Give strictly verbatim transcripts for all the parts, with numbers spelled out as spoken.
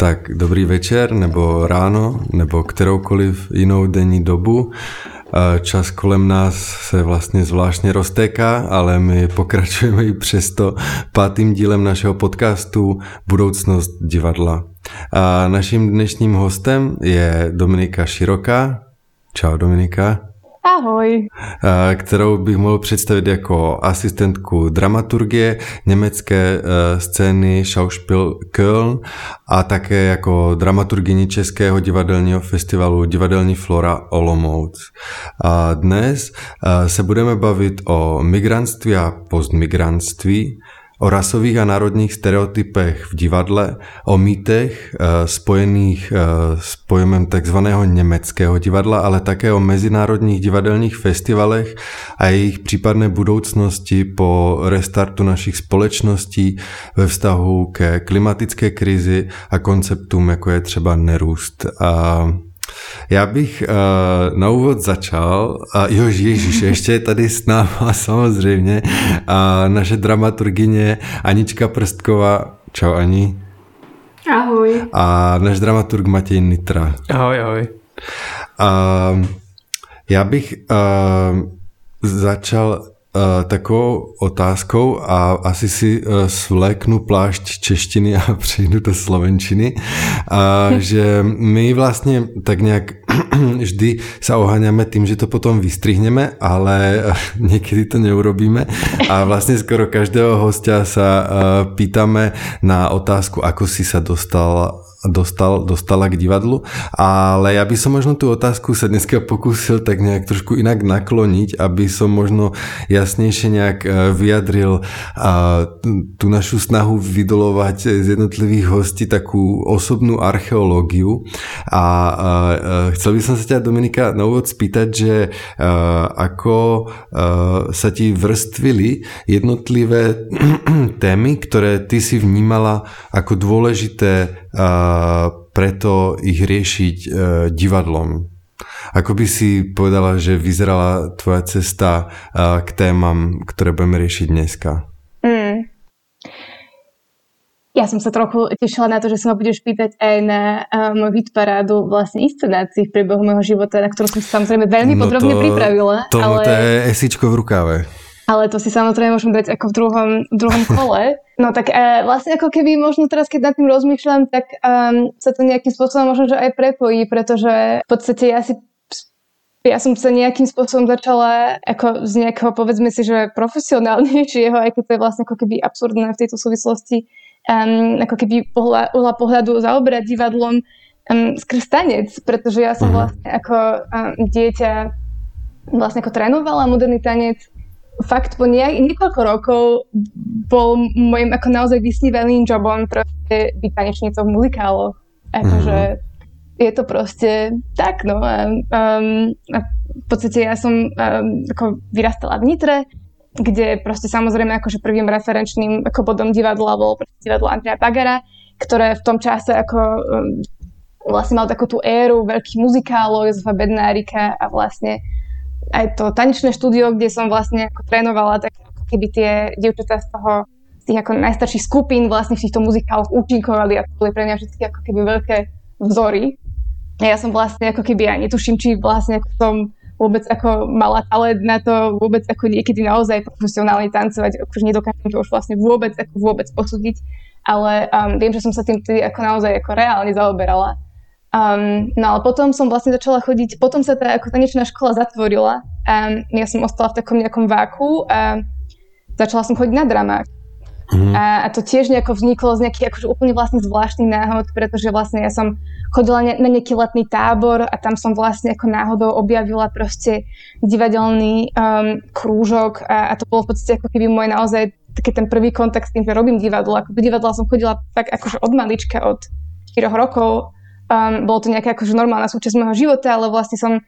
Tak dobrý večer, nebo ráno, nebo kteroukoliv jinou denní dobu. Čas kolem nás se vlastně zvláštně roztéká, ale my pokračujeme i přesto pátým dílem našeho podcastu Budoucnost divadla. A naším dnešním hostem je Dominika Široká. Čau Dominika. Ahoj. Kterou bych mohl představit jako asistentku dramaturgie německé scény Schauspiel Köln a také jako dramaturgyni Českého divadelního festivalu Divadelní Flora Olomouc. A dnes se budeme bavit o migrantství a postmigrantství, o rasových a národních stereotypech v divadle, o mýtech e, spojených e, s pojmem takzvaného německého divadla, ale také o mezinárodních divadelních festivalech a jejich případné budoucnosti po restartu našich společností ve vztahu ke klimatické krizi a konceptům, jako je třeba nerůst. A já bych uh, na úvod začal, a jo, ježiš, ještě je tady s náma samozřejmě a naše dramaturgyně Anička Prstková. Čau Ani. Ahoj. A náš dramaturg Matěj Nitra. Ahoj, ahoj. A já bych uh, začal Uh, takovou otázkou a asi si uh, svléknu plášť češtiny a přejdu do slovenčiny, uh, že my vlastně tak nějak vždy sa oháňame tým, že to potom vystrihneme, ale uh, někdy to neurobíme a vlastně skoro každého hostia sa uh, pýtame na otázku, ako si sa dostal Dostal, dostala k divadlu, ale ja by som možno tú otázku sa dneska pokúsil tak nejak trošku inak nakloniť, aby som možno jasnejšie nejak vyjadril tú našu snahu vydolovať z jednotlivých hostí takú osobnú archeológiu a chcel by som sa ťa, Dominika, na úvod spýtať, že ako sa ti vrstvili jednotlivé témy, ktoré ty si vnímala ako dôležité a preto ich riešiť e, divadlom. Ako by si povedala, že vyzerala tvoja cesta e, k témam, ktoré budeme riešiť dneska? Mm. Ja som sa trochu tešila na to, že sa ma budeš pýtať aj na uh, môj hitparádu vlastne inscenácií v priebehu môjho života, na ktorú som sa samozrejme veľmi no podrobne to, pripravila. To, ale... to je esíčko v rukáve. Ale to si samozrejme môžem dať ako v druhom, v druhom kole. No tak e, vlastne ako keby možno teraz, keď nad tým rozmýšľam, tak um, sa to nejakým spôsobom možno, že aj prepojí, pretože v podstate ja si ja som sa nejakým spôsobom začala ako z nejakého, povedzme si, že profesionálnejšieho, aj keď to je vlastne ako keby absurdné v tejto súvislosti, um, ako keby pohľa, uhla pohľadu zaoberať divadlom um, skrz tanec, pretože ja som vlastne ako um, dieťa vlastne ako trénovala moderný tanec. Fakt po nejak, niekoľko rokov bol môjim ako naozaj vysnívaným jobom proste byť tanečnicou v muzikáloch. Akože mm-hmm. je to proste tak, no. A, um, a v podstate ja som um, ako vyrastala v Nitre, kde proste samozrejme akože prvým referenčným ako bodom divadla bolo proste divadlo Andreja Pagara, ktoré v tom čase ako um, vlastne mal takú tú éru veľkých muzikálov, Jozefa Bednárika a vlastne aj to tanečné štúdio, kde som vlastne ako trénovala, tak ako keby tie dievčatá z toho, z tých ako najstarších skupín vlastne v týchto muzikáloch účinkovali a to boli pre mňa všetky ako keby veľké vzory. A ja som vlastne ako keby aj netuším, či vlastne ako som vôbec ako mala talent na to vôbec ako niekedy naozaj profesionálne tancovať, akože nedokážem to už vlastne vôbec ako vôbec posúdiť, ale um, viem, že som sa tým tedy ako naozaj ako reálne zaoberala. Um, no ale potom som vlastne začala chodiť, potom sa tá ako tanečná škola zatvorila a ja som ostala v takom nejakom váku a začala som chodiť na dramák. Mm. A, a to tiež nejako vzniklo z nejakých akože úplne vlastne zvláštnych náhod, pretože vlastne ja som chodila ne, na nejaký letný tábor a tam som vlastne ako náhodou objavila proste divadelný um, krúžok a, a to bolo v podstate ako keby môj naozaj taký ten prvý kontakt s tým, že robím divadlo. Ako do divadla som chodila tak akože od malička, od štyroch rokov. Um, bolo to nejaká akože normálna súčasť môjho života, ale vlastne som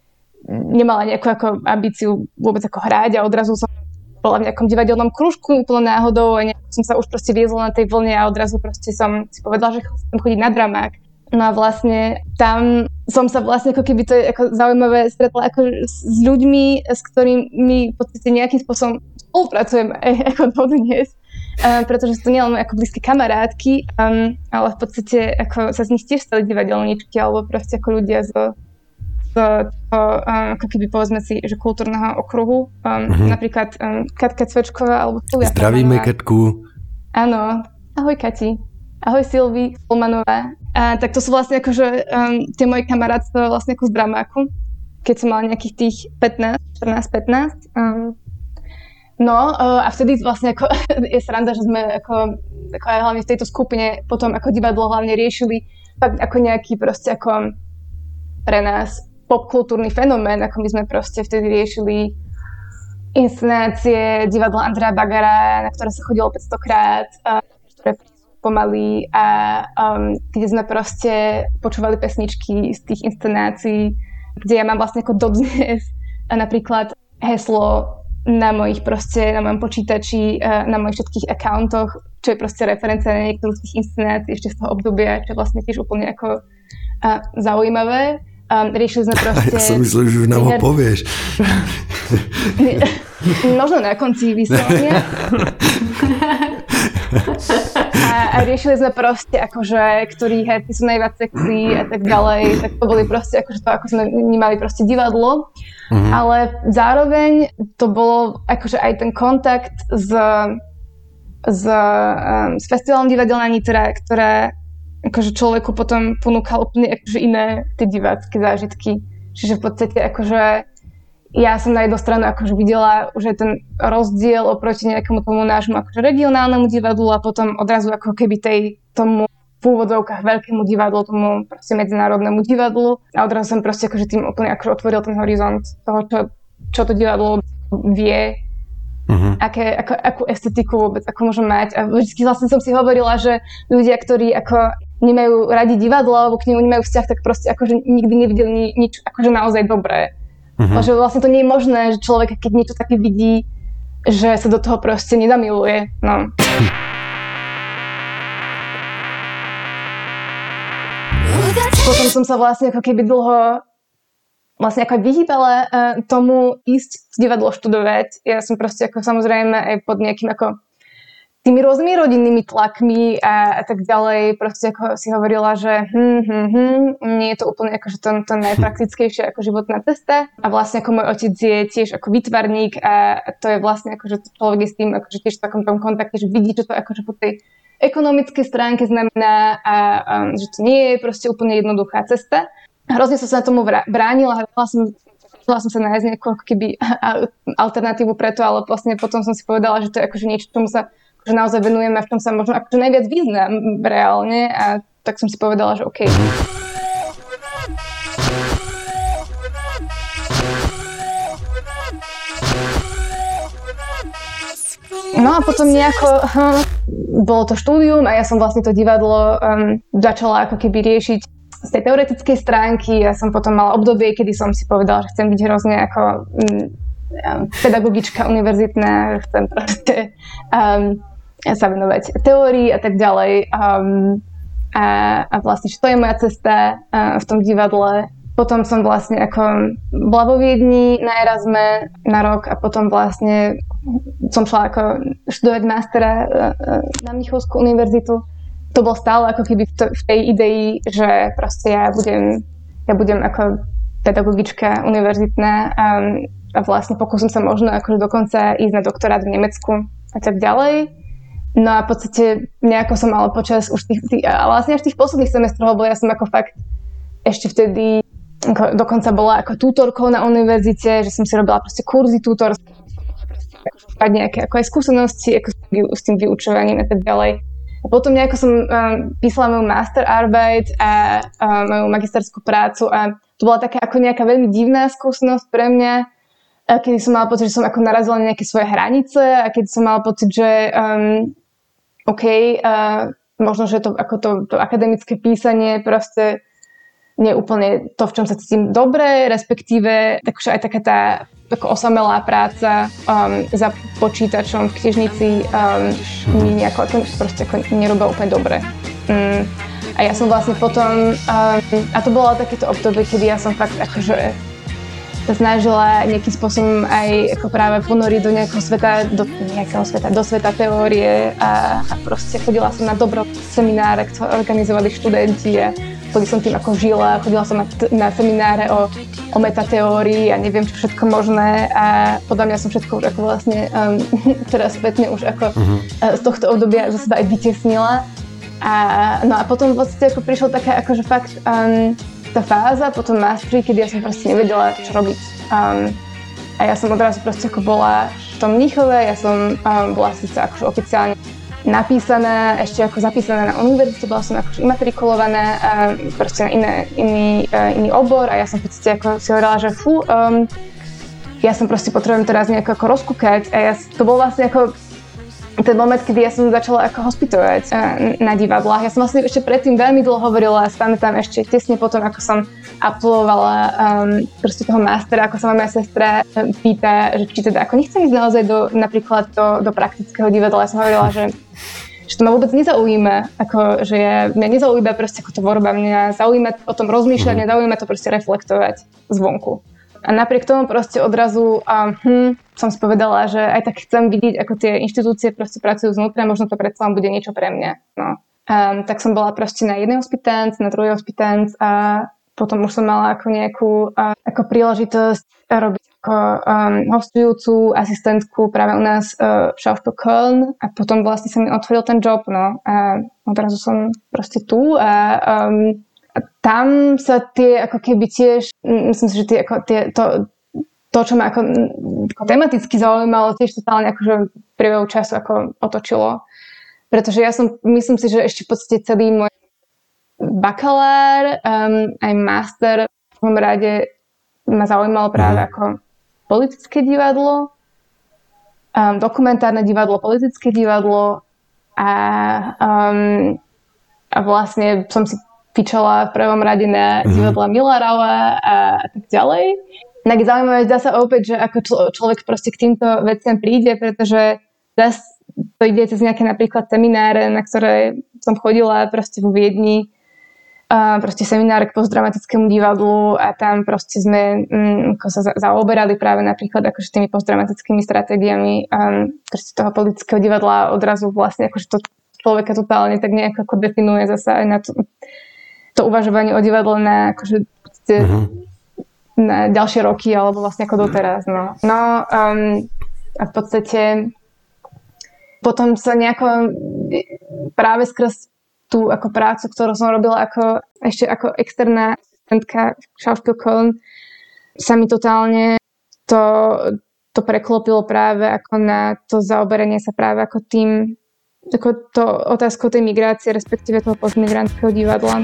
nemala nejakú ako ambíciu vôbec ako hrať a odrazu som bola v nejakom divadelnom krúžku úplne náhodou a nejak som sa už proste viezla na tej vlne a odrazu proste som si povedala, že chcem chodiť na dramák. No a vlastne tam som sa vlastne ako keby to je ako zaujímavé stretla ako s ľuďmi, s ktorými v podstate nejakým spôsobom spolupracujem aj ako dodnes. uh, pretože sú to nielen ako blízke kamarátky, um, ale v podstate ako sa z nich tiež stali divadelníčky, alebo proste ako ľudia z, z toho, um, ako keby povedzme si, že kultúrneho okruhu. Um, uh-huh. Napríklad um, Katka Cvečková, alebo Silvia Zdravíme Katku. Áno, ahoj Kati. Ahoj Silvi Fulmanová. A tak to sú vlastne akože um, tie moje kamarátstva vlastne ako z Bramáku, keď som mala nejakých tých pätnásť, štrnásť, pätnásť. Um, no uh, a vtedy vlastne ako je sranda, že sme ako, ako aj hlavne v tejto skupine potom ako divadlo hlavne riešili fakt ako nejaký proste ako pre nás popkultúrny fenomén, ako my sme proste vtedy riešili inscenácie divadla Andreja Bagara, na ktoré sa chodilo päťsto krát, uh, ktoré pomaly a um, kde sme proste počúvali pesničky z tých inscenácií, kde ja mám vlastne ako dodnes napríklad heslo na mojich proste, na mojom počítači, uh, na mojich všetkých accountoch, čo je proste referencia na niektorú z tých inscenácií ešte z toho obdobia, čo je vlastne tiež úplne ako uh, zaujímavé. Um, riešili sme proste... Ja som myslel, že už nám ho povieš. Možno na konci vyslovenia. A, a riešili sme proste akože, ktorí herci sú najviac sexy a tak ďalej. Tak to boli proste akože to, ako sme vnímali proste divadlo. Mm-hmm. Ale zároveň to bolo akože aj ten kontakt s, s, um, s festivalom Divadelná Nitra, ktoré akože človeku potom ponúkal úplne akože iné tie divácké zážitky. Čiže v podstate akože ja som na jednu stranu akože videla už aj ten rozdiel oproti nejakému tomu nášmu akože regionálnemu divadlu a potom odrazu ako keby tej tomu v úvodzovkách veľkému divadlu, tomu proste medzinárodnému divadlu a odrazu som proste akože tým úplne akože otvoril ten horizont toho, čo, čo to divadlo vie, uh-huh. aké, ako, akú estetiku vôbec ako môžem mať a vždy vlastne som si hovorila, že ľudia, ktorí ako nemajú radi divadlo alebo k nemu nemajú vzťah, tak proste akože nikdy nevideli ni, nič akože naozaj dobré. Uh-huh. Že vlastne to nie je možné, že človek, keď niečo také vidí, že sa do toho proste nezamiluje. No. Potom som sa vlastne ako keby dlho vlastne ako vyhýbala uh, tomu ísť divadlo študovať. Ja som proste ako samozrejme aj pod nejakým ako tými rôznymi rodinnými tlakmi a, a tak ďalej. Proste ako si hovorila, že hm, hm, hm, nie je to úplne akože to, to najpraktickejšie ako životná cesta. A vlastne ako môj otec je tiež ako výtvarník a to je vlastne akože človek je s tým akože tiež v takom tom kontakte, že vidí, čo to akože po tej ekonomickej stránke znamená a um, že to nie je proste úplne jednoduchá cesta. Hrozne som sa na tomu bránila, hľadala som, som sa nájsť nejakú keby alternatívu preto, ale vlastne potom som si povedala, že to je akože niečo, čomu sa že naozaj venujeme, v tom sa možno akože najviac význam reálne a tak som si povedala, že OK. No a potom nejako hm, bolo to štúdium a ja som vlastne to divadlo um, začala ako keby riešiť z tej teoretickej stránky. Ja som potom mala obdobie, kedy som si povedala, že chcem byť hrozne ako um, pedagogička univerzitná, chcem proste um, sa venovať teórii a tak ďalej. Um, a, a vlastne, čo to je moja cesta uh, v tom divadle. Potom som vlastne ako bola vo Viedni na Erasme na rok a potom vlastne som šla ako študovať mastera uh, na Mnichovskú univerzitu. To bolo stále ako keby v, to, v tej idei, že proste ja budem, ja budem ako pedagogička univerzitná um, a vlastne pokúsim sa možno akože dokonca ísť na doktorát v Nemecku a tak ďalej. No a v podstate nejako som mala počas už tých, tých a vlastne až tých posledných semestrov, lebo ja som ako fakt ešte vtedy ako, dokonca bola ako tutorkou na univerzite, že som si robila proste kurzy tutorské, mať nejaké ako aj skúsenosti ako s tým vyučovaním a tak ďalej. A potom nejako som um, písala moju masterarbeit a um, moju magisterskú prácu a to bola taká ako nejaká veľmi divná skúsenosť pre mňa, kedy som mala pocit, že som ako narazila na nejaké svoje hranice a keď som mala pocit, že um, OK, uh, možno, že to, ako to, to akademické písanie proste nie je úplne to, v čom sa cítim dobre, respektíve takže aj taká tá ako osamelá práca um, za počítačom v knižnici um, mi nejako ako, proste ako nerobila úplne dobre. Um, a ja som vlastne potom, um, a to bolo takéto obdobie, kedy ja som fakt akože snažila nejakým spôsobom aj ako práve ponoriť do nejakého sveta, do nejakého sveta, do sveta teórie a, a proste chodila som na dobro semináre, ktoré organizovali študenti a chodila som tým ako žila, chodila som na, na semináre o, o metateórii a neviem čo všetko možné a podľa mňa som všetko už ako vlastne um, teraz spätne už ako uh-huh. uh, z tohto obdobia za seba aj vytesnila a no a potom vlastne ako prišlo taká akože fakt um, tá fáza po tom masteri, kedy ja som proste nevedela, čo robiť. Um, a ja som odrazu proste ako bola v tom Mníchove, ja som um, bola síce akože oficiálne napísaná, ešte ako zapísaná na univerzitu, bola som akože imatrikulovaná um, proste na iné, iný, uh, iný obor a ja som v podstate ako si hovorila, že fú, um, ja som proste potrebujem teraz nejako ako rozkúkať a ja, to bol vlastne ako ten moment, kedy ja som začala ako hospitovať na divadlách. Ja som vlastne ešte predtým veľmi dlho hovorila a spamätám ešte tesne potom, ako som absolvovala um, proste toho mastera, ako sa ma moja sestra pýta, že či teda ako nechcem ísť naozaj do, napríklad do, do praktického divadla. Ja som hovorila, že, že to ma vôbec nezaujíma, ako, že ja, mňa nezaujíma proste ako tvorba, mňa zaujíma o tom rozmýšľať, mňa zaujíma to proste reflektovať zvonku. A napriek tomu proste odrazu um, hm, som si povedala, že aj tak chcem vidieť, ako tie inštitúcie proste pracujú znútra, možno to predsa len bude niečo pre mňa. No. Um, tak som bola proste na jednej hospitanc, na druhej hospitanc a potom už som mala ako nejakú uh, ako príležitosť robiť ako um, hostujúcu asistentku práve u nás uh, v Schauspiel Köln a potom vlastne sa mi otvoril ten job, no. A odrazu som proste tu a um, A tam sa tie ako keby tiež, myslím si, že tie, ako tie, to, to, čo ma ako, ako tematicky zaujímalo, tiež totálne akože v priebehu času ako otočilo. Pretože ja som, myslím si, že ešte v podstate celý môj bakalár, um, aj master v prvom rade ma zaujímalo práve mm. ako politické divadlo, um, dokumentárne divadlo, politické divadlo a, um, a vlastne som si fičala v prvom rade na divadla Millarova a, a tak ďalej. Tak je zaujímavé, dá sa opäť, že ako člo, človek proste k týmto veciam príde, pretože zase to ide cez nejaké napríklad semináre, na ktoré som chodila proste vo Viedni, a proste semináre k postdramatickému divadlu a tam proste sme mm, ako sa za, zaoberali práve napríklad akože tými postdramatickými stratégiami um, proste toho politického divadla odrazu vlastne akože to človeka totálne tak nejako ako definuje zasa aj na to, to uvažovanie o divadle na akože uh-huh. na ďalšie roky alebo vlastne ako doteraz. No, no um, a v podstate potom sa nejako práve skrz tú ako prácu, ktorú som robila ako, ešte ako externá asistentka v Schauspiel Köln, sa mi totálne to, to preklopilo práve ako na to zaoberanie sa práve ako tým ako to otázkou tej migrácie, respektíve toho postmigrantského divadla.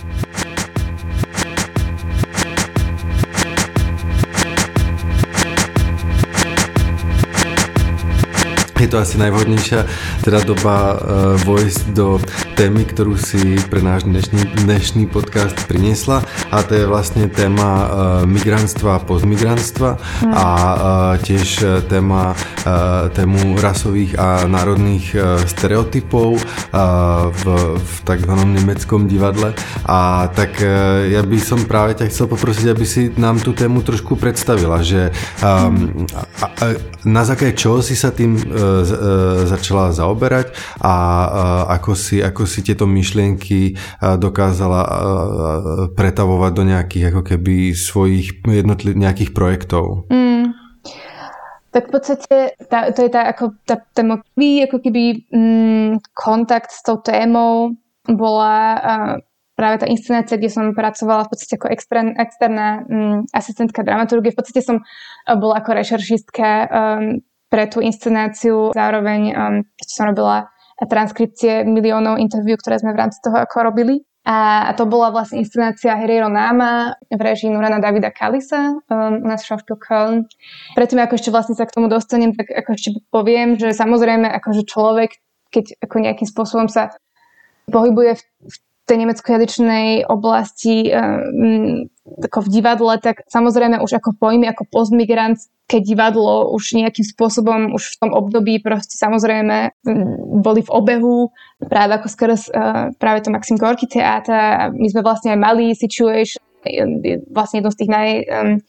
Je to asi najvhodnejšia teda doba uh, vojsť do témy, ktorú si pre náš dnešný, dnešný podcast priniesla a to je vlastne téma uh, migrantstva a postmigrantstva mm. a uh, tiež téma uh, tému rasových a národných uh, stereotypov uh, v, v takzvanom nemeckom divadle a tak uh, ja by som práve ťa chcel poprosiť, aby si nám tú tému trošku predstavila, že um, a, a, na základe čoho si sa tým uh, začala zaoberať a ako si, ako si tieto myšlienky dokázala pretavovať do nejakých ako keby svojich jednotlivých nejakých projektov. Mm. Tak v podstate tá, to je tá, ako, tá, tá prvý ako keby mm, kontakt s tou témou bola uh, práve tá inscenácia, kde som pracovala v podstate ako externá, externá um, asistentka dramaturgie. V podstate som uh, bola ako rešeršistka um, pre tú inscenáciu. Zároveň um, som robila transkripcie miliónov interviú, ktoré sme v rámci toho ako robili. A, a to bola vlastne inscenácia Herero Náma v režii Nurana Davida Kalisa um, u nás v Schauspiel Köln. Predtým, ako ešte vlastne sa k tomu dostanem, tak ako ešte poviem, že samozrejme akože človek, keď ako nejakým spôsobom sa pohybuje v, v tej nemeckojazyčnej oblasti um, ako v divadle, tak samozrejme už ako pojmy ako postmigrantské divadlo už nejakým spôsobom už v tom období proste samozrejme boli v obehu práve ako skoro uh, práve to Maxim Gorky teátra a my sme vlastne aj mali Situation, vlastne jedno z tých naj um,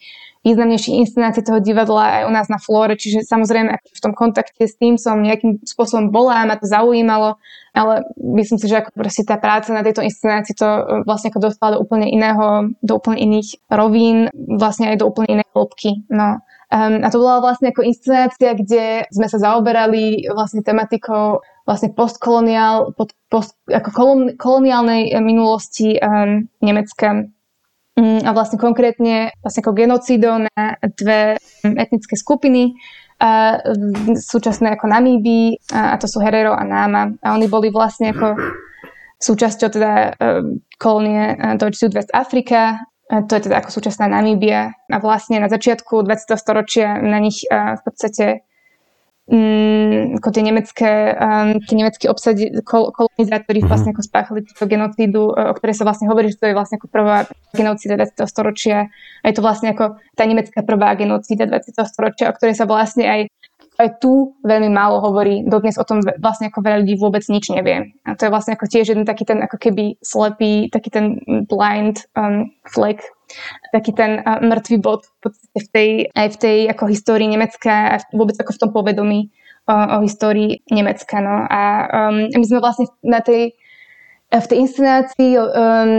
významnejších inscenácií toho divadla aj u nás na Flóre, čiže samozrejme v tom kontakte s tým som nejakým spôsobom bola, ma to zaujímalo, ale myslím si, že ako proste tá práca na tejto inscenácii to vlastne ako dostala do úplne iného, do úplne iných rovín, vlastne aj do úplne inej hĺbky. No. Um, a to bola vlastne ako inscenácia, kde sme sa zaoberali vlastne tematikou vlastne postkoloniál, post, post, ako kolon, koloniálnej minulosti um, Nemecka. A vlastne konkrétne vlastne ako genocídou na dve etnické skupiny, a súčasné ako Namíbii, a to sú Herero a Náma. A oni boli vlastne ako súčasťou teda kolónie Deutsche Südwestafrika, to je teda ako súčasná Namíbia. A vlastne na začiatku dvadsiateho storočia na nich v podstate Mm, ako tie nemecké, um, tie nemeckí obsadi, kol, kolonizátori mm-hmm. vlastne ako spáchali túto genocídu, o ktorej sa vlastne hovorí, že to je vlastne ako prvá genocída dvadsiateho storočia. A je to vlastne ako tá nemecká prvá genocída dvadsiateho storočia, o ktorej sa vlastne aj, aj tu veľmi málo hovorí. Dodnes o tom vlastne ako veľa ľudí vôbec nič nevie. A to je vlastne ako tiež jeden taký ten ako keby slepý, taký ten blind um, flag, taký ten uh, mŕtvý bod v podstate v tej, aj v tej ako histórii Nemecka a vôbec ako v tom povedomí uh, o histórii Nemecka. No. A um, my sme vlastne na tej, v tej inscenácii um,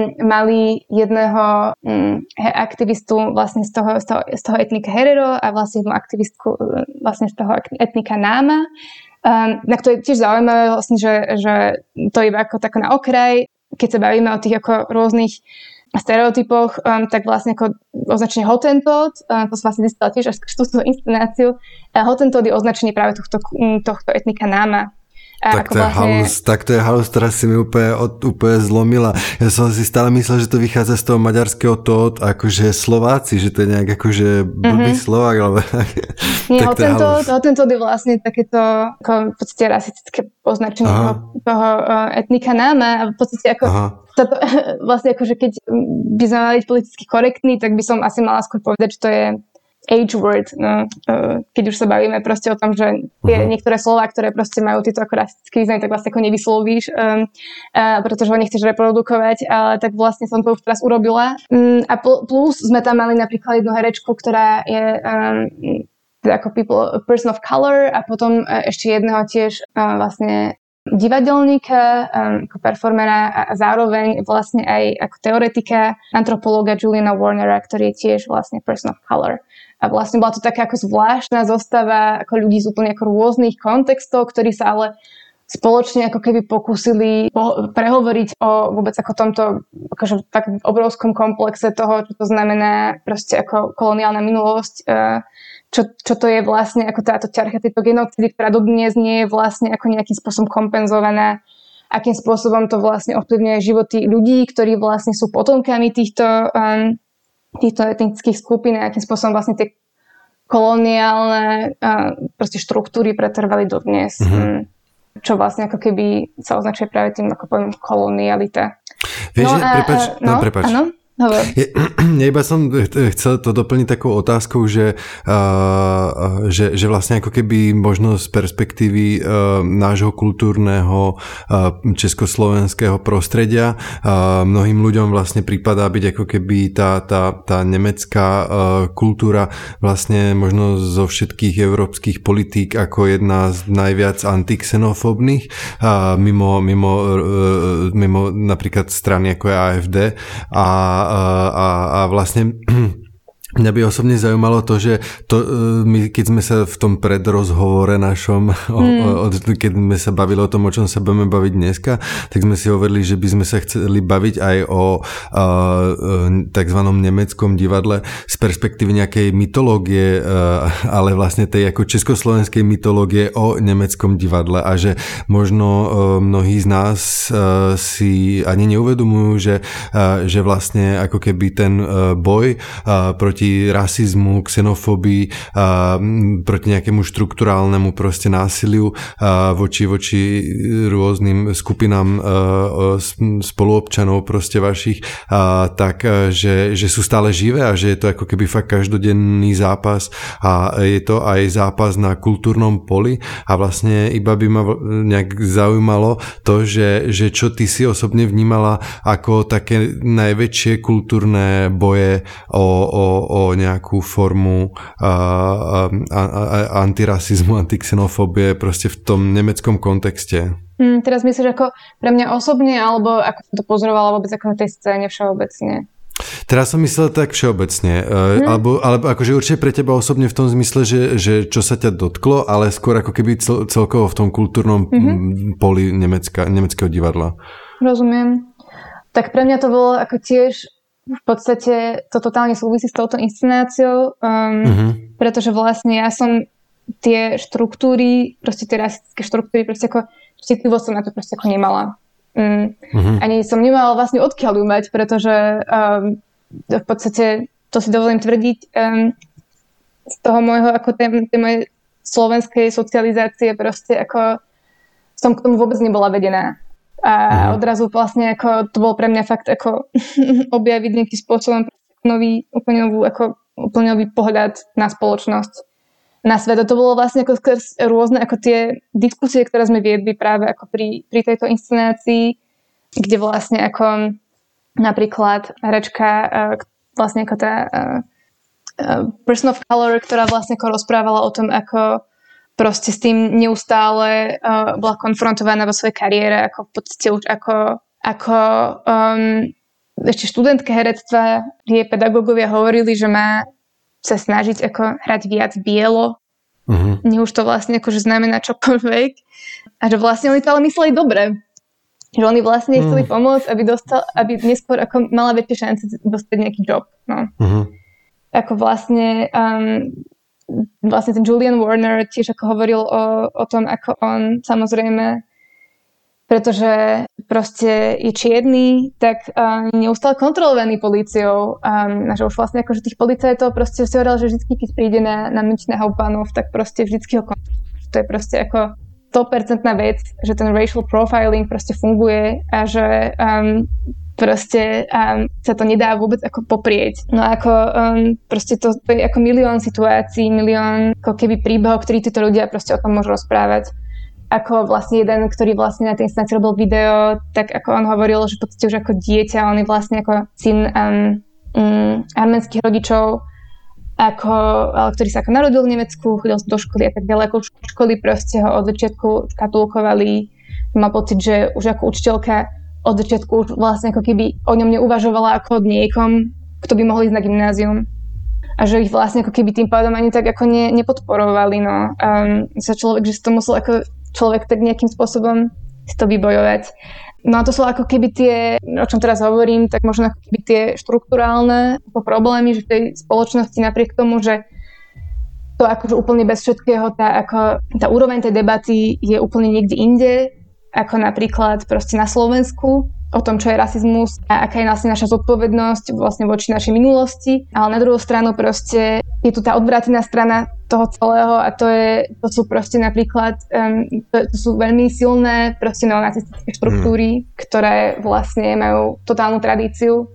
mali jedného um, aktivistu vlastne z toho, z toho, z toho etnika Herero a vlastne jednu aktivistku vlastne z toho etnika Náma. Um, na to je tiež zaujímavé vlastne, že, že to je iba ako tak na okraj, keď sa bavíme o tých ako rôznych stereotypoch, um, tak vlastne ako označenie Hottentot, um, to som vlastne zistila tiež až túto inscenáciu, uh, Hottentot je označenie práve tohto, tohto etnika Náma. Tak to, vlastne... halus, tak to je halus, ktorá si mi úplne, úplne zlomila. Ja som si stále myslel, že to vychádza z toho maďarského tot, akože Slováci, že to je nejak akože blbý mm-hmm. Slovák, alebo nie, Hottentot, Hottentot je vlastne takéto ako v podstate rasistické označenie toho, toho uh, etnika Náma a v podstate ako táto, vlastne akože keď by sme mali politicky korektní, tak by som asi mala skôr povedať, že to je age word, no, keď už sa bavíme proste o tom, že tie uh-huh. niektoré slová, ktoré proste majú tieto ako rasistické významy, tak vlastne ako nevyslovíš, um, uh, pretože ho nechceš reprodukovať, ale tak vlastne som to už teraz urobila. Um, a pl- plus sme tam mali napríklad jednu herečku, ktorá je um, teda ako people, person of color a potom uh, ešte jedného tiež uh, vlastne divadelníka, um, ako performera a zároveň vlastne aj ako teoretika, antropológa Juliana Warnera, ktorý je tiež vlastne person of color. A vlastne bola to taká ako zvláštna zostava ako ľudí z úplne ako rôznych kontextov, ktorí sa ale spoločne ako keby pokúsili po- prehovoriť o vôbec ako tomto akože tak obrovskom komplexe toho, čo to znamená proste ako koloniálna minulosť, čo, čo to je vlastne ako táto ťarcha tejto genocídy, ktorá dodnes nie je vlastne ako nejakým spôsobom kompenzovaná, akým spôsobom to vlastne ovplyvňuje životy ľudí, ktorí vlastne sú potomkami týchto um, týchto etnických skupín a akým spôsobom vlastne tie koloniálne uh, proste štruktúry pretrvali dodnes. Mm-hmm. Čo vlastne ako keby sa označuje práve tým, ako poviem, kolonialita. Vieš, no, že, prepáč, no, no, prepáč. Áno? Ja, ja iba som chcel to doplniť takou otázkou, že, uh, že, že vlastne ako keby možno z perspektívy uh, nášho kultúrneho uh, československého prostredia uh, mnohým ľuďom vlastne prípadá byť ako keby tá, tá, tá nemecká uh, kultúra vlastne možno zo všetkých európskych politík ako jedna z najviac antixenofóbnych uh, mimo, mimo, uh, mimo napríklad strany ako je á ef dé a A, a, a vlastne mňa by osobne zaujímalo to, že to, my, keď sme sa v tom predrozhovore našom, mm. o, o, keď sme sa bavili o tom, o čom sa budeme baviť dneska, tak sme si hovorili, že by sme sa chceli baviť aj o takzvanom nemeckom divadle z perspektívy nejakej mytológie, a, ale vlastne tej ako československej mytológie o nemeckom divadle a že možno a, mnohí z nás a, si ani neuvedomujú, že, a, že vlastne ako keby ten a, boj a, proti rasizmu, xenofóbii, a proti nejakému štrukturálnemu proste násiliu a voči, voči rôznym skupinám spoluobčanov proste vašich, a tak, že, že sú stále živé a že je to ako keby fakt každodenný zápas a je to aj zápas na kultúrnom poli a vlastne iba by ma nejak zaujímalo to, že, že čo ty si osobne vnímala ako také najväčšie kultúrne boje o, o, o o nejakú formu a, a, a, a antirasizmu, antixenofóbie proste v tom nemeckom kontexte. Hmm, teraz myslíš ako pre mňa osobne, alebo ako som to pozorovala vôbec ako na tej scéne všeobecne? Teraz som myslel tak všeobecne, hmm. alebo, alebo akože určite pre teba osobne v tom zmysle, že, že čo sa ťa dotklo, ale skôr ako keby cel, celkovo v tom kultúrnom mm-hmm. poli Nemecka, nemeckého divadla. Rozumiem. Tak pre mňa to bolo ako tiež v podstate to totálne súvisí s touto inscenáciou, um, mm-hmm. pretože vlastne ja som tie štruktúry, proste tie rasistické štruktúry, proste ako citlivo som na to proste ako nemala. Mm. Uh-huh. Ani som nemala vlastne odkiaľ ju mať, pretože um, v podstate, to si dovolím tvrdiť, um, z toho môjho, ako tej, tej mojej slovenskej socializácie proste ako som k tomu vôbec nebola vedená. A uh-huh. odrazu vlastne ako to bol pre mňa fakt ako objaviť nejakým spôsobom nový, úplne novú, ako úplne nový pohľad na spoločnosť, na svet. A to bolo vlastne ako skrz rôzne ako tie diskusie, ktoré sme viedli práve ako pri, pri tejto inscenácii, kde vlastne ako napríklad herečka vlastne ako tá uh, uh, person of color, ktorá vlastne ako rozprávala o tom, ako proste s tým neustále uh, bola konfrontovaná vo svojej kariére, ako v podstate už ako, ako um, ešte študentka herectva, jej pedagógovia hovorili, že má sa snažiť ako hrať viac bielo. Uh-huh. Nie už to vlastne akože znamená čokoľvek. A že vlastne oni to ale mysleli dobre. Že oni vlastne uh-huh. chceli pomôcť, aby, dostal, aby neskôr ako mala väčšie šance dostať nejaký job. No. Uh-huh. Ako vlastne um, vlastne ten Julian Warner tiež ako hovoril o, o tom, ako on samozrejme, pretože proste je čierny, tak um, neustále kontrolovaný políciou. Um, že už vlastne akože tých policajtov proste si hovoril, že vždycky, keď príde na, na Münchner Hauptbahnhof, tak proste vždycky ho kontrolujú. To je proste ako sto percent vec, že ten racial profiling proste funguje a že um, proste um, sa to nedá vôbec ako poprieť. No ako um, proste to, to je ako milión situácií, milión ako keby príbehov, ktorí títo ľudia proste o tom môžu rozprávať. Ako vlastne jeden, ktorý vlastne na tej inscenácii robil video, tak ako on hovoril, že v podstate už ako dieťa, on je vlastne ako syn um, um, arménskych rodičov, ako, ktorý sa ako narodil v Nemecku, chodil do školy a tak ďalej. Ako školy proste ho od začiatku škatulkovali. Mal pocit, že už ako učiteľka od začiatku už vlastne ako keby o ňom neuvažovala ako od niekom, kto by mohol ísť na gymnázium. A že ich vlastne ako keby tým pádom ani tak ako ne, nepodporovali. No. Um, sa človek, že si to musel ako človek tak nejakým spôsobom si to vybojovať. No a to sú ako keby tie, o čom teraz hovorím, tak možno ako keby tie štruktúrálne problémy, že v tej spoločnosti napriek tomu, že to akože úplne bez všetkého, tá, ako, tá úroveň tej debaty je úplne niekde inde, ako napríklad proste na Slovensku, o tom, čo je rasizmus a aká je vlastne naša zodpovednosť vlastne voči našej minulosti. Ale na druhú stranu proste je tu tá odvrátená strana toho celého a to, je, to sú proste napríklad, um, to, to sú veľmi silné proste neonacistické štruktúry, mm. ktoré vlastne majú totálnu tradíciu,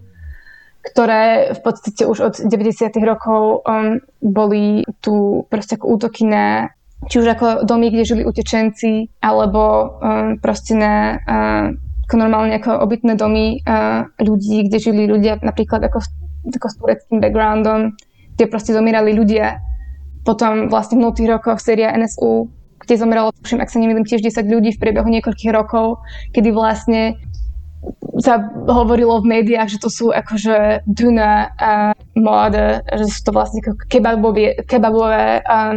ktoré v podstate už od deväťdesiatych rokov um, boli tu proste ako útoky na či už ako domy, kde žili utečenci, alebo um, proste na uh, ako normálne ako obytné domy uh, ľudí, kde žili ľudia napríklad ako, ako s tureckým backgroundom, kde proste zomierali ľudia. Potom vlastne v minulých rokoch séria en es ú, kde zomieralo, tuším, ak sa nemýlim, tiež desať ľudí v priebehu niekoľkých rokov, kedy vlastne sa hovorilo v médiách, že to sú akože duna a móda, že sú to vlastne kebabové, kebabové um,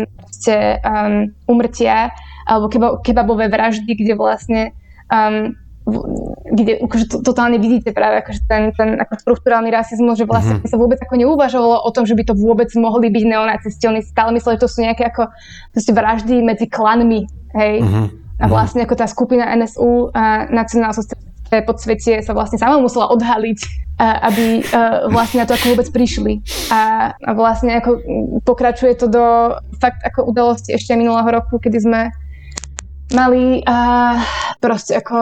um, umrtia alebo keba, kebabové vraždy, kde vlastne um, kde akože to, totálne vidíte práve akože ten, ten ako štruktúrálny rasizmus, že vlastne mm-hmm. sa vôbec ako neuvažovalo o tom, že by to vôbec mohli byť neonacisti. Oni stále mysleli, že to sú nejaké ako vraždy medzi klanmi, hej. Mm-hmm. A vlastne ako tá skupina en es ú a nacionálsocialistické podsvetie sa vlastne sama musela odhaliť, a, aby a, vlastne na to ako vôbec prišli. A, a vlastne ako pokračuje to do fakt ako udalosti ešte minulého roku, kedy sme mali a, proste ako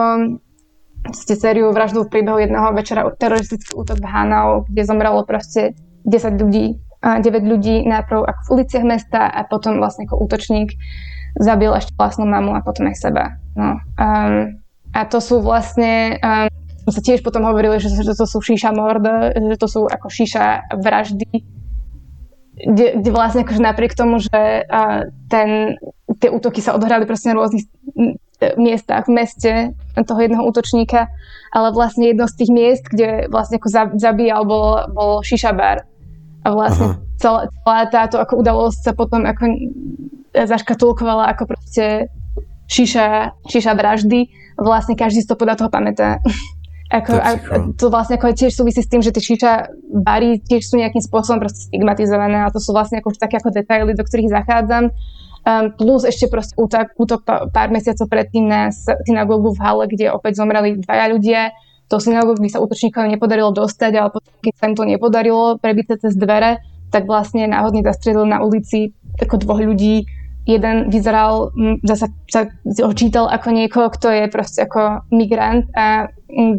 ste sériu vraždu v priebehu jedného večera, teroristický útok v Hanau, kde zomrelo proste desať ľudí, deväť ľudí najprv ako v uliciach mesta a potom vlastne ako útočník zabil ešte vlastnú mamu a potom aj seba. No. Um, a to sú vlastne, um, sme sa tiež potom hovorili, že, že to sú šíša mord, že to sú ako šíša vraždy, kde, kde vlastne akože napriek tomu, že uh, ten, tie útoky sa odohrali proste na rôznych miestach v meste toho jedného útočníka, ale vlastne jedno z tých miest, kde vlastne ako zabíjal, bol, bol šiša bar. A vlastne celá, celá táto ako udalosť sa potom ako zaškatulkovala ako proste šiša, šiša vraždy. Vlastne každý si to podľa toho pamätá. Ako, a to vlastne ako tiež súvisí s tým, že tie šiša bary tiež sú nejakým spôsobom proste stigmatizované a to sú vlastne ako už také ako detaily, do ktorých zachádzam. Um, plus ešte proste útok, útok pár mesiacov predtým na synagógu v Halle, kde opäť zomreli dvaja ľudia. Do synagógy sa útočníkom nepodarilo dostať, ale potom, keď sa im to nepodarilo prebiť cez dvere, tak vlastne náhodne zastrelil na ulici ako dvoch ľudí. Jeden vyzeral, zasa sa očítal ako niekoho, kto je proste ako migrant a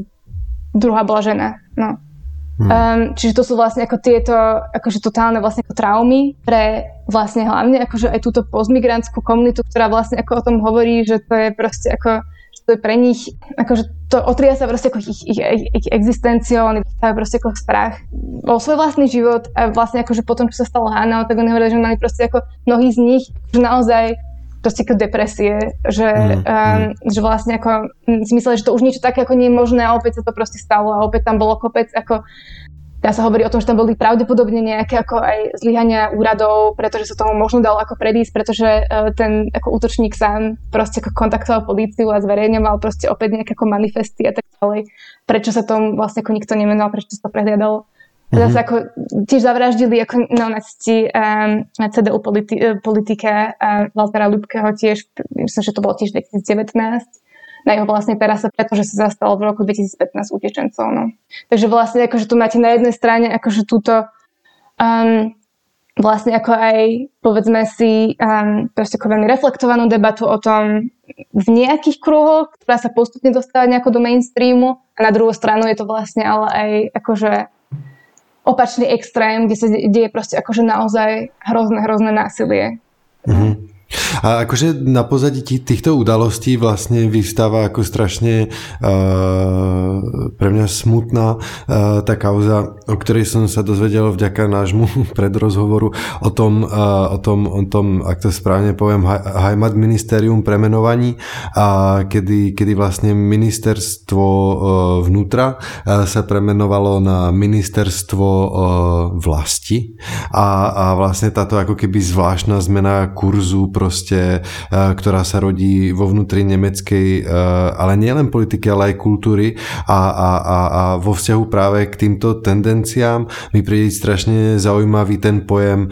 druhá bola žena, no. Hmm. Um, čiže to sú vlastne ako tieto, akože totálne vlastne ako traumy pre vlastne hlavne akože aj túto postmigrantskú komunitu, ktorá vlastne ako o tom hovorí, že to je proste ako, že to je pre nich, akože to otriasa proste ako ich, ich, ich, ich existenciou, oni dostávajú proste ako strach o svoj vlastný život a vlastne akože potom, čo sa stalo Hannah, tak oni hovorili, že mali proste ako mnohí z nich, že naozaj proste ako depresie, že, mm, um, mm. že vlastne ako si mysleli, že to už niečo také ako nie je možné a opäť sa to proste stalo a opäť tam bolo kopec ako, dá sa hovorí o tom, že tam boli pravdepodobne nejaké ako aj zlyhania úradov, pretože sa tomu možno dalo ako predísť, pretože uh, ten ako útočník sám proste ako kontaktoval políciu a zverejňoval proste opäť nejaké ako manifesty a tak ďalej. Prečo sa tomu vlastne ako nikto nemenoval, prečo sa to prehliadalo. Mm-hmm. Zase ako tiež zavraždili ako neonacisti um, cé dé ú politi- politika uh, Waltera Lübkeho tiež, myslím, že to bolo tiež dvetisíc devätnásť na jeho vlastnej terase, pretože sa zastal v roku dvetisíc pätnásť utečencov. No. Takže vlastne akože tu máte na jednej strane akože túto um, vlastne ako aj povedzme si um, proste ako veľmi reflektovanú debatu o tom v nejakých kruhoch, ktorá sa postupne dostáva nejako do mainstreamu a na druhú stranu je to vlastne ale aj akože opačný extrém, kde sa deje proste akože naozaj hrozné, hrozné násilie. Mm-hmm. A akože na pozadí týchto udalostí vlastne vyvstáva ako strašne uh, pre mňa smutná uh, tá kauza, o ktorej som sa dozvedel vďaka nášmu predrozhovoru o tom, uh, o tom, o tom, ak to správne poviem, Heimat ministerium premenovaní, a kedy, kedy vlastne ministerstvo uh, vnútra uh, sa premenovalo na ministerstvo uh, vlasti a, a vlastne táto ako keby zvláštna zmena kurzu proste, ktorá sa rodí vo vnútri nemeckej, ale nielen politiky, ale aj kultúry a, a, a, a vo vzťahu práve k týmto tendenciám mi príde strašne zaujímavý ten pojem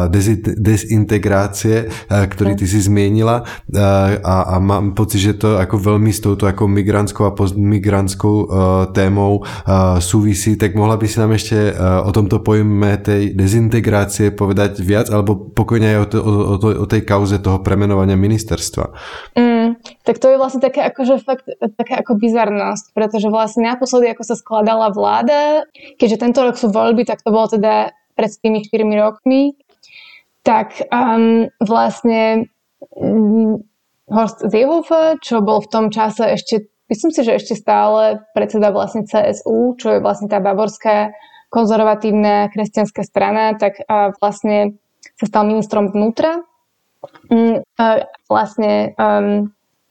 dezintegrácie, ktorý ty si zmienila a, a mám pocit, že to ako veľmi s touto ako migrantskou a postmigrantskou témou súvisí, tak mohla by si nám ešte o tomto pojme tej dezintegrácie povedať viac, alebo pokojne aj o, to, o, o, o tej kauze toho premenovania ministerstva. Mm, tak to je vlastne také akože fakt taká ako bizarnosť, pretože vlastne naposledy ako sa skladala vláda, keďže tento rok sú voľby, tak to bolo teda pred tými štyrmi rokmi, tak um, vlastne um, Horst Seehofer, čo bol v tom čase ešte, myslím si, že ešte stále predseda vlastne cé es ú, čo je vlastne tá bavorská konzervatívna kresťanská strana, tak uh, vlastne sa stal ministrom vnútra. Mm, vlastne um,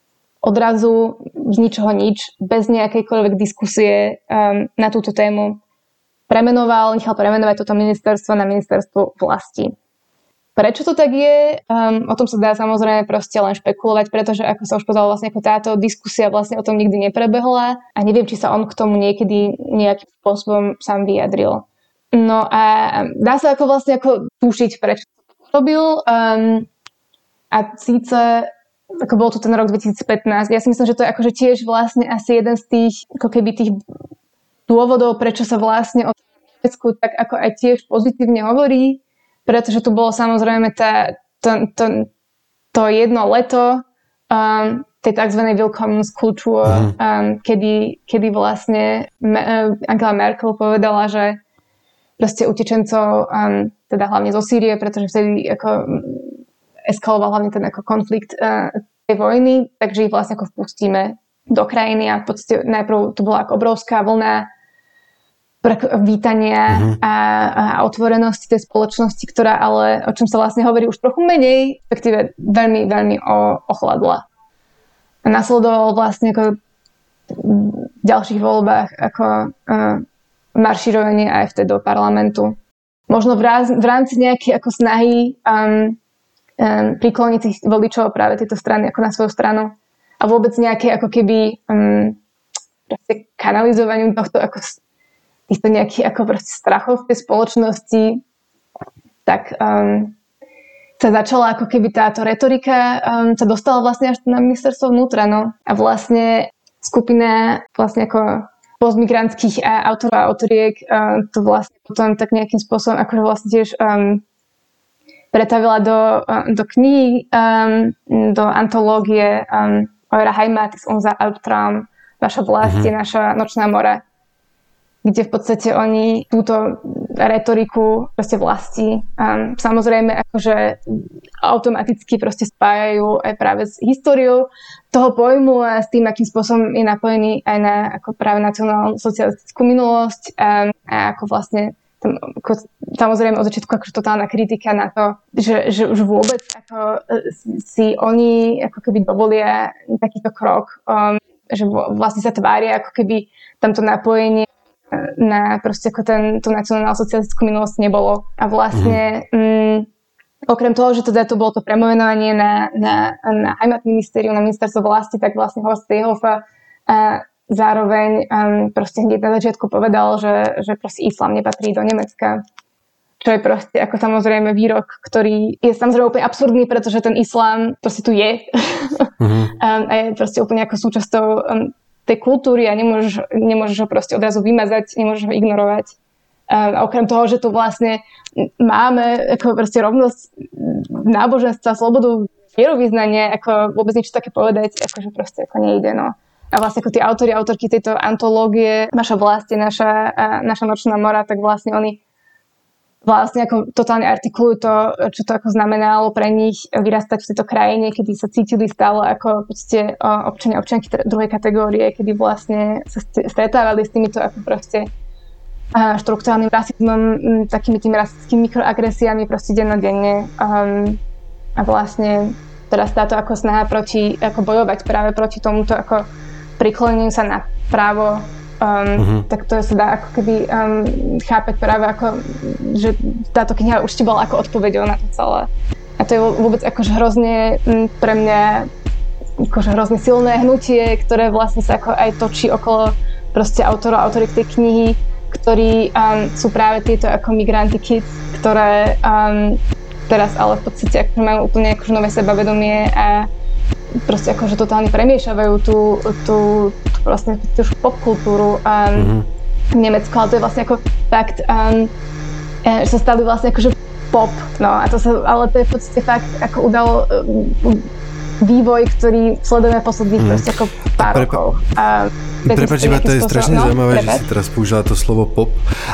odrazu z ničoho nič, bez nejakejkoľvek diskusie um, na túto tému premenoval, nechal premenovať toto ministerstvo na ministerstvo vlasti. Prečo to tak je? Um, o tom sa dá samozrejme proste len špekulovať, pretože ako sa už povedala, vlastne ako táto diskusia vlastne o tom nikdy neprebehla a neviem, či sa on k tomu niekedy nejakým spôsobom sám vyjadril. No a dá sa ako vlastne ako tušiť, prečo to robil. Um, A síce, ako bol to ten rok dvetisíc pätnásť, ja si myslím, že to je akože tiež vlastne asi jeden z tých, ako keby tých dôvodov, prečo sa vlastne o Nemecku tak ako aj tiež pozitívne hovorí, pretože tu bolo samozrejme tá, to, to, to jedno leto um, tej tzv. Willkommenskultur, um, kedy, kedy vlastne Angela Merkel povedala, že proste utečencov, um, teda hlavne zo Sýrie, pretože vtedy ako eskaloval hlavne ten ako konflikt uh, tej vojny, takže ich vlastne ako vpustíme do krajiny a v podstate najprv to bola ako obrovská vlna vítania uh-huh. a, a otvorenosti tej spoločnosti, ktorá ale, o čom sa vlastne hovorí už trochu menej, respektíve veľmi, veľmi o, ochladla. A nasledovalo vlastne ako v ďalších voľbách ako uh, maršírovanie á ef té do parlamentu. Možno v, raz, v rámci nejakej ako snahy um, um, prikloniť tých voličov práve tejto strany ako na svoju stranu a vôbec nejaké ako keby um, kanalizovaniu tohto ako týchto nejakých ako proste strachov v tej spoločnosti, tak um, sa začala ako keby táto retorika um, sa dostala vlastne až na ministerstvo vnútra, no. A vlastne skupina vlastne ako postmigrantských autorov a autoriek um, to vlastne potom tak nejakým spôsobom akože vlastne tiež um, pretavila do, um, do kníh, um, do antológie um, Eure Heimat ist unser Albtraum, Vaša vlast je naša nočná mora, kde v podstate oni túto retoriku proste vlasti um, samozrejme akože automaticky proste spájajú aj práve s históriou toho pojmu a s tým, akým spôsobom je napojený aj na ako práve nacionálnu socialistickú minulosť um, a ako vlastne tam, ako, samozrejme od začiatku akože totálna kritika na to, že, že už vôbec ako si oni ako keby dovolia takýto krok, um, že vlastne sa tvária ako keby tamto napojenie na proste ako ten, tú nacionálno-socialistickú minulosť nebolo. A vlastne mm-hmm. um, okrem toho, že teda to bolo to premenovanie na, na, na Heimatministerium, na ministerstvo vlasti, tak vlastne Horst Seehofer a zároveň um, proste hneď na začiatku povedal, že, že proste islám nepatrí do Nemecka. Čo je proste ako samozrejme výrok, ktorý je samozrejme úplne absurdný, pretože ten islám proste tu je. Mm-hmm. um, a je proste úplne ako súčasťou um, tej kultúry a nemôžeš, nemôžeš ho proste odrazu vymazať, nemôžeš ho ignorovať. Um, a okrem toho, že tu vlastne máme ako proste rovnosť náboženstva, slobodu vierovyznania, ako vôbec niečo také povedať, akože proste ako nejde, no. A vlastne ako tí autori, autorky tejto antológie Naša vlast je naša, naša nočná mora, tak vlastne oni vlastne ako totálne artikulujú to, čo to ako znamenalo pre nich vyrastať v tejto krajine, kedy sa cítili stále ako v podstate občania, občianky druhej kategórie, kedy vlastne sa stretávali s týmito ako proste štruktúrálnym rasizmom, takými tými rasistickými mikroagresiami proste dennodenne. Um, a vlastne teraz táto ako snaha proti, ako bojovať práve proti tomuto ako prikloneniu sa na právo Um, uh-huh. tak to sa dá ako keby um, chápať práve ako, že táto kniha určite bola ako odpoveďou na to celé. A to je vôbec akože hrozne m, pre mňa akože hrozne silné hnutie, ktoré vlastne sa ako aj točí okolo proste autorov a autoriek tej knihy, ktorí um, sú práve tieto ako migranty kids, ktoré um, teraz ale v podstate akože majú úplne akože nové sebavedomie a proste akože totálne premiešavajú tú, tú, tú vlastne tú popkultúru um, mm-hmm. v Nemecku, ale to je vlastne ako fakt, um, že sa stali vlastne akože pop, no a to sa, ale to je v podstate fakt ako udal um, vývoj, ktorý sledujeme posledných mm. proste ako pár Prepa- rokov. Prepáč, iba to je strašne no, zaujímavé, prepáč. Že si teraz použila to slovo pop,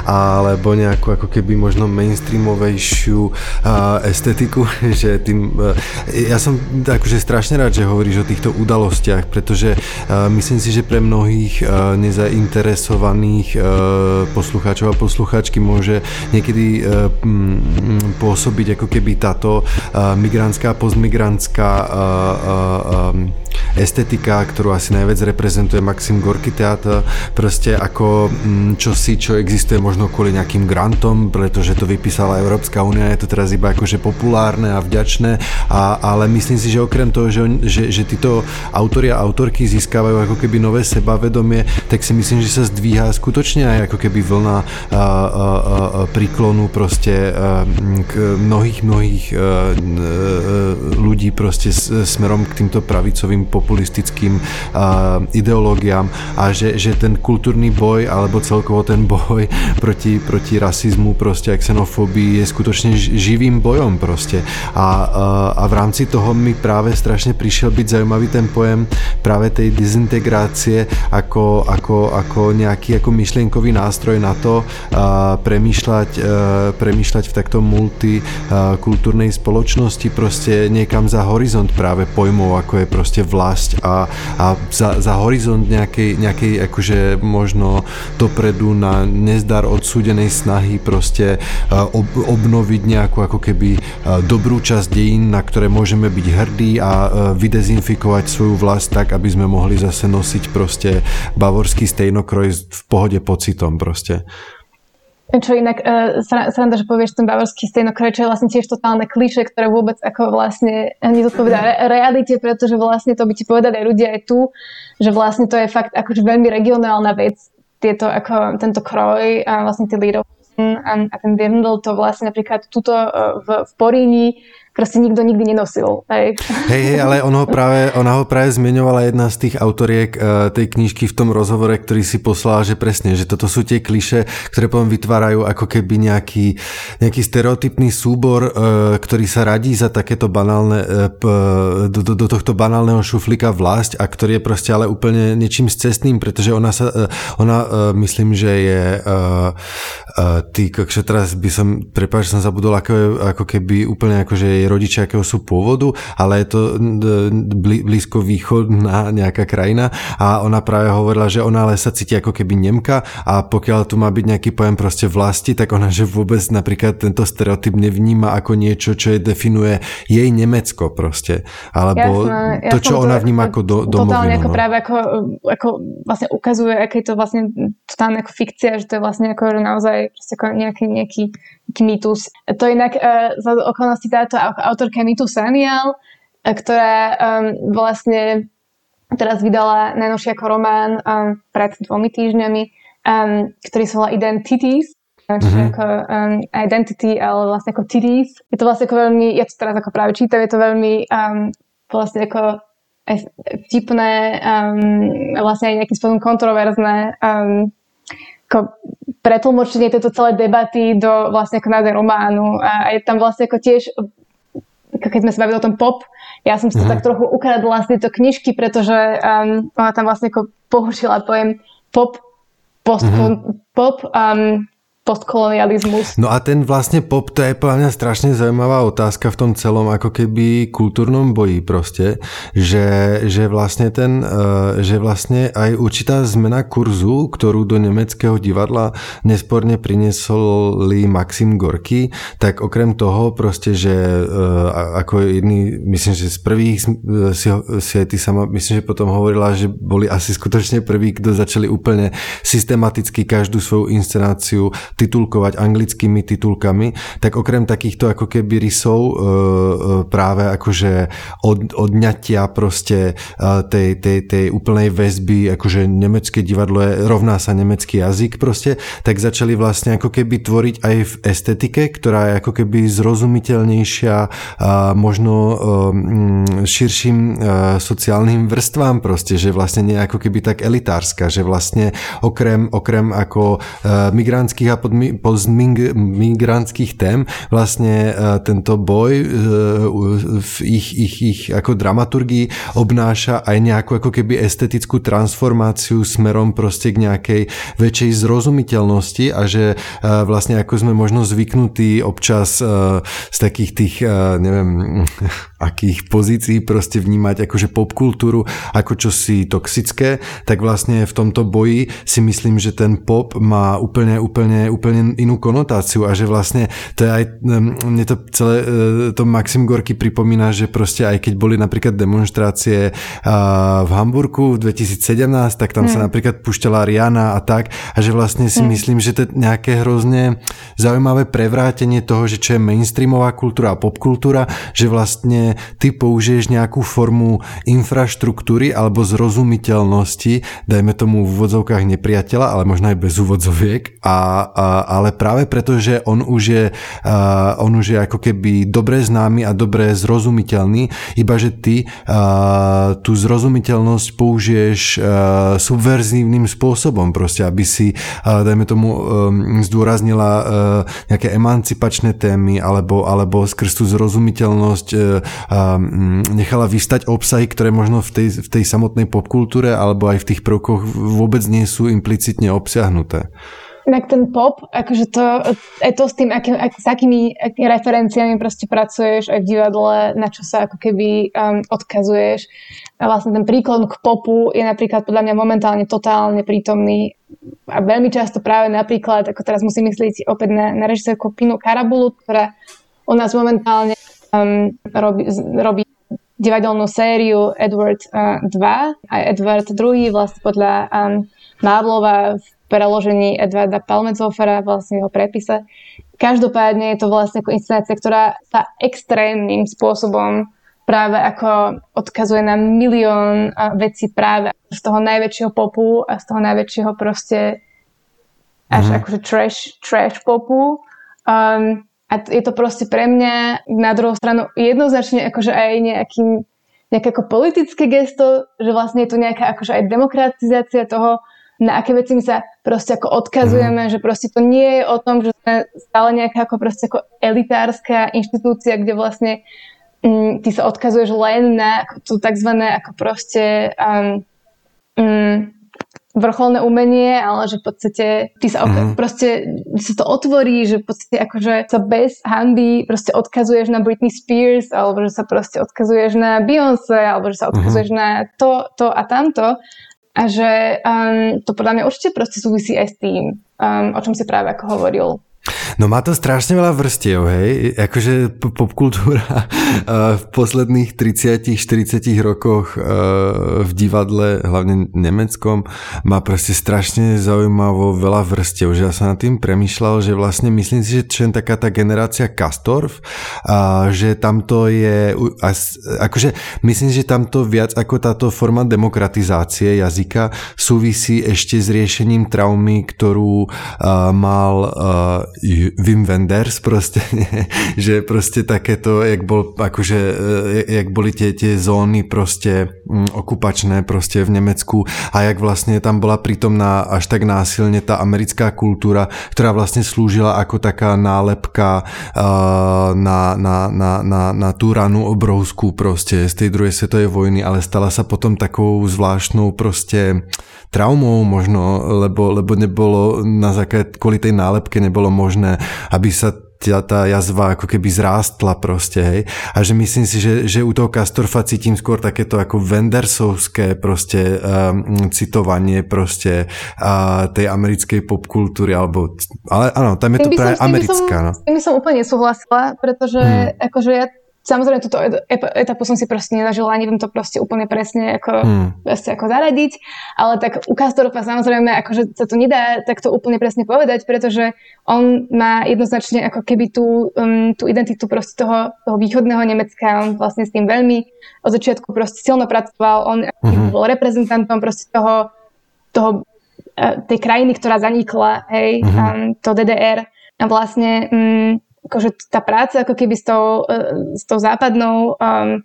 alebo nejakú ako keby možno mainstreamovejšiu uh, estetiku, že tým, uh, ja som akože strašne rád, že hovoríš o týchto udalostiach, pretože uh, myslím si, že pre mnohých uh, nezainteresovaných uh, poslucháčov a poslucháčky môže niekedy uh, m, pôsobiť ako keby táto uh, migrantská, postmigrantská uh, um, estetika, ktorú asi najviac reprezentuje Maxim Gorky teatr, proste ako čosi, čo existuje možno kvôli nejakým grantom, pretože to vypísala Európska únia, je to teraz iba akože populárne a vďačné, a, ale myslím si, že okrem toho, že, že, že títo autori a autorky získavajú ako keby nové sebavedomie, tak si myslím, že sa zdvíha skutočne aj ako keby vlna a, a, a, príklonu proste a, k mnohých, mnohých a, a, ľudí proste s, smerom k týmto pravicovým populistickým uh, ideológiám a že, že ten kultúrny boj alebo celkovo ten boj proti, proti rasizmu proste a xenofóbii je skutočne živým bojom proste a, uh, a v rámci toho mi práve strašne prišiel byť zaujímavý ten pojem práve tej dezintegrácie ako, ako, ako nejaký ako myšlienkový nástroj na to uh, premýšľať, uh, premýšľať v takto multikultúrnej spoločnosti proste niekam za horizont práve pojmov, ako je proste vlast a, a za, za horizont nejakej, nejakej akože možno dopredu na nezdar odsúdenej snahy proste uh, ob, obnoviť nejakú ako keby uh, dobrú časť dejín, na ktoré môžeme byť hrdí a uh, vydezinfikovať svoju vlast tak, aby sme mohli zase nosiť proste bavorský stejnokroj v pohode pocitom proste. Čo inak, uh, sranda, že povieš ten bavorský stejnokroj, čo je vlastne tiež totálne klišé, ktoré vôbec ako vlastne nezodpovedá re- realite, pretože vlastne to by ti povedali aj ľudia aj tu, že vlastne to je fakt akože veľmi regionálna vec, tieto, ako, tento kroj a vlastne tie Lederhosen a, a ten dirndl, to vlastne napríklad tuto uh, v, v Poríni proste nikto nikdy nenosil. Hej, hej, hey, ale on ho práve, ona ho práve zmieňovala jedna z tých autoriek uh, tej knižky v tom rozhovore, ktorý si poslala, že presne, že toto sú tie klišé, ktoré potom vytvárajú ako keby nejaký, nejaký stereotypný súbor, uh, ktorý sa radí za takéto banálne, uh, do, do, do tohto banálneho šuflíka vlasť a ktorý je proste ale úplne niečím scestným, pretože ona sa, uh, ona uh, myslím, že je uh, uh, ty, kokšo, teraz by som, prepáč, som zabudol, ako, je, ako keby úplne akože je rodičia, akého sú pôvodu, ale je to blízko východná nejaká krajina a ona práve hovorila, že ona ale sa cíti ako keby Nemka a pokiaľ tu má byť nejaký pojem proste vlasti, tak ona, že vôbec napríklad tento stereotyp nevníma ako niečo, čo je definuje jej Nemecko proste. Alebo jasné, to, čo ona vníma ako do, domovinu. Totálne ako no. práve ako, ako vlastne ukazuje, aké je to vlastne totálne ako fikcia, že to je vlastne ako naozaj ako nejaký, nejaký, nejaký mýtus. To inak uh, za okolnosti táto autorka Nitu Sanyal, ktorá um, vlastne teraz vydala najnovší ako román um, pred dvomi týždňami, um, ktorý sa volá Identities, čiže mm-hmm. ako um, identity, ale vlastne ako titties. Je to vlastne ako veľmi, ja to teraz ako práve čítam, je to veľmi um, vlastne ako vtipné, um, vlastne aj nejakým spôsobom kontroverzné um, ako pretlmočenie tejto celé debaty do vlastne ako názov románu a je tam vlastne ako tiež keď sme sa bavili o tom pop, ja som si to mm. tak trochu ukradla z tejto knižky, pretože um, ona tam vlastne ako použila pojem pop, post, mm-hmm. pop um, postkolonializmus. No a ten vlastne pop, to je podľa mňa strašne zaujímavá otázka v tom celom ako keby kultúrnom boji proste, že, že vlastne ten, že vlastne aj určitá zmena kurzu, ktorú do nemeckého divadla nesporne priniesli Maxim Gorky, tak okrem toho proste, že ako jedný, myslím, že z prvých si, si aj ty sama, myslím, že potom hovorila, že boli asi skutočne prví, kto začali úplne systematicky každú svoju inscenáciu titulkovať anglickými titulkami, tak okrem takýchto ako keby rysov e, práve akože od, odňatia proste tej, tej, tej úplnej väzby, akože nemecké divadlo je, rovná sa nemecký jazyk proste, tak začali vlastne ako keby tvoriť aj v estetike, ktorá je ako keby zrozumiteľnejšia a možno e, širším e, sociálnym vrstvám proste, že vlastne nie ako keby tak elitárska, že vlastne okrem, okrem ako e, migrantských a postmigrantských tém vlastne tento boj v ich, ich, ich ako dramaturgii obnáša aj nejakú ako keby estetickú transformáciu smerom proste k nejakej väčšej zrozumiteľnosti a že vlastne ako sme možno zvyknutí občas z takých tých neviem akých pozícií proste vnímať akože popkultúru ako čosi toxické, tak vlastne v tomto boji si myslím, že ten pop má úplne, úplne úplne inú konotáciu a že vlastne to je aj, mne to celé to Maxim Gorky pripomína, že proste aj keď boli napríklad demonštrácie v Hamburgu v dvetisícsedemnásť, tak tam mm. sa napríklad púšťala Rihanna a tak a že vlastne si mm. myslím, že to je nejaké hrozne zaujímavé prevrátenie toho, že čo je mainstreamová kultúra a popkultúra, že vlastne ty použiješ nejakú formu infraštruktúry alebo zrozumiteľnosti, dajme tomu v úvodzovkách nepriateľa, ale možno aj bez úvodzoviek a a, ale práve preto, že on už je, a, on už je ako keby dobre známy a dobre zrozumiteľný, iba že ty a, tú zrozumiteľnosť použiješ a, subverzívnym spôsobom proste, aby si, a, dajme tomu, a, zdôraznila a, nejaké emancipačné témy alebo, alebo skrz tú zrozumiteľnosť a, a, nechala vystať obsahy, ktoré možno v tej, v tej samotnej popkultúre alebo aj v tých prvkoch vôbec nie sú implicitne obsiahnuté. Tak ten pop, akože to, aj to s tým, aký, ak, s akými, akými referenciami proste pracuješ aj v divadle, na čo sa ako keby um, odkazuješ. A vlastne ten príklon k popu je napríklad podľa mňa momentálne totálne prítomný a veľmi často práve napríklad, ako teraz musím myslieť opäť na, na režisérku Pinu Karabulut, ktorá u nás momentálne um, robí, robí divadelnú sériu Edward uh, dva a Edward druhý vlastne podľa um, Marlova v preložení Edwarda Palmezofera, vlastne jeho prepise. Každopádne je to vlastne ako inscenácia, ktorá sa extrémnym spôsobom práve ako odkazuje na milión uh, vecí práve z toho najväčšieho popu a z toho najväčšieho proste až mm. akože trash, trash popu. Um, A je to proste pre mňa na druhú stranu jednoznačne akože aj nejaký, nejaké ako politické gesto, že vlastne je tu nejaká akože aj demokratizácia toho, na aké veci my sa proste ako odkazujeme, mm. že proste to nie je o tom, že sme stále nejaká ako proste ako elitárska inštitúcia, kde vlastne mm, ty sa odkazuješ len na to takzvané ako proste um, um, vrcholné umenie, ale že v podstate ty sa mm-hmm. proste sa to otvorí, že v podstate akože sa bez hanby proste odkazuješ na Britney Spears, alebo že sa proste odkazuješ na Beyoncé, alebo že sa odkazuješ mm-hmm. na to, to a tamto. A že um, to podľa mňa určite proste súvisí aj s tým, um, o čom si práve ako hovoril. No má to strašne veľa vrstiev, hej, akože popkultúra v posledných tridsať štyridsať rokoch v divadle, hlavne nemeckom, má proste strašne zaujímavo veľa vrstiev, že ja som nad tým premýšľal, že vlastne myslím si, že čo je taká tá generácia Castorf, a že tamto je, akože myslím si, že tamto viac ako táto forma demokratizácie jazyka súvisí ešte s riešením traumy, ktorú mal Wim Wenders proste, nie? Že proste takéto, jak bol, akože, jak boli tie, tie zóny proste m, okupačné proste v Nemecku a jak vlastne tam bola prítomná až tak násilne tá americká kultúra, ktorá vlastne slúžila ako taká nálepka uh, na, na, na, na, na tú ranu obrovskú proste z tej druhej svetovej vojny, ale stala sa potom takou zvláštnou proste traumou možno, lebo, lebo nebolo na základe, kvôli tej nálepke nebolo možné, aby sa tá, tá jazva ako keby zrástla proste, hej. A že myslím si, že, že u toho Castorfa cítim skôr takéto ako Wendersovské proste um, citovanie proste uh, tej americkej popkultúry, alebo, ale áno, tam je to práve americká. No. S tým by som úplne nesúhlasila, pretože hmm. akože ja samozrejme, túto etapu som si proste nezažila, neviem to proste úplne presne ako, hmm. proste ako zaradiť, ale tak u Castorfa samozrejme, akože sa to nedá takto úplne presne povedať, pretože on má jednoznačne ako keby tú, um, tú identitu proste toho, toho východného Nemecka, on vlastne s tým veľmi od začiatku proste silno pracoval, on hmm. bol reprezentantom proste toho, toho tej krajiny, ktorá zanikla, hej, hmm. um, to dé dé er a vlastne um, akože tá práca ako keby s tou, s tou západnou um,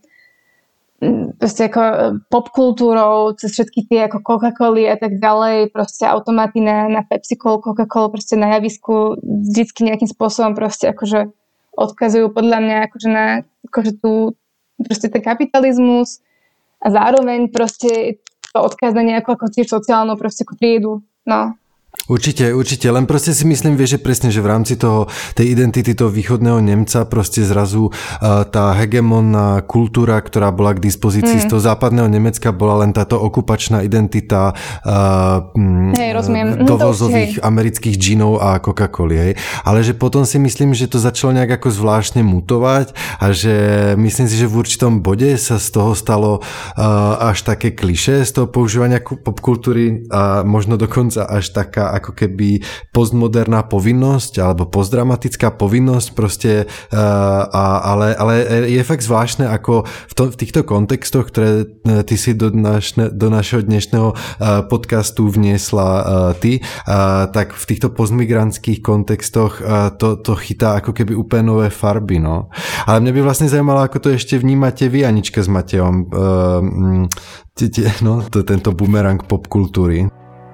proste ako popkultúrou, cez všetky tie ako Coca-Coly a tak ďalej, proste automaty na, na Pepsi-Col, Coca-Cola proste na javisku vždycky nejakým spôsobom proste akože odkazujú podľa mňa akože na akože tú, proste ten kapitalizmus a zároveň proste to odkaz na nejakú ako tiež sociálnu proste ako triedu, no. Určite, určite, len proste si myslím, vieš, že presne, že v rámci toho, tej identity toho východného Nemca proste zrazu uh, tá hegemónna kultúra, ktorá bola k dispozícii mm. z toho západného Nemecka, bola len táto okupačná identita uh, hej, rozumiem. dovozových amerických džinov a Coca-Coly, hej. Ale že potom si myslím, že to začalo nejak ako zvláštne mutovať a že myslím si, že v určitom bode sa z toho stalo uh, až také klišé z toho používania popkultúry a možno dokonca až taká taká ako keby postmoderná povinnosť alebo postdramatická povinnosť proste, a, ale, ale je fakt zvláštne, ako v, to, v týchto kontextoch, ktoré ty si do, našne, do našeho dnešného podcastu vniesla ty, tak v týchto postmigrantských kontextoch to, to chytá ako keby úplne nové farby, no. Ale mňa by vlastne zajímalo, ako to ešte vnímate vy, Anička s Matejom, no, to, tento bumerang popkultury.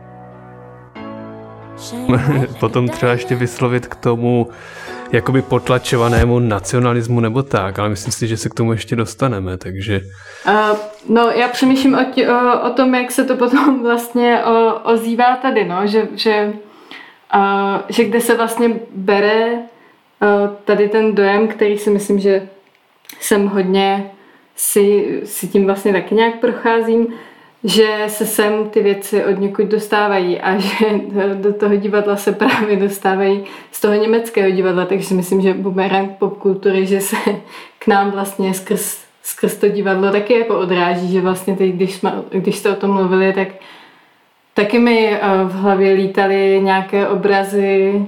Potom třeba ještě vyslovit k tomu jakoby potlačovanému nacionalismu nebo tak, ale myslím si, že se k tomu ještě dostaneme, takže... Uh, no, já přemýšlím o, tě, o, o tom, jak se to potom vlastně o, ozývá tady, no, že, že, uh, že kde se vlastně bere uh, tady ten dojem, který si myslím, že jsem hodně si, si tím vlastně taky nějak procházím, že se sem ty věci od někud dostávají a že do toho divadla se právě dostávají z toho německého divadla, takže si myslím, že bumerang popkultury, že se k nám vlastně skrz, skrz to divadlo taky jako odráží, že vlastně teď, když, jsme, když jste o tom mluvili, tak taky mi v hlavě lítaly nějaké obrazy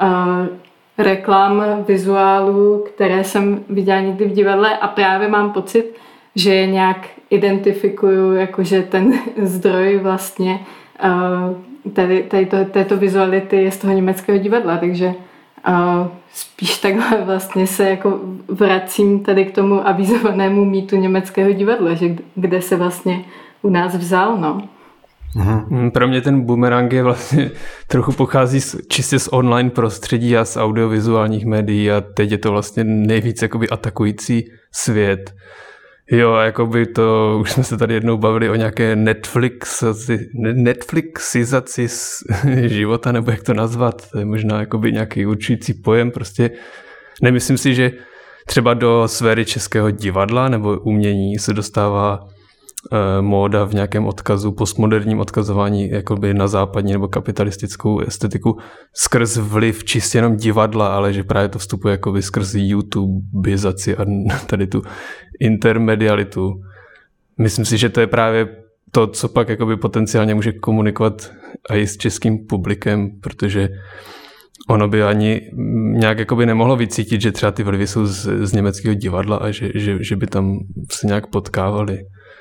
reklam, vizuálů, které jsem viděla někdy v divadle a právě mám pocit, že je nějak identifikuju, jakože ten zdroj vlastně tady, tady to, této vizuality je z toho německého divadla, takže spíš takhle vlastně se jako vracím tady k tomu avizovanému mýtu německého divadla, že kde se vlastně u nás vzal, no. Uhum. Pro mě ten bumerang je vlastně trochu pochází z, čistě z online prostředí a z audiovizuálních médií a teď je to vlastně nejvíc jakoby atakující svět. Jo, jakoby to, už jsme se tady jednou bavili o nějaké Netflixaci, Netflixizaci života, nebo jak to nazvat, to je možná jakoby nějaký určující pojem, prostě nemyslím si, že třeba do sféry českého divadla nebo umění se dostává eh, móda v nějakém odkazu, postmoderním odkazování jakoby na západní nebo kapitalistickou estetiku skrz vliv čistě jenom divadla, ale že právě to vstupuje jakoby skrz YouTubeizaci a tady tu intermedialitu. Myslím si, že to je právě to, co pak jakoby potenciálně může komunikovat i s českým publikem, protože ono by ani nějak jakoby nemohlo vycítit, že třeba ty vlivy jsou z, z německého divadla a že, že, že by tam se nějak potkávali.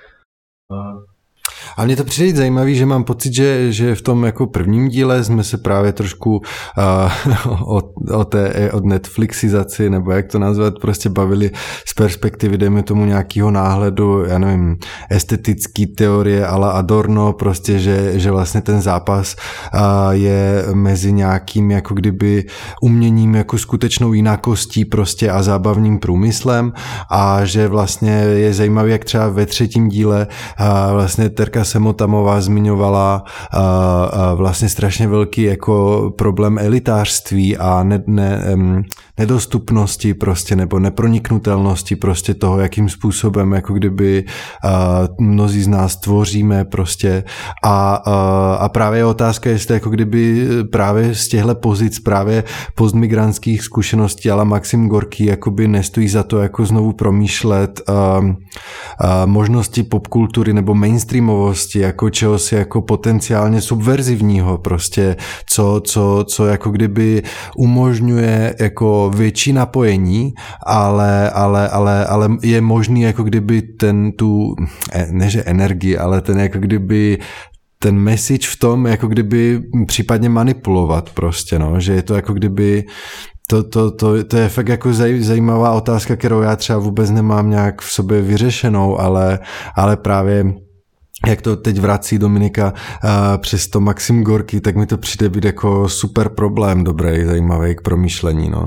A mně to přijde zajímavý, že mám pocit, že, že v tom jako prvním díle jsme se právě trošku uh, o, o té od Netflixizaci, nebo jak to nazvat, prostě bavili z perspektivy, dejme tomu nějakého náhledu, já nevím, estetický teorie a la Adorno, prostě, že, že vlastně ten zápas uh, je mezi nějakým jako kdyby uměním jako skutečnou jinakostí prostě a zábavním průmyslem a že vlastně je zajímavý, jak třeba ve třetím díle uh, vlastně Terka Semotamová zmiňovala uh, uh, vlastně strašně velký jako problém elitářství a ne, ne, um, nedostupnosti prostě nebo neproniknutelnosti prostě toho, jakým způsobem jako kdyby uh, mnozí z nás tvoříme prostě a, uh, a právě je otázka, jestli jako kdyby právě z těchto pozic právě postmigrantských zkušeností ale Maxim Gorký jakoby nestojí za to jako znovu promýšlet uh, uh, možnosti popkultury nebo mainstreamovosti jako čehosi jako potenciálně subverzivního prostě, co, co, co jako kdyby umožňuje jako větší napojení, ale, ale, ale, ale je možný jako kdyby ten tu, ne že energii, ale ten jako kdyby ten message v tom jako kdyby případně manipulovat prostě, no, že je to jako kdyby To, to, to, to je fakt jako zaj, zajímavá otázka, kterou já třeba vůbec nemám nějak v sobě vyřešenou, ale, ale právě jak to teď vrací Dominika uh, přes to Maxim Gorký, tak mi to přijde být jako super problém dobrý, zajímavý k promýšlení, no.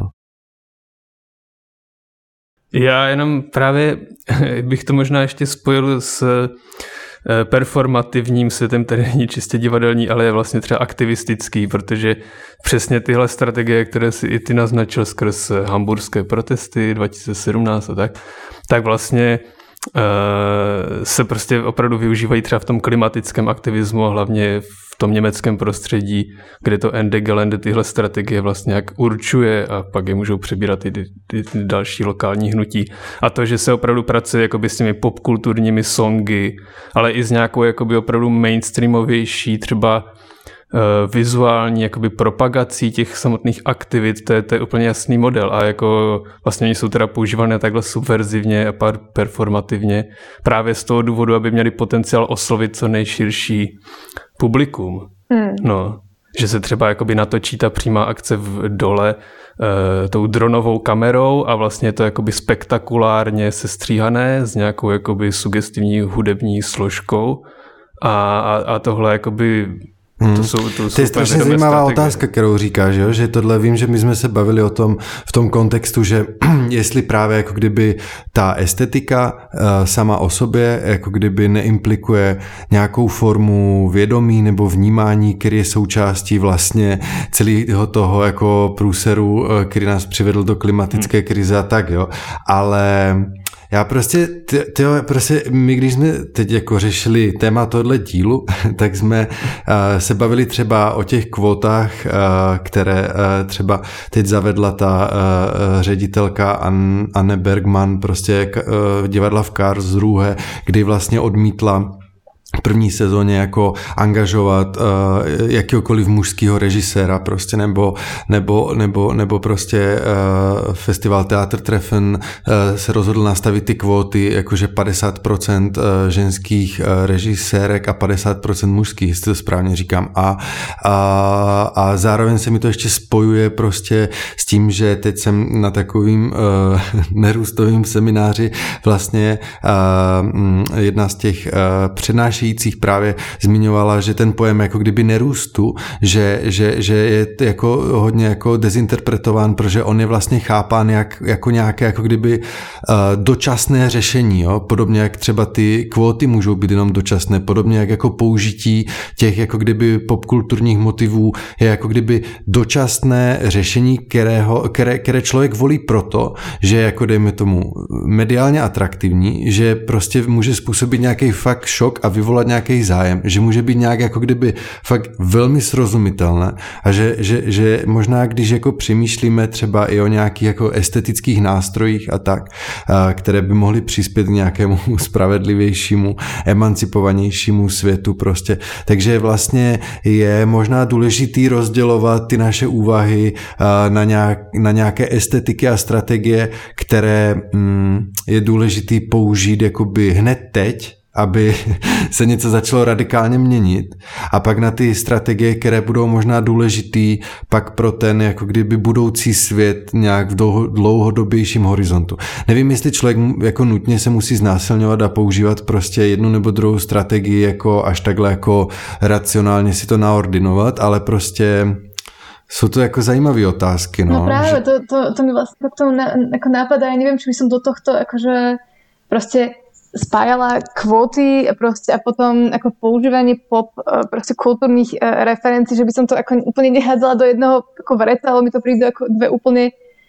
Já jenom právě bych to možná ještě spojil s performativním světem, který není čistě divadelní, ale je vlastně třeba aktivistický, protože přesně tyhle strategie, které si i ty naznačil skrz hamburské protesty dva tisíce sedmnáct a tak, tak vlastně se prostě opravdu využívají třeba v tom klimatickém aktivismu a hlavně v tom německém prostředí, kde to Ende Gelände tyhle strategie vlastně jak určuje a pak je můžou přebírat i ty, ty, ty další lokální hnutí. A to, že se opravdu pracuje jakoby s těmi popkulturními songy, ale i s nějakou jakoby opravdu mainstreamovější třeba vizuální jakoby propagací těch samotných aktivit, to je, to je úplně jasný model a jako vlastně oni jsou teda používané takhle subverzivně a performativně právě z toho důvodu, aby měli potenciál oslovit co nejširší publikum. Hmm. No, že se třeba jakoby natočí ta přímá akce v dole e, tou dronovou kamerou a vlastně je to jakoby spektakulárně sestříhané s nějakou jakoby sugestivní hudební složkou a, a, a tohle jakoby Hmm. To, jsou, to, to je strašně zajímavá strategie. Otázka, kterou říkáš, jo? Že tohle vím, že my jsme se bavili o tom v tom kontextu, že jestli právě jako kdyby ta estetika uh, sama o sobě jako kdyby neimplikuje nějakou formu vědomí nebo vnímání, který je součástí vlastně celého toho jako průseru, uh, který nás přivedl do klimatické hmm. krize a tak, jo. Ale já prostě, tyjo, prostě my když jsme teď jako řešili téma tohle dílu, tak jsme uh, se bavili třeba o těch kvótách, uh, které uh, třeba teď zavedla ta uh, ředitelka Anne Bergman, prostě uh, divadla v Karlsruhe, kdy vlastně odmítla v první sezóně jako angažovat uh, jakýkoliv mužského režiséra prostě, nebo, nebo, nebo, nebo prostě uh, festival Theatertreffen uh, se rozhodl nastavit ty kvóty, jakože padesát procent uh, ženských uh, režisérek a padesát procent mužských, jestli to správně říkám. A, a, a zároveň se mi to ještě spojuje prostě s tím, že teď jsem na takovým uh, nerůstovým semináři vlastně uh, jedna z těch uh, přednášení právě zmiňovala, že ten pojem jako kdyby nerůstu, že, že, že je jako hodně jako dezinterpretován, protože on je vlastně chápán jak, jako nějaké jako kdyby uh, dočasné řešení, jo? Podobně jak třeba ty kvóty můžou být jenom dočasné, podobně jak jako použití těch jako kdyby popkulturních motivů je jako kdyby dočasné řešení, kterého, které, které člověk volí proto, že jako dejme tomu mediálně atraktivní, že prostě může způsobit nějaký fakt šok a vyvolat nějaký zájem, že může být nějak jako kdyby fakt velmi srozumitelné a že, že, že možná když jako přemýšlíme třeba i o nějakých jako estetických nástrojích a tak, které by mohly přispět k nějakému spravedlivějšímu, emancipovanějšímu světu prostě. Takže vlastně je možná důležitý rozdělovat ty naše úvahy na, nějak, na nějaké estetiky a strategie, které mm, je důležitý použít jakoby hned teď, aby se něco začalo radikálně měnit a pak na ty strategie, které budou možná důležitý pak pro ten jako kdyby budoucí svět nějak v dlouhodobějším horizontu. Nevím, jestli člověk jako nutně se musí znásilňovat a používat prostě jednu nebo druhou strategii jako až takhle jako racionálně si to naordinovat, ale prostě jsou to jako zajímavé otázky. No, no práve, že... to, to, to mi vlastne k tomu na, ako napadá, ja neviem, či by som do tohto akože proste spájala kvóty proste a potom ako používanie pop proste kultúrnych referencií, že by som to ako úplne nehádzala do jednoho ako vreca, ale mi to prídu ako dve úplne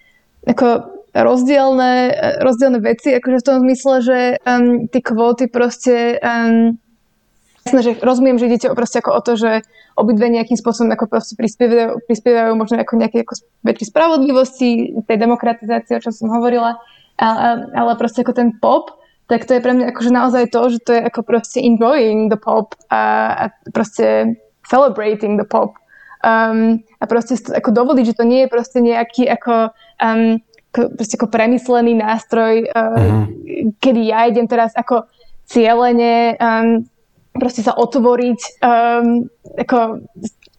ako rozdielne, rozdielne veci, akože v tom zmysle, že um, tie kvóty proste um, jasné, že rozumiem, že idete proste ako o to, že obidve nejakým spôsobom ako proste prispievajú, prispievajú možno ako nejaké ako väčšej spravodlivosti, tej demokratizácie, o čom som hovorila, ale, ale proste ako ten pop, tak to je pre mňa akože naozaj to, že to je ako proste enjoying the pop a, a proste celebrating the pop. Um, a proste ako dovoliť, že to nie je proste nejaký ako, um, proste ako premyslený nástroj, uh, uh-huh. kedy ja idem teraz ako cieľene um, proste sa otvoriť um, ako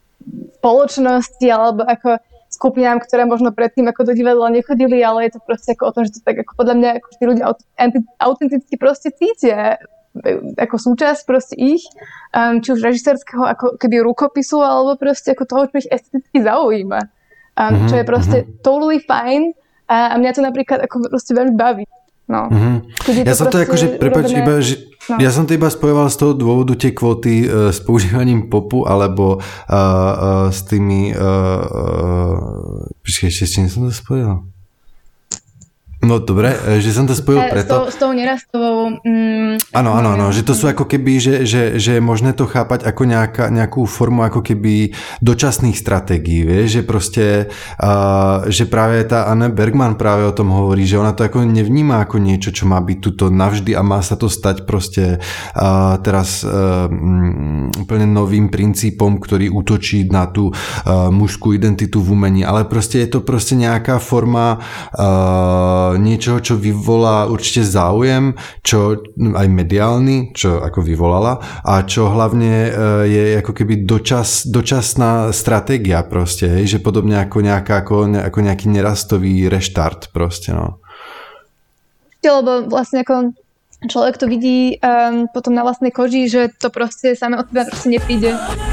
spoločnosti alebo ako skupinám, ktoré možno predtým ako do divadla nechodili, ale je to proste ako o tom, že to tak ako podľa mňa ako tí ľudia autenticky proste cítia ako súčasť proste ich, um, či už režisérskeho ako keby rukopisu, alebo proste ako toho, čo ich esteticky zaujíma. Um, mm-hmm, čo je proste mm-hmm. totally fine a, a mňa to napríklad ako proste veľmi baví. No. Mm-hmm. Ja som to akože, prepáč, iba, že no. ja som to iba spojoval z toho dôvodu tie kvóty uh, s používaním popu, alebo uh, uh, s tými uh, uh, počkej, ešte s čím som to spojil? No dobre, že som to spojil preto. S tou, s tou nerastovou... Mm, áno, áno, áno, že to sú ako keby, že, že, že je možné to chápať ako nejaká, nejakú formu ako keby dočasných stratégií, vieš, že proste, uh, že práve tá Anne Bergman práve o tom hovorí, že ona to ako nevníma ako niečo, čo má byť tuto navždy a má sa to stať proste uh, teraz uh, um, úplne novým princípom, ktorý útočí na tú uh, mužskú identitu v umení, ale proste je to proste nejaká forma uh, niečoho, čo vyvolá určite záujem, čo aj mediálny, čo ako vyvolala a čo hlavne je ako keby dočas, dočasná stratégia proste, hej, že podobne ako, nejaká, ako, ako nejaký nerastový reštart proste, no. Lebo vlastne ako človek to vidí um, potom na vlastnej koži, že to proste samé od teba proste nepríde.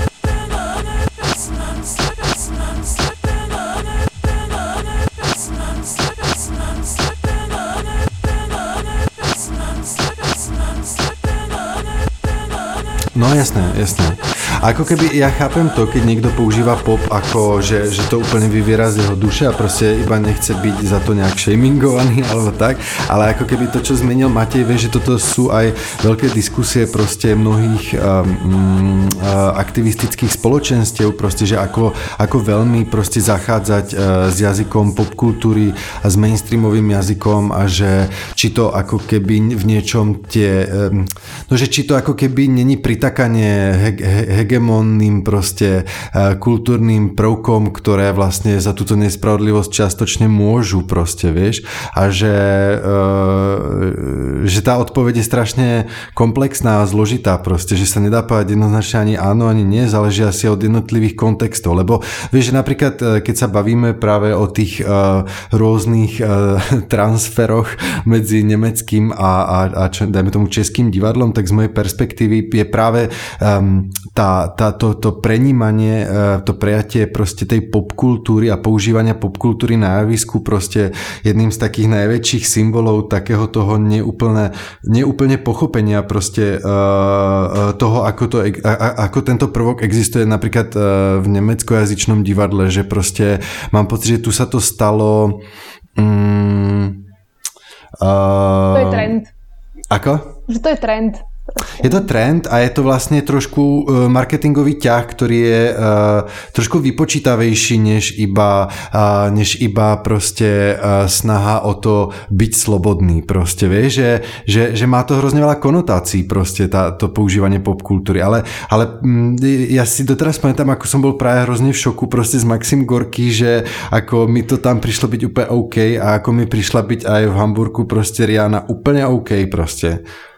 No jasné, jasné. A ako keby, ja chápem to, keď niekto používa pop ako, že, že to úplne vyviera z jeho duše a proste iba nechce byť za to nejak shamingovaný alebo tak, ale ako keby to, čo zmenil Matej, vie, že toto sú aj veľké diskusie proste mnohých um, um, aktivistických spoločenstiev, proste, že ako, ako veľmi proste zachádzať uh, s jazykom popkultúry a s mainstreamovým jazykom a že či to ako keby v niečom tie, um, no že či to ako keby není pritakanie he, he, hegemonným proste uh, kultúrnym prvkom, ktoré vlastne za túto nespravodlivosť čiastočne môžu proste, vieš, a že, uh, že tá odpoveď je strašne komplexná a zložitá proste, že sa nedá povedať jednoznačne ani áno, ani nie, záleží asi od jednotlivých kontextov, lebo vieš, že napríklad keď sa bavíme práve o tých uh, rôznych uh, transferoch medzi nemeckým a, a, a čo, dajme tomu českým divadlom, tak z mojej perspektívy je práve um, tá Tá, to, to prenímanie, to prejatie proste tej popkultúry a používania popkultúry na javisku proste jedným z takých najväčších symbolov takého toho neúplne, neúplne pochopenia proste uh, toho, ako, to, ako tento prvok existuje napríklad v nemeckojazyčnom divadle, že proste mám pocit, že tu sa to stalo um, uh, to je trend. Ako? Že to je trend. Je to trend a je to vlastne trošku marketingový ťah, ktorý je uh, trošku vypočítavejší než iba, uh, než iba proste uh, snaha o to byť slobodný proste, vieš, že, že, že má to hrozne veľa konotácií proste tá, to používanie popkultúry, ale, ale m, ja si doteraz pamätám, ako som bol práve hrozne v šoku proste z Maxim Gorky, že ako mi to tam prišlo byť úplne OK a ako mi prišla byť aj v Hamburgu proste Rihanna úplne OK proste.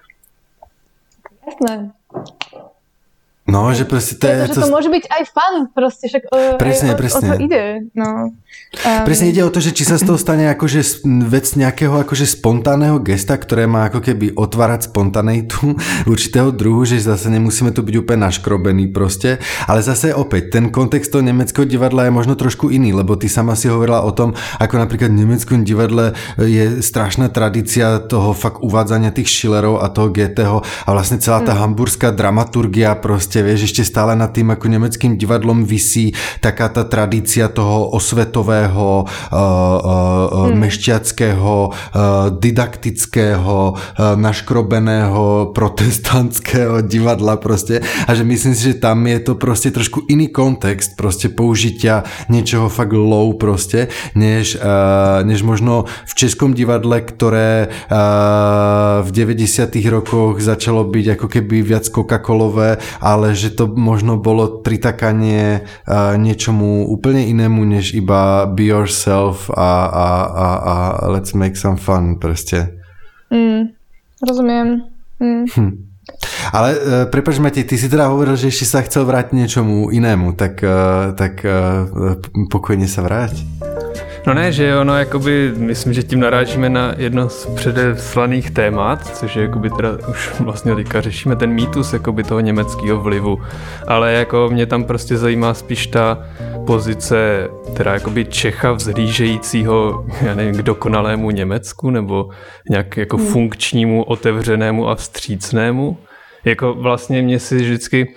Jasné. No, že proste to je... Pretože to, to môže byť aj fun, proste, však presne, o, presne. o to ide. No. Um, presne ide o to, že či sa z toho stane akože vec nejakého akože spontánneho gesta, ktoré má ako keby otvárať spontaneitu určitého druhu, že zase nemusíme tu byť úplne naškrobení proste, ale zase opäť, ten kontext toho nemeckého divadla je možno trošku iný, lebo ty sama si hovorila o tom, ako napríklad v nemeckom divadle je strašná tradícia toho fakt uvádzania tých Schillerov a toho Goetheho a vlastne celá tá hmm. hamburská dramaturgia proste, vieš, ešte stále nad tým, ako nemeckým divadlom visí taká tá tradícia toho osvetového, uh, uh, hmm. mešťackého, uh, didaktického, uh, naškrobeného protestantského divadla proste. A že myslím si, že tam je to proste trošku iný kontext proste použitia niečoho fakt low proste, než, uh, než možno v českom divadle, ktoré uh, v deväťdesiatych rokoch začalo byť ako keby viac Coca-Colové, ale že to možno bolo pritakanie uh, niečomu úplne inému, než iba be yourself a, a, a, a let's make some fun proste. Mm, rozumiem. Mm. Hm. Ale uh, prepáč Matej, ty si teda hovoril, že ešte sa chcel vrátiť niečomu inému, tak, uh, tak uh, pokojne sa vráť. No ne, že ono, jakoby, myslím, že tím narážíme na jedno z předeslaných témat, což je, jakoby, teda už vlastně teďka řešíme ten mýtus, jakoby, toho německého vlivu, ale jako mě tam prostě zajímá spíš ta pozice, teda jakoby Čecha vzhlížejícího, já nevím, k dokonalému Německu, nebo nějak jako hmm. funkčnímu, otevřenému a vstřícnému. Jako vlastně mě si vždycky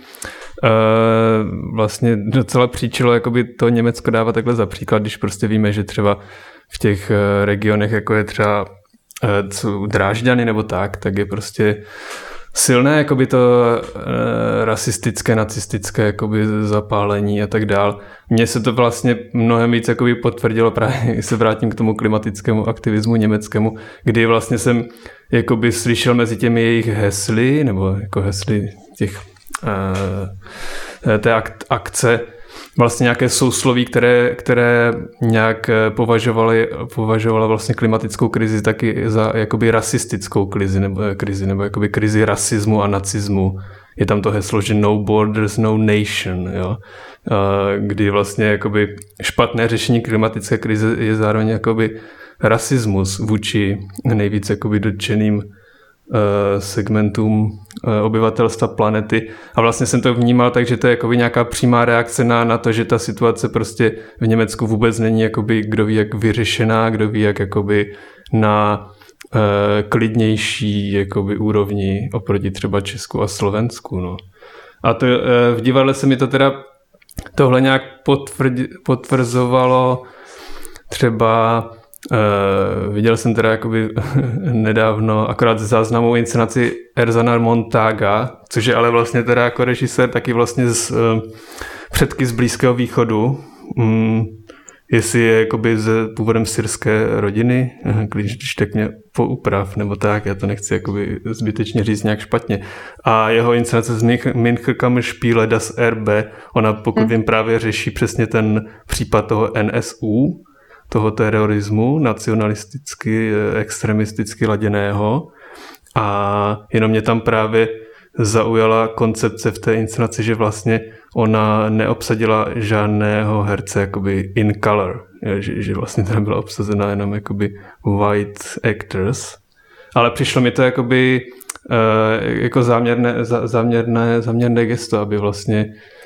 Uh, vlastně docela příčilo jakoby to Německo dává takhle za příklad, když prostě víme, že třeba v těch regionech, jako je třeba Drážďany nebo tak, tak je prostě silné jakoby to e, rasistické, nacistické jakoby zapálení a tak dál. Mně se to vlastně mnohem víc jakoby potvrdilo, právě se vrátím k tomu klimatickému aktivismu německému, kdy vlastně jsem jakoby slyšel mezi těmi jejich hesly, nebo jako hesly těch e, té ak- akce, vlastně nějaké sousloví, které, které nějak považovali, považovala vlastně klimatickou krizi taky za jakoby rasistickou krizi, nebo, krizi, nebo jakoby krizi rasismu a nacismu. Je tam to heslo, že no borders, no nation, jo? Kdy vlastně jakoby špatné řešení klimatické krize je zároveň jakoby rasismus vůči nejvíc jakoby dotčeným segmentům obyvatelstva planety. A vlastně jsem to vnímal tak, že to je jakoby nějaká přímá reakce na, na to, že ta situace prostě v Německu vůbec není jakoby, kdo ví, jak vyřešená, kdo ví, jak jakoby na uh, klidnější jakoby úrovni oproti třeba Česku a Slovensku. No. A to, uh, v divadle se mi to teda tohle nějak potvrdí, potvrzovalo třeba. Uh, viděl jsem teda jakoby nedávno akorát záznamovou inscenaci Erzana Montaga, což je ale vlastně teda jako režisér taky vlastně z uh, předky z Blízkého východu. Um, jestli je jakoby z původem syrské rodiny, když tak mě pouprav, nebo tak, já to nechci jakoby zbytečně říct nějak špatně. A jeho inscenace z Minchkam Spiele das R B, ona pokud hmm. vím právě řeší přesně ten případ toho N S U, toho terorismu nacionalisticky, extremisticky laděného a jenom mě tam právě zaujala koncepce v té inscenaci, že vlastně ona neobsadila žádného herce jakoby in color, že, že vlastně teda byla obsazena jenom jakoby white actors, ale přišlo mi to jakoby jako záměrné, záměrné, záměrné gesto, aby vlastně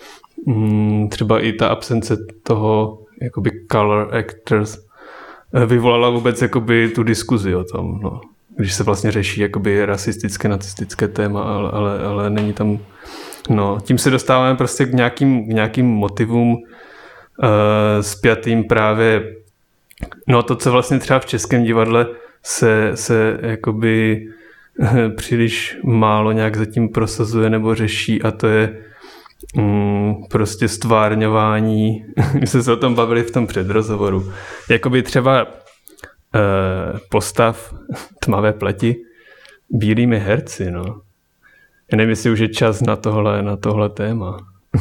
třeba i ta absence toho jakoby color actors vyvolala vůbec jakoby tu diskuzi o tom, no. Když se vlastně řeší jakoby rasistické, nacistické téma, ale, ale, ale není tam, no, tím se dostáváme prostě k nějakým, k nějakým motivům uh, spjatým právě, no to, co vlastně třeba v českém divadle se, se jakoby příliš málo nějak zatím prosazuje nebo řeší, a to je Mm, prostě stvárňování, my jsme se o tom bavili v tom předrozhovoru, jakoby třeba e, postav tmavé pleti bílými herci, no. Já nevím, jestli už je čas na tohle, na tohle téma.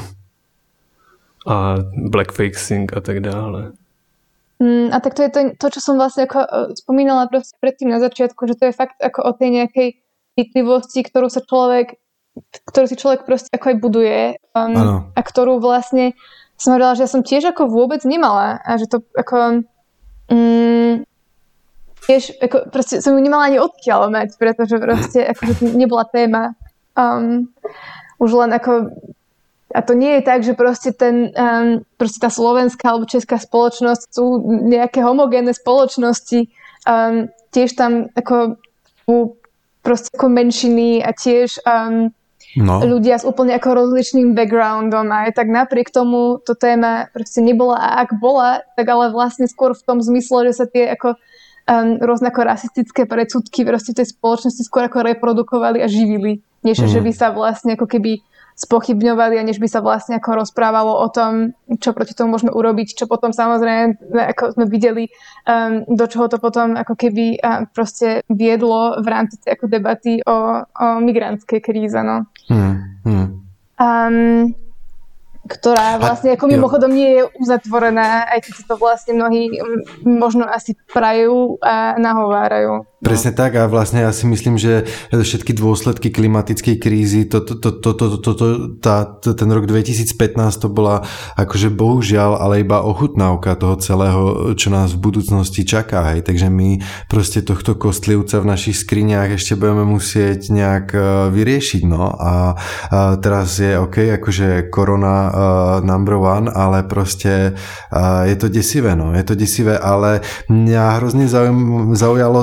A blackfacing a tak dále. Mm, a tak to je to, to, čo som vlastne ako spomínala proste predtým na začiatku, že to je fakt ako o tej nejakej citlivosti, ktorú sa človek ktorú si človek proste ako aj buduje um, a ktorú vlastne som hovorila, že ja som tiež ako vôbec nemala a že to ako um, tiež ako proste som ju nemala ani odkiaľ mať, pretože proste ako to nebola téma. Um, už len ako a to nie je tak, že proste ten um, proste tá slovenská alebo česká spoločnosť sú nejaké homogénne spoločnosti. Um, tiež tam ako sú proste ako menšiny a tiež um, no. ľudia s úplne ako rozličným backgroundom a aj tak napriek tomu to téma proste nebola a ak bola, tak ale vlastne skôr v tom zmysle, že sa tie ako um, rôzne ako rasistické predsudky proste v tej spoločnosti skôr ako reprodukovali a živili, než mm. že by sa vlastne ako keby spochybňovali a než by sa vlastne ako rozprávalo o tom, čo proti tomu môžeme urobiť, čo potom samozrejme ako sme videli, um, do čoho to potom ako keby um, proste viedlo v rámci ako debaty o, o migrantskej kríze, no. Hmm, hmm. Um, ktorá vlastne ako mimochodom nie je uzatvorená, aj keď si to vlastne mnohí možno asi prajú a nahovárajú. Presne tak a vlastne ja si myslím, že všetky dôsledky klimatickej krízy, to, to, to, to, to, to, to, tá, ten rok dvetisícpätnásť to bola akože bohužiaľ, ale iba ochutnávka toho celého, čo nás v budúcnosti čaká. Hej. Takže my proste tohto kostlivca v našich skriniach ešte budeme musieť nejak vyriešiť. No. A, a teraz je OK, akože korona uh, number one, ale proste uh, je to desivé. No. Je to desivé, ale mňa hrozne zaujalo to,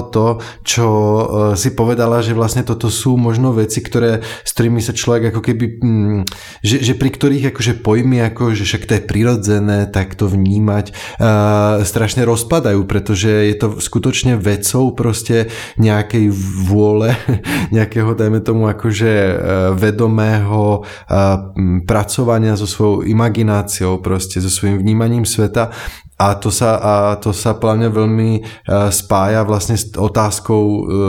čo si povedala, že vlastne toto sú možno veci, ktoré, s ktorými sa človek ako keby, že, že pri ktorých akože pojmy, ako, že však to je prirodzené, tak to vnímať, uh, strašne rozpadajú, pretože je to skutočne vecou proste nejakej vôle, nejakého, dajme tomu, akože vedomého pracovania so svojou imagináciou, proste so svojím vnímaním sveta. A to sa, a to sa podľa mňa veľmi spája vlastne s otázkou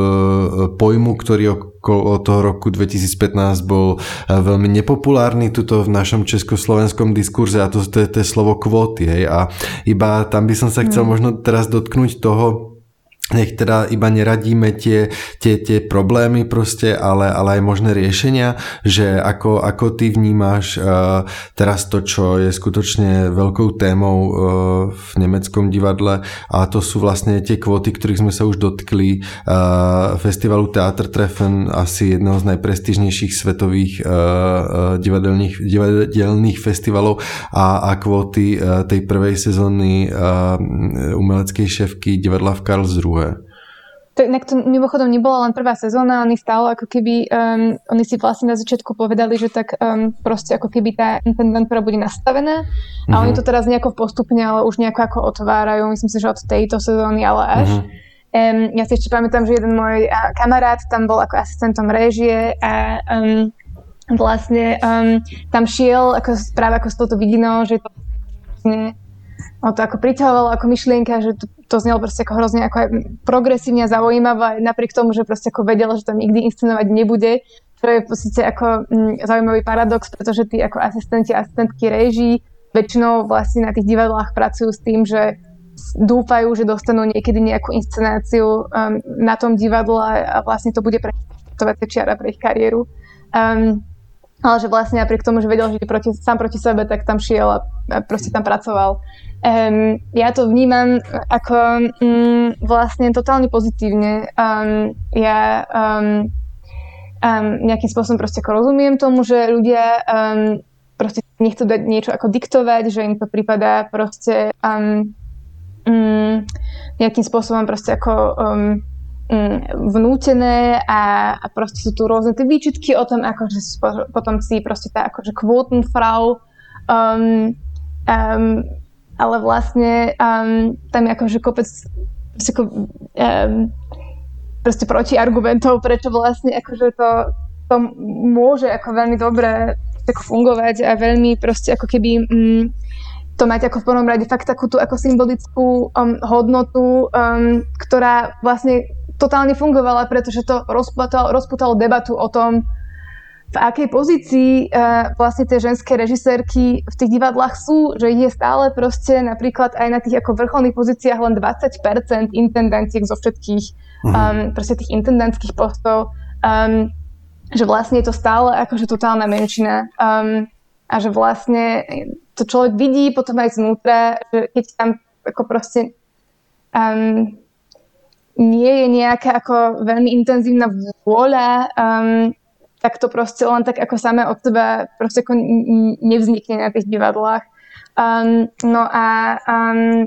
pojmu, ktorý okolo toho roku dvetisícpätnásť bol veľmi nepopulárny tuto v našom československom diskurze, a to, to je to slovo kvóty. Hej. A iba tam by som sa chcel mm. možno teraz dotknúť toho, nech teda iba neradíme tie, tie, tie problémy proste, ale, ale aj možné riešenia, že ako, ako ty vnímaš uh, teraz to, čo je skutočne veľkou témou uh, v nemeckom divadle, a to sú vlastne tie kvóty, ktorých sme sa už dotkli, uh, festivalu Theatertreffen, asi jedného z najprestížnejších svetových uh, uh, divadelných, divadelných festivalov, a, a kvóty uh, tej prvej sezóny uh, umeleckej šéfky divadla v Karlsruhe. To, inak to mimochodom nebola len prvá sezóna, oni stále ako keby, um, oni si vlastne na začiatku povedali, že tak um, proste ako keby tá intendentúra bude nastavená, a uh-huh. oni to teraz nejako postupne, ale už nejako ako otvárajú, myslím si, že od tejto sezóny, ale až. Uh-huh. Um, ja si ešte pamätám, že jeden môj uh, kamarát tam bol ako asistentom réžie a um, vlastne um, tam šiel ako, práve ako s touto vidinou, že to vlastne o to ako priťahovalo ako myšlienka, že to, to znelo proste ako hrozne ako aj progresívne a zaujímavé, napriek tomu, že proste ako vedela, že tam nikdy inscenovať nebude, čo je v podstate ako m, zaujímavý paradox, pretože tí ako asistenti a asistentky réží väčšinou vlastne na tých divadlách pracujú s tým, že dúfajú, že dostanú niekedy nejakú inscenáciu um, na tom divadle a vlastne to bude preštartovacia čiara pre ich kariéru. Um, ale že vlastne napriek tomu, že vedel, že je proti, sám proti sebe, tak tam šiel a, a proste tam pracoval. Um, ja to vnímam ako um, vlastne totálne pozitívne. Um, ja um, um, nejakým spôsobom proste ako rozumiem tomu, že ľudia um, proste nechcú dať niečo ako diktovať, že im to prípada proste um, um, nejakým spôsobom proste ako um, um, vnútené, a, a proste sú tu rôzne tie výčitky o tom, ako že potom si proste tá akože Quotenfrau um, um, ale vlastne um, tam je akože kopec proste, ako, um, proste protiargumentov, prečo vlastne akože to, to môže ako veľmi dobre ako fungovať a veľmi proste ako keby um, to mať ako v prvom rade fakt takú tú ako symbolickú um, hodnotu, um, ktorá vlastne totálne fungovala, pretože to rozputalo, rozputalo debatu o tom, v akej pozícii uh, vlastne tie ženské režisérky v tých divadlách sú, že ich je stále proste napríklad aj na tých ako vrcholných pozíciách len dvadsať percent intendantiek zo všetkých um, proste tých intendantských postov, um, že vlastne je to stále akože totálna menšina, um, a že vlastne to človek vidí potom aj znútra, že keď tam ako proste um, nie je nejaká ako veľmi intenzívna vôľa, um, tak to proste len tak ako samé od seba proste ako nevznikne na tých divadlách. Um, no a, um,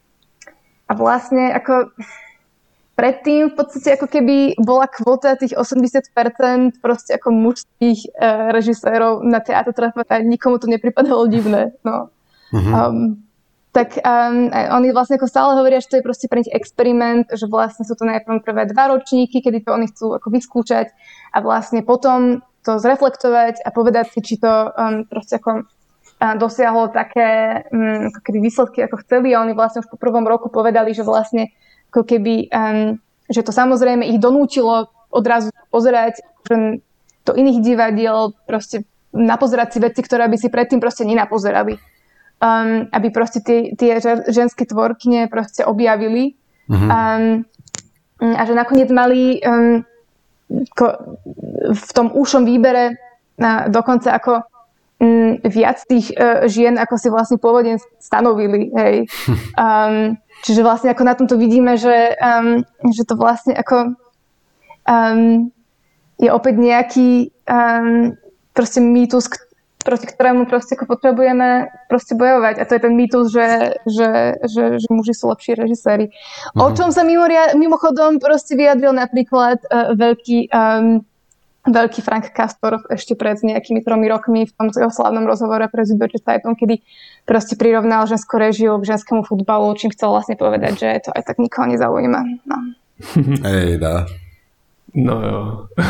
a vlastne ako predtým v podstate ako keby bola kvota tých osemdesiat percent proste ako mužských uh, režisérov na Theatertreffen a nikomu to nepripadalo divné. No. Uh-huh. Um, tak um, oni vlastne ako stále hovoria, že to je proste pre nich experiment, že vlastne sú to najprv prvé dva ročníky, kedy to oni chcú ako vyskúšať a vlastne potom to zreflektovať a povedať si, či to um, proste ako uh, dosiahlo také um, ako keby výsledky, ako chceli, a oni vlastne už po prvom roku povedali, že vlastne ako keby, um, že to samozrejme ich donútilo odrazu pozerať že do iných divadiel, proste napozerať si veci, ktoré by si predtým proste nenapozerali. Um, aby proste tie, tie ženské tvorkyne proste objavili. Uh-huh. Um, a že nakoniec mali um, ko, v tom úšom výbere uh, dokonca ako um, viac tých uh, žien, ako si vlastne pôvodne stanovili. Hej. Um, čiže vlastne ako na tomto vidíme, že, um, že to vlastne ako um, je opäť nejaký um, proste mýtus, proti ktorému proste ako potrebujeme proste bojovať. A to je ten mýtus, že, že, že, že muži sú lepší režiséri. Mm-hmm. O čom sa mimoria, mimochodom proste vyjadril napríklad uh, veľký, um, veľký Frank Castor ešte pred nejakými tromi rokmi v tom slávnom rozhovore pre Süddeutsche Zeitung, kedy proste prirovnal ženskú režiu k ženskému futbalu, čím chcel vlastne povedať, že to aj tak nikoho nezaujíma. No. Ej, dá. No jo.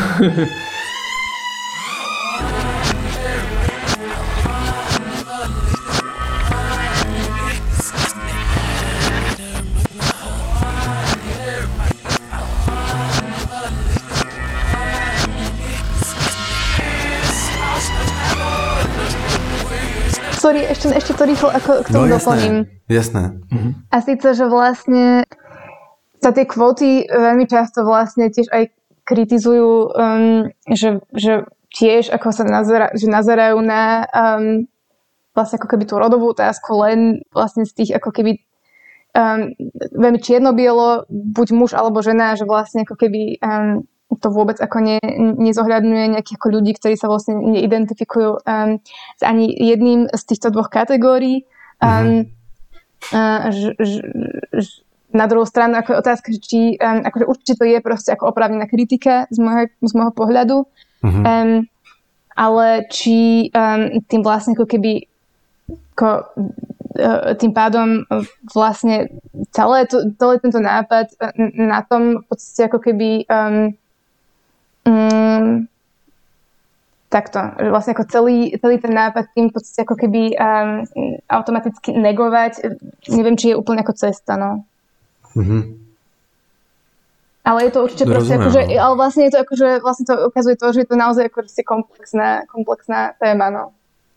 Sorry, ešte, ešte to rýchlo ako k tomu no, doplním. Jasné. Mhm. A síce, že vlastne sa tie kvóty veľmi často vlastne tiež aj kritizujú, um, že, že tiež ako sa nazera, že nazerajú na um, vlastne ako keby tú rodovú otázku len vlastne z tých ako keby um, veľmi čierno-bielo, buď muž alebo žena, že vlastne ako keby um, to vôbec ako ne, nezohľadňuje nejakých ako ľudí, ktorí sa vlastne neidentifikujú um, s ani jedným z týchto dvoch kategórií. Um, mm-hmm. uh, ž, ž, ž, na druhú stranu ako je otázka, či um, akože určite to je proste ako oprávnená kritika z môjho, z môjho pohľadu, mm-hmm. um, ale či um, tým vlastne ako keby ako, uh, tým pádom vlastne celé, to, celý tento nápad na tom v podstate ako keby um, Mm, takto, že vlastne ako celý, celý ten nápad tým v podstate ako keby um, automaticky negovať, neviem, či je úplne ako cesta, no. Mm-hmm. Ale je to určite proste Rozumiem, akože, no. ale vlastne je to akože, vlastne to ukazuje to, že je to naozaj ako komplexná, komplexná téma, no.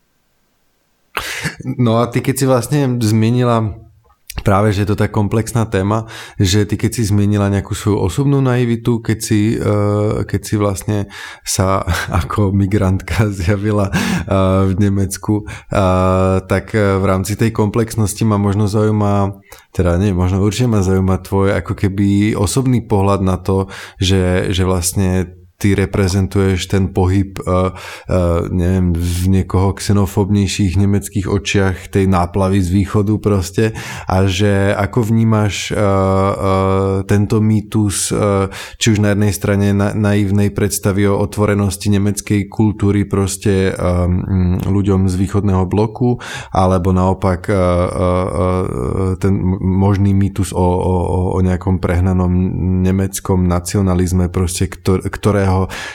No a ty keď si vlastne zmienila práve, že je to tak komplexná téma, že ty keď si zmienila nejakú svoju osobnú naivitu, keď si, uh, keď si vlastne sa ako migrantka zjavila uh, v Nemecku, uh, tak uh, v rámci tej komplexnosti ma možno zaujíma, teda nie, možno určite ma zaujíma tvoj ako keby osobný pohľad na to, že, že vlastne ty reprezentuješ ten pohyb, uh, uh, neviem, v niekoho xenofóbnejších nemeckých očiach tej náplavy z východu proste a že ako vnímaš uh, uh, tento mýtus, uh, či už na jednej strane na, naivnej predstavy o otvorenosti nemeckej kultúry proste um, ľuďom z východného bloku, alebo naopak uh, uh, uh, ten možný mýtus o, o, o nejakom prehnanom nemeckom nacionalizme proste, ktor, ktorého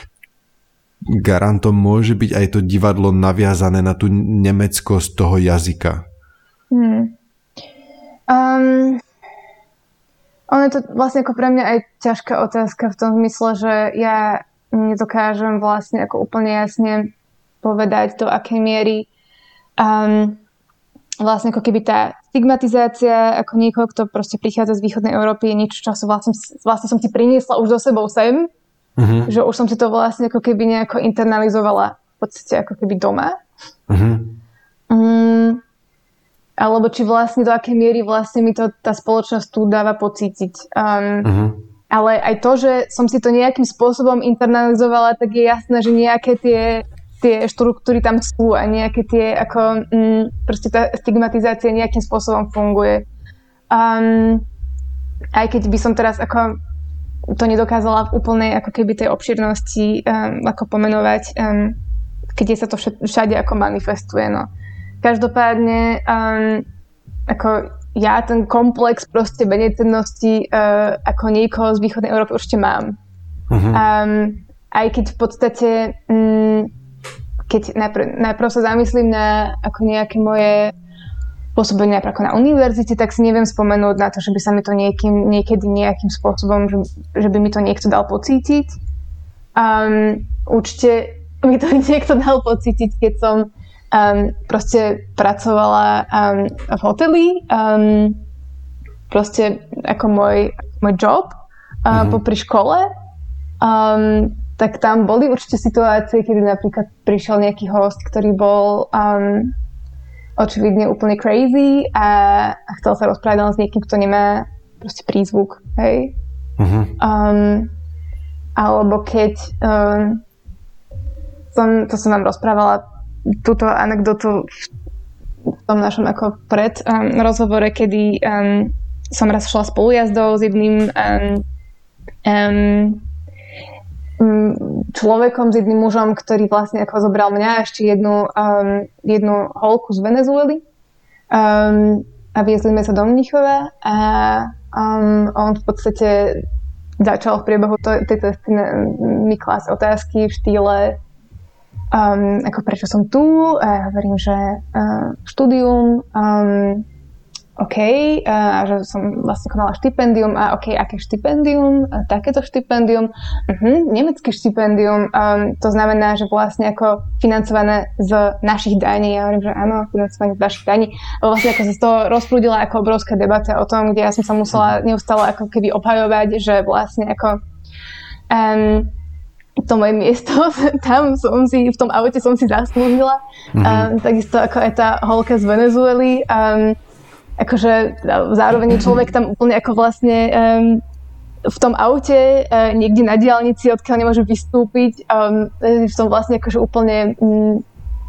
garantom môže byť aj to divadlo naviazané na tú nemeckosť toho jazyka? Hmm. Um, ono je to vlastne ako pre mňa aj ťažká otázka v tom zmysle, že ja nedokážem vlastne ako úplne jasne povedať, do akej miery um, vlastne ako keby tá stigmatizácia ako niekoho, kto proste prichádza z východnej Európy, je niečo, čo som vlastne, vlastne som si priniesla už do sebou sem. Uh-huh. Že už som si to vlastne ako keby nejako internalizovala v podstate ako keby doma. Uh-huh. Um, alebo či vlastne do akej miery vlastne mi to tá spoločnosť tu dáva pocítiť. Um, uh-huh. Ale aj to, že som si to nejakým spôsobom internalizovala, tak je jasné, že nejaké tie, tie štruktúry tam sú a nejaké tie ako um, proste tá stigmatizácia nejakým spôsobom funguje. Um, aj keď by som teraz ako to nedokázala v úplnej ako keby tej obširnosti um, ako pomenovať, um, keď sa to všade ako manifestuje. No. Každopádne um, ako ja ten komplex proste menejcennosti uh, ako niekoho z východnej Európy určite mám. Uh-huh. Um, aj keď v podstate um, keď najprv, najprv sa zamyslím na ako nejaké moje pôsobenie napríklad ako na univerzite, tak si neviem spomenúť na to, že by sa mi to niekým, niekedy nejakým spôsobom, že, že by mi to niekto dal pocítiť. Um, určite mi to niekto dal pocítiť, keď som um, proste pracovala um, v hoteli, um, proste ako môj, môj job uh, mm-hmm. popri škole. Um, tak tam boli určite situácie, kedy napríklad prišiel nejaký host, ktorý bol um, očividne úplne crazy a, a chcel sa rozprávať len s niekým, kto nemá proste prízvuk, hej. Uh-huh. Um, alebo keď um, som, to som vám rozprávala túto anekdotu v tom našom ako pred um, rozhovore, kedy um, som raz šla spolujazdou s jedným um, um, človekom, s jedným mužom, ktorý vlastne ako zobral mňa a ešte jednu, um, jednu holku z Venezuely um, a viezli sme sa do Mníchova a um, on v podstate začal v priebehu to, tejto cesty mi klásť otázky v štýle um, ako prečo som tu a ja hovorím, že uh, štúdium um, OK, a že som vlastne konala štipendium a OK, aké štipendium? A takéto štipendium? Uh-huh, nemecké štipendium. Um, to znamená, že vlastne ako financované z našich daní. Ja hovorím, že áno, financované z našich daní. Vlastne ako sa z toho rozprúdila ako obrovská debata o tom, kde ja som sa musela neustále ako keby obhajovať, že vlastne ako um, to moje miesto, tam som si, v tom aute som si zaslúžila. Mm-hmm. Um, takisto ako aj tá holka z Venezuely. Um, akože zároveň človek tam úplne ako vlastne um, v tom aute, uh, niekde na diaľnici, odkiaľ nemôže vystúpiť, um, v tom vlastne akože úplne um,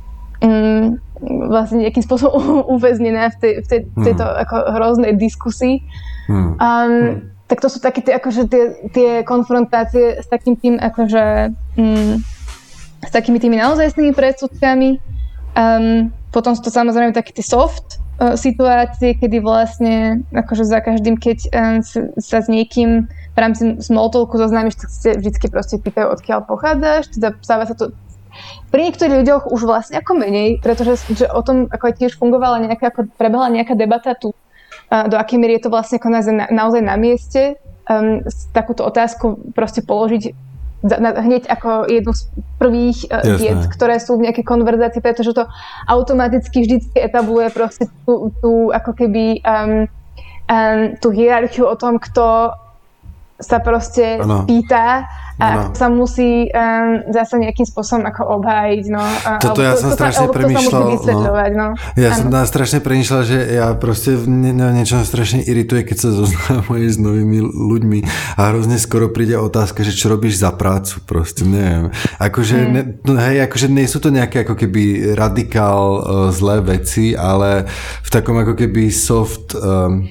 um, vlastne nejakým spôsobom uväznená v, tej, v tej, mm. tejto ako hroznej diskusii. Mm. Um, mm. Tak to sú také tie, akože tie, tie konfrontácie s takým tým, akože um, s takými tými naozajstnými predsudkami. Um, potom sú to samozrejme také tie soft situácie, kedy vlastne akože za každým, keď um, sa s niekým v rámci small talku zoznámiš, tak ste vždycky proste pýtajú, odkiaľ pochádzaš. Teda stáva sa to pri niektorých ľuďoch už vlastne ako menej, pretože že o tom ako aj tiež fungovala nejaká, ako prebehla nejaká debata tu, uh, do akej miery je to vlastne ako naozaj na, naozaj na mieste um, takúto otázku proste položiť hneď ako jednu z prvých uh, vied, ktoré sú v nejakej konverzácii, pretože to automaticky vždycky etabluje proste tú, tú ako keby um, um, tú hierarchiu o tom, kto sa proste ano. pýta a ano. sa musí um, zase nejakým spôsobom ako obhájiť. No, Toto ja to, som to strašne sa, premýšľal. No. No. Ja ano. som strašne premýšľal, že ja proste ne, niečo strašne irituje, keď sa zoznámujem s novými ľuďmi a hrozne skoro príde otázka, že čo robíš za prácu, proste neviem. Akože, hmm. ne, no, hej, akože nie sú to nejaké ako keby radikál uh, zlé veci, ale v takom ako keby soft um,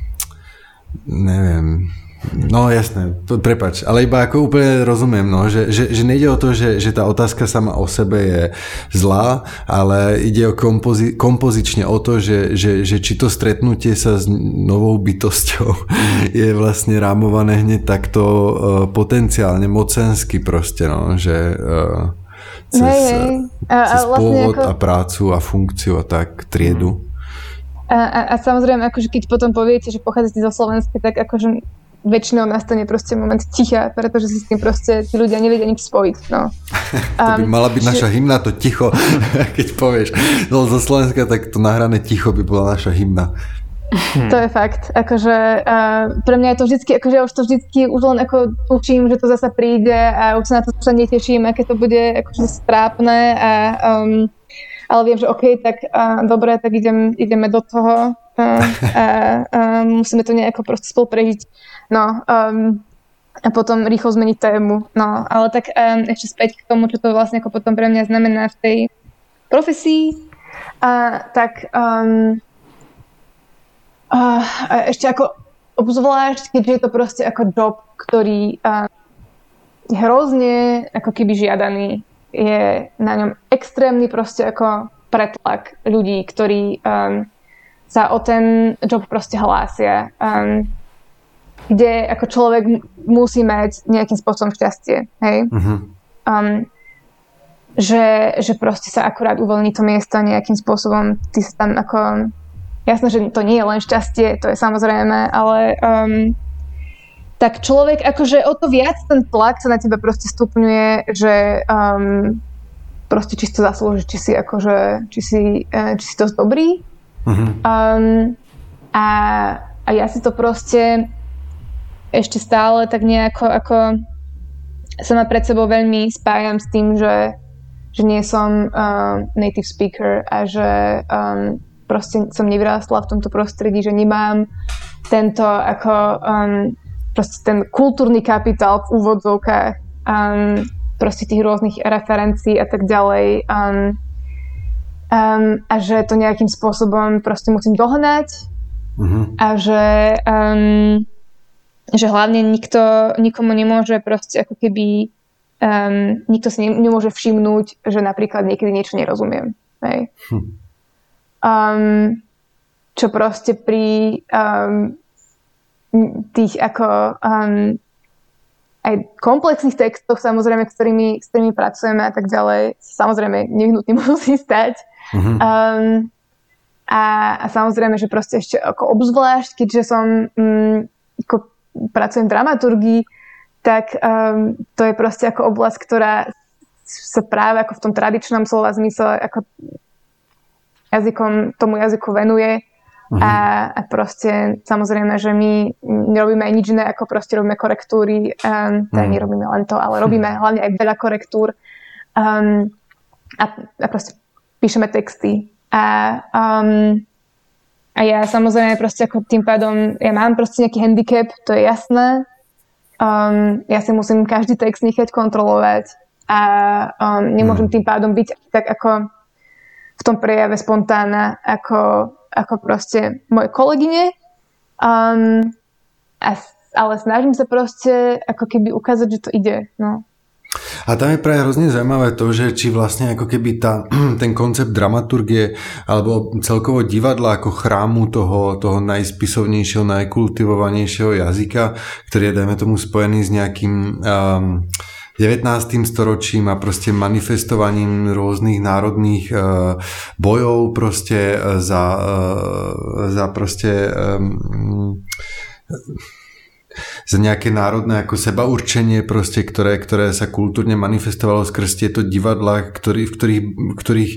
neviem. No jasné, prepáč, ale iba ako úplne rozumiem, no, že, že, že nejde o to, že, že tá otázka sama o sebe je zlá, ale ide o kompozi, kompozične o to, že, že, že či to stretnutie sa s novou bytosťou je vlastne rámované hneď takto uh, potenciálne mocensky proste, no, že uh, cez, hey, hey. A, cez a vlastne pôvod ako... a prácu a funkciu a tak, triedu. A, a, a samozrejme, akože keď potom poviete, že pochádzate zo Slovenska, tak akože väčšinou nastane proste moment ticha, pretože si s tým proste tí ľudia nevedia nič spojiť. No. To by mala byť naša hymna, to ticho, keď povieš no, zo Slovenska, tak to nahrané ticho by bola naša hymna. Hmm. To je fakt. Akože, uh, pre mňa je to vždycky, akože ja už to vždycky už len ako tuším, že to zasa príde a už sa na to sa neteším, aké to bude akože strápne a um, ale viem, že OK, tak uh, dobre, tak idem, ideme do toho uh, a um, musíme to nejako proste spolu prežiť. No, um, a potom rýchlo zmeniť tému. No, ale tak um, ešte späť k tomu, čo to vlastne ako potom pre mňa znamená v tej profesii. A tak um, a ešte ako obzvlášť, keďže je to proste ako job, ktorý um, je hrozne ako keby žiadaný. Je na ňom extrémny proste ako pretlak ľudí, ktorí um, sa o ten job proste hlásia. Um, kde ako človek musí mať nejakým spôsobom šťastie, hej? Uh-huh. Um, že, že proste sa akurát uvoľní to miesto nejakým spôsobom, ty sa tam ako, jasné, že to nie je len šťastie, to je samozrejme, ale um, tak človek akože o to viac ten tlak sa na teba proste stupňuje, že um, proste či si to zaslúži, či si akože, či si, uh, či si to dobrý. Uh-huh. Um, a, a ja si to proste ešte stále tak nejako ako sama pred sebou veľmi spájam s tým, že, že nie som uh, native speaker a že um, proste som nevyrástla v tomto prostredí, že nemám tento ako um, proste ten kultúrny kapitál v úvodzovkách um, proste tých rôznych referencií a tak ďalej. Um, um, a že to nejakým spôsobom proste musím dohnať uh-huh. a že, um, že hlavne nikto, nikomu nemôže proste ako keby um, nikto si ne, nemôže všimnúť, že napríklad niekedy niečo nerozumiem. Hej. Hm. Um, čo proste pri um, tých ako um, aj komplexných textoch, samozrejme, ktorými, s ktorými pracujeme a tak ďalej, samozrejme nevyhnutne musí stať. Uh-huh. Um, a, a samozrejme, že proste ešte ako obzvlášť, keďže som um, ako pracujem v dramaturgii, tak um, to je proste ako oblasť, ktorá sa práve ako v tom tradičnom slova zmysle ako jazykom, tomu jazyku venuje. Uh-huh. A, a proste samozrejme, že my nerobíme aj nič iné, ako proste robíme korektúry. Um, teda uh-huh. nerobíme len to, ale robíme hlavne aj veľa korektúr. Um, a, a proste píšeme texty. A, um, a ja samozrejme proste ako tým pádom, ja mám proste nejaký handicap, to je jasné. Um, ja si musím každý text nechať kontrolovať a um, nemôžem tým pádom byť tak ako v tom prejave spontánna, ako ako proste moje kolegyne, um, a, ale snažím sa proste ako keby ukázať, že to ide. No. A tam je práve hrozne zaujímavé to, že či vlastne ako keby tá, ten koncept dramaturgie alebo celkovo divadla ako chrámu toho, toho najspisovnejšieho, najkultivovanejšieho jazyka, ktorý je, dajme tomu, spojený s nejakým um, devätnástym storočím a proste manifestovaním rôznych národných uh, bojov proste za, uh, za proste um, za nejaké národné ako sebaurčenie proste, ktoré, ktoré sa kultúrne manifestovalo skrz tieto divadlá, ktorý, v ktorých, ktorých e,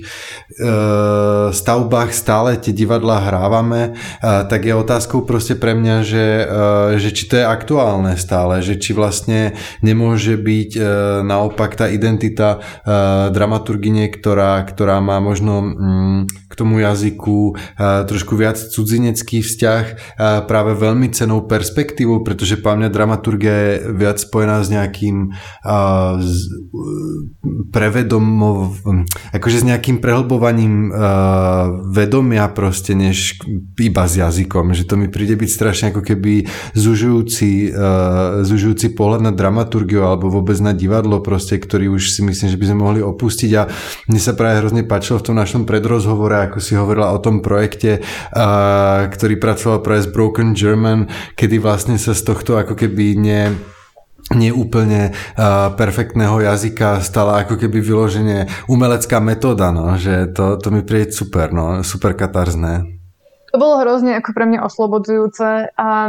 stavbách stále tie divadlá hrávame, e, tak je otázkou proste pre mňa, že, e, že či to je aktuálne stále, že či vlastne nemôže byť e, naopak tá identita e, dramaturgine, ktorá, ktorá má možno mm, k tomu jazyku e, trošku viac cudzinecký vzťah, e, práve veľmi cennou perspektívou, pretože že pre mňa dramaturgia je viac spojená s nejakým uh, s, prevedomov, akože s nejakým prehlbovaním uh, vedomia proste, než iba s jazykom, že to mi príde byť strašne ako keby zužujúci, uh, zužujúci pohľad na dramaturgiu alebo vôbec na divadlo proste, ktorý už si myslím, že by sme mohli opustiť. A mne sa práve hrozne páčilo v tom našom predrozhovore, ako si hovorila o tom projekte, uh, ktorý pracoval práve s Broken German, kedy vlastne sa z toho tohto ako keby nie, nie úplne uh, perfektného jazyka stala ako keby vyloženie umelecká metóda, no, že to, to mi príde super, no, super katarzné. To bolo hrozne ako pre mňa oslobodzujúce, um,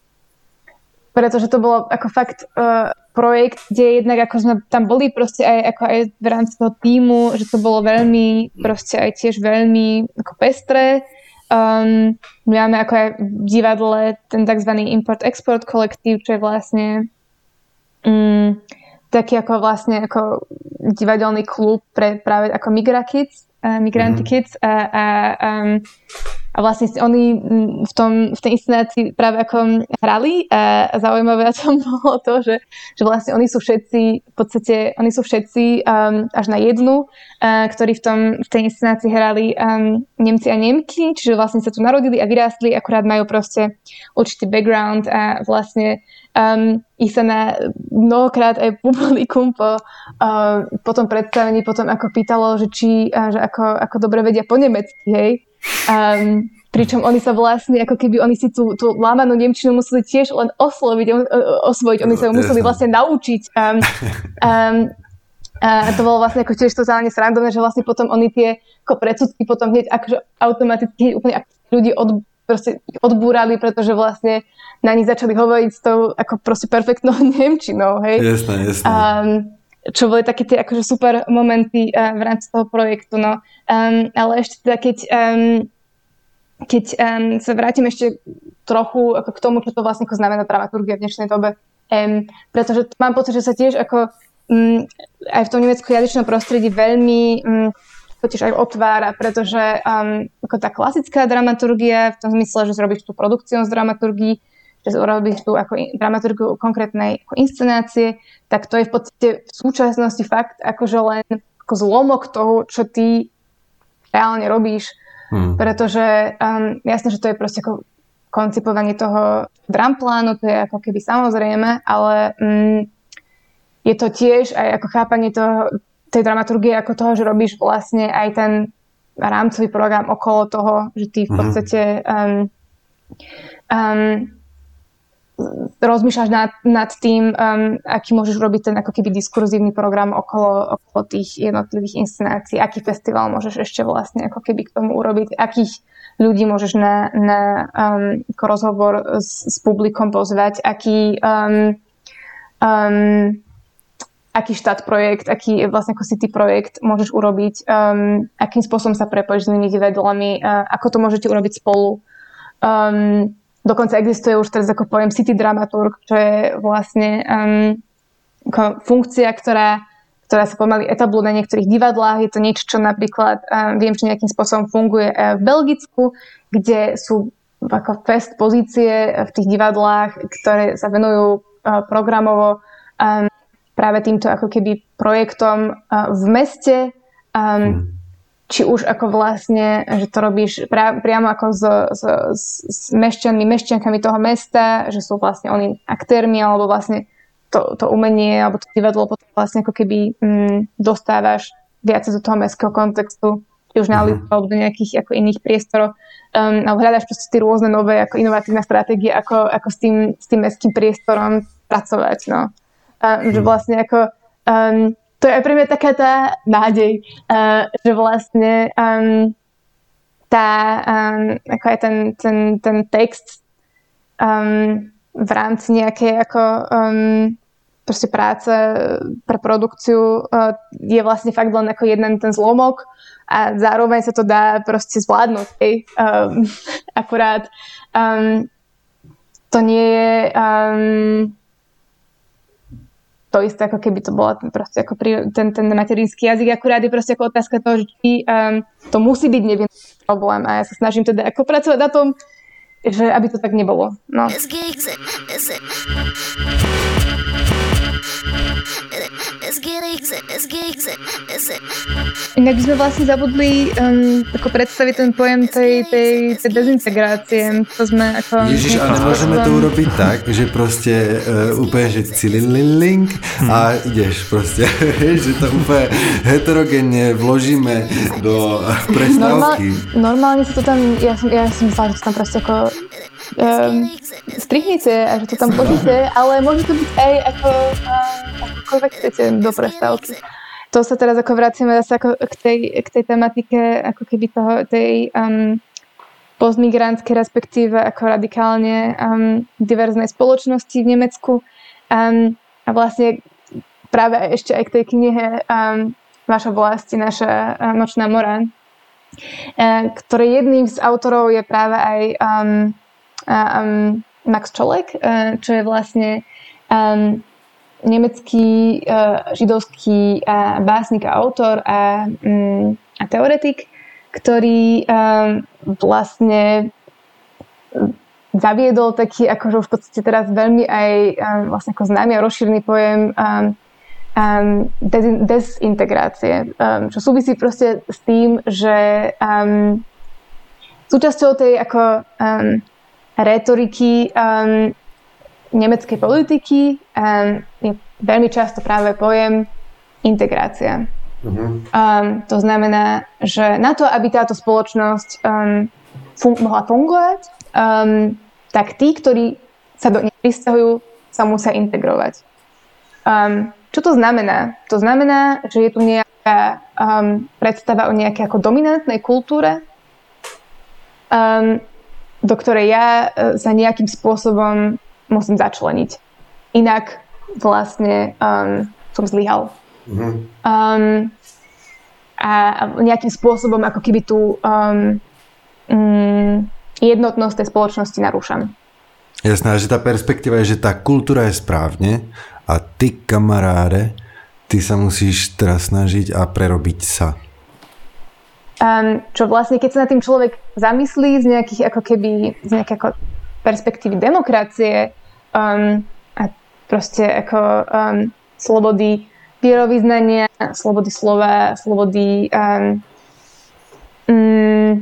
pretože to bolo ako fakt uh, projekt, kde jednak ako sme tam boli proste aj, ako aj v rámci toho tímu, že to bolo veľmi proste aj tiež veľmi ako pestré. Um, my máme ako aj v divadle ten tzv. Import-Export kolektív, čo je vlastne um, taký ako vlastne ako divadelný klub pre práve ako Migra Kids, uh, Migranty mm-hmm. Kids a, a, um, a vlastne oni v, tom, v tej inscenácii práve ako hrali a zaujímavé na tom bolo to, že, že vlastne oni sú všetci v podstate, oni sú všetci um, až na jednu, uh, ktorí v, tom, v tej inscenácii hrali um, Nemci a Nemky, čiže vlastne sa tu narodili a vyrástli, akurát majú proste určitý background a vlastne um, ich sa na mnohokrát aj publikum po, uh, po tom predstavení potom ako pýtalo, že či uh, že ako, ako dobre vedia po nemecky, hej. Um, pričom oni sa vlastne, ako keby oni si tú, tú lámanú nemčinu museli tiež len osloviť, osvojiť, oni sa ju museli vlastne naučiť. Um, um, a to bolo vlastne ako tiež totálne srandovné, že vlastne potom oni tie ako predsudky potom hneď akože automaticky úplne ľudí od, proste odbúrali, pretože vlastne na nich začali hovoriť s tou ako proste perfektnou nemčinou, hej. Jasné, jasné. Um, čo boli také tie akože super momenty uh, v rámci toho projektu, no. Um, ale ešte teda, keď, um, keď um, sa vrátim ešte trochu ako k tomu, čo to vlastne ako znamená dramaturgia v dnešnej dobe, um, pretože mám pocit, že sa tiež ako um, aj v tom nemeckojazyčnom prostredí veľmi um, to tiež aj otvára, pretože um, ako tá klasická dramaturgia v tom zmysle, že zrobíš tú produkciu z dramaturgii, že urobíš tú ako dramaturgiu konkrétnej ako inscenácie, tak to je v podstate v súčasnosti fakt akože len ako zlomok toho, čo ty reálne robíš, hmm. pretože um, jasné, že to je proste ako koncipovanie toho dramplánu, to je ako keby samozrejme, ale um, je to tiež aj ako chápanie toho, tej dramaturgie ako toho, že robíš vlastne aj ten rámcový program okolo toho, že ty v podstate um, um, rozmýšľaš nad, nad tým, um, aký môžeš robiť ten ako keby diskurzívny program okolo, okolo tých jednotlivých inscenácií, aký festival môžeš ešte vlastne ako keby k tomu urobiť, akých ľudí môžeš na, na um, rozhovor s, s publikom pozvať, aký um, um, aký štát projekt, aký vlastne ako city projekt môžeš urobiť, um, akým spôsobom sa prepojíš s inými divadlami, uh, ako to môžete urobiť spolu. Um, dokonca existuje už teraz ako pojem city dramaturg, čo je vlastne um, ako funkcia, ktorá, ktorá sa pomaly etabluje na niektorých divadlách. Je to niečo, čo napríklad um, viem, že nejakým spôsobom funguje uh, v Belgicku, kde sú ako fest pozície v tých divadlách, ktoré sa venujú uh, programovo um, práve týmto ako keby projektom uh, v meste, um, hmm. či už ako vlastne, že to robíš pra, priamo ako s, s, s mešťanmi, mešťankami toho mesta, že sú vlastne oni aktérmi, alebo vlastne to, to umenie, alebo to divadlo potom vlastne ako keby um, dostávaš viac do toho mestského kontextu, či už na ulicu, hmm. alebo do nejakých ako iných priestorov. Um, alebo hľadáš proste tie rôzne nové ako inovatívne stratégie, ako, ako s tým, s tým mestským priestorom pracovať, no. Uh, že vlastne ako um, to je aj pre mňa taká tá nádej, uh, že vlastne um, tá um, ako aj ten, ten, ten text um, v rámci nejakej ako um, proste práce pre produkciu uh, je vlastne fakt len ako jeden ten zlomok a zároveň sa to dá proste zvládnuť. Hej. Um, akurát um, to nie je um, to isté, ako keby to bola proste ako pri, ten, ten materinský jazyk, akurát je proste ako otázka toho, že či um, to musí byť nevinný problém a ja sa snažím teda ako pracovať na tom, že aby to tak nebolo. No. Inak by sme vlastne zabudli um, ako predstaviť ten pojem tej, tej, tej dezintegrácie. To sme ako... Ježiš, a nemôžeme to urobiť tak, že proste uh, úplne, že cilililink a ideš proste, že to úplne heterogénne vložíme do prestávky. Normál, normálne sa to tam, ja som, ja som myslela, že to tam proste ako um, strihnite a že to tam požite, ale môže to byť aj ako uh, akokoľvek chcete do prestávky. To sa teraz ako vraciame zase ako k tej, k tej tematike ako keby toho, tej um, postmigrantskej, respektíve ako radikálne um, diverznej spoločnosti v Nemecku. Um, a vlastne práve ešte aj k tej knihe um, Vaša vlasti, naša uh, nočná mora, uh, ktorý jedným z autorov je práve aj um, um, Max Čolek, uh, čo je vlastne um, nemecký uh, židovský uh, básnik a autor a, um, a teoretik, ktorý um, vlastne zaviedol taký, akože už v podstate teraz veľmi aj um, vlastne ako známy a rozšírený pojem um, um, des- dezintegrácie, um, čo súvisí proste s tým, že um, súčasťou tej ako um, retoriky um, nemeckej politiky um, je veľmi často práve pojem integrácia. Uh-huh. Um, to znamená, že na to, aby táto spoločnosť um, fun- mohla fungovať, um, tak tí, ktorí sa do nej prisťahujú, sa musia integrovať. Um, čo to znamená? To znamená, že je tu nejaká um, predstava o nejakej ako dominantnej kultúre, um, do ktorej ja uh, sa nejakým spôsobom musím začleniť. Inak vlastne um, som zlyhal. Mm-hmm. Um, a nejakým spôsobom ako keby tú um, um, jednotnosť tej spoločnosti narúšam. Jasná, že tá perspektíva je, že tá kultúra je správne a ty, kamaráde, ty sa musíš teraz snažiť a prerobiť sa. Um, čo vlastne, keď sa na tým človek zamyslí z nejakých ako keby z nejakej ako perspektívy demokracie um, a proste ako um, slobody vierovyznania, slobody slova, slobody um, um,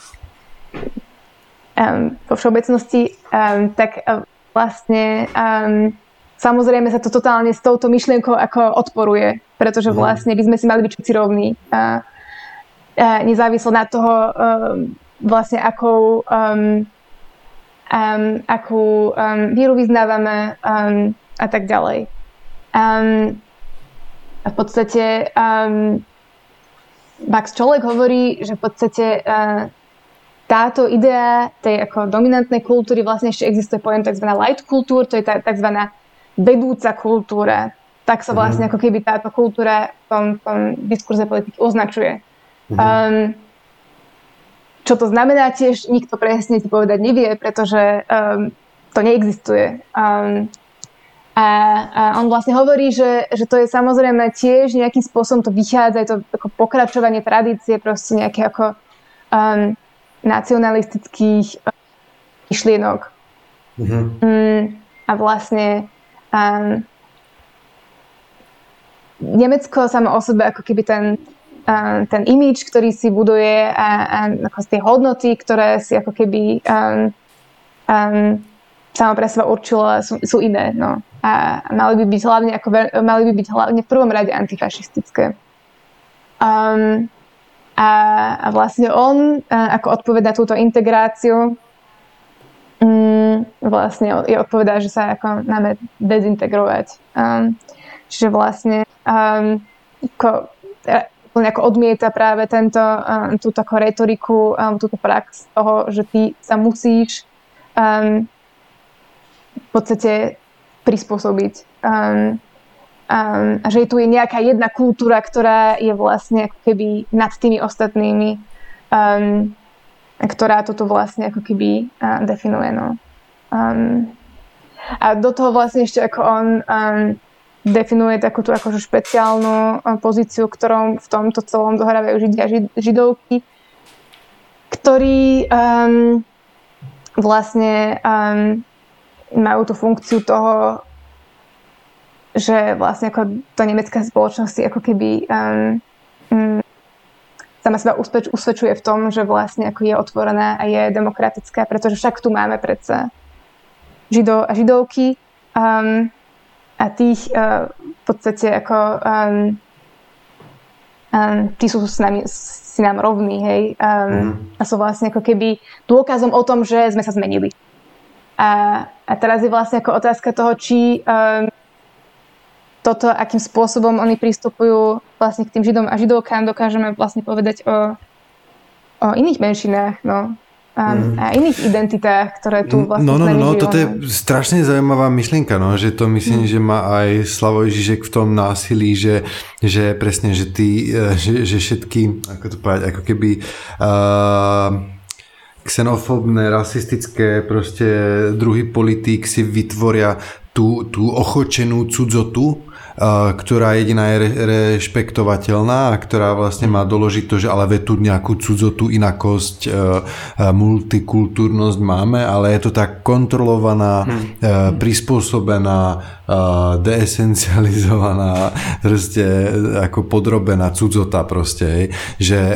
um, vo všeobecnosti, um, tak uh, vlastne um, samozrejme sa to totálne s touto myšlienkou ako odporuje, pretože vlastne by sme si mali byť všetci rovní. Uh, uh, nezávislo na toho um, vlastne akou um, um, akú um, víru vyznávame um, a tak ďalej. Um, a v podstate um, Max Čolek hovorí, že v podstate uh, táto idea tej ako dominantnej kultúry vlastne ešte existuje pojem tzv. Light kultúr, to je tá tzv. Vedúca kultúra. Tak sa vlastne mm-hmm. ako keby táto kultúra v tom, tom diskurze politiky označuje. Mm-hmm. Um, čo to znamená tiež, nikto presne ti povedať nevie, pretože um, to neexistuje. Um, a, a on vlastne hovorí, že, že to je samozrejme tiež nejakým spôsobom to vychádza, je to ako pokračovanie tradície, proste nejaké ako um, nacionalistických um, myšlienok. Mm-hmm. Um, a vlastne Um, Nemecko samo o sebe ako keby ten, um, ten imidž, ktorý si buduje a, a ako tie hodnoty, ktoré si ako keby um, um, samo pre seba určilo, sú, sú iné. No. A mali by byť hlavne, ako, mali by byť hlavne v prvom rade antifašistické. Um, a, a vlastne on uh, ako odpovedá túto integráciu Mm, vlastne je odpovedá, že sa ako máme dezintegrovať. Um, čiže vlastne um, ako, ako odmieta práve tento, um, túto ako retoriku, um, túto prax toho, že ty sa musíš um, v podstate prispôsobiť. Um, um, a že tu je nejaká jedna kultúra, ktorá je vlastne ako keby nad tými ostatnými. Um, ktorá toto vlastne ako keby uh, definuje. No. Um, a do toho vlastne ešte ako on um, definuje takú tú akože špeciálnu um, pozíciu, ktorom v tomto celom dohrávajú židia a žid, židovky, ktorí um, vlastne um, majú tú funkciu toho, že vlastne ako to nemecká spoločnosť ako keby um, um, sama seba usvedčuje v tom, že vlastne ako je otvorená a je demokratická, pretože však tu máme predsa židov a židovky um, a tých uh, v podstate ako um, um, tí sú s nami, si nám rovní, hej, um, mm. a sú vlastne ako keby dôkazom o tom, že sme sa zmenili. A, a teraz je vlastne ako otázka toho, či um, toto, akým spôsobom oni pristupujú vlastne k tým židom a židovkám, dokážeme vlastne povedať o, o iných menšinách, no. A, mm. a iných identitách, ktoré tu vlastne no, no, s nami no, žijú. Toto je strašne zaujímavá myšlienka, no, že to myslím, mm. že má aj Slavoj Žižek v tom násilí, že, že presne, že tí, že, že všetky, ako to povedať, ako keby uh, xenofóbne, rasistické proste druhy politík si vytvoria tú, tú ochočenú cudzotu, ktorá jediná je rešpektovateľná a ktorá vlastne má doložiť to, že ale ve tu nejakú cudzotu, inakosť, multikultúrnosť máme, ale je to tak kontrolovaná, hmm. prispôsobená, deesencializovaná, proste ako podrobená cudzota proste, že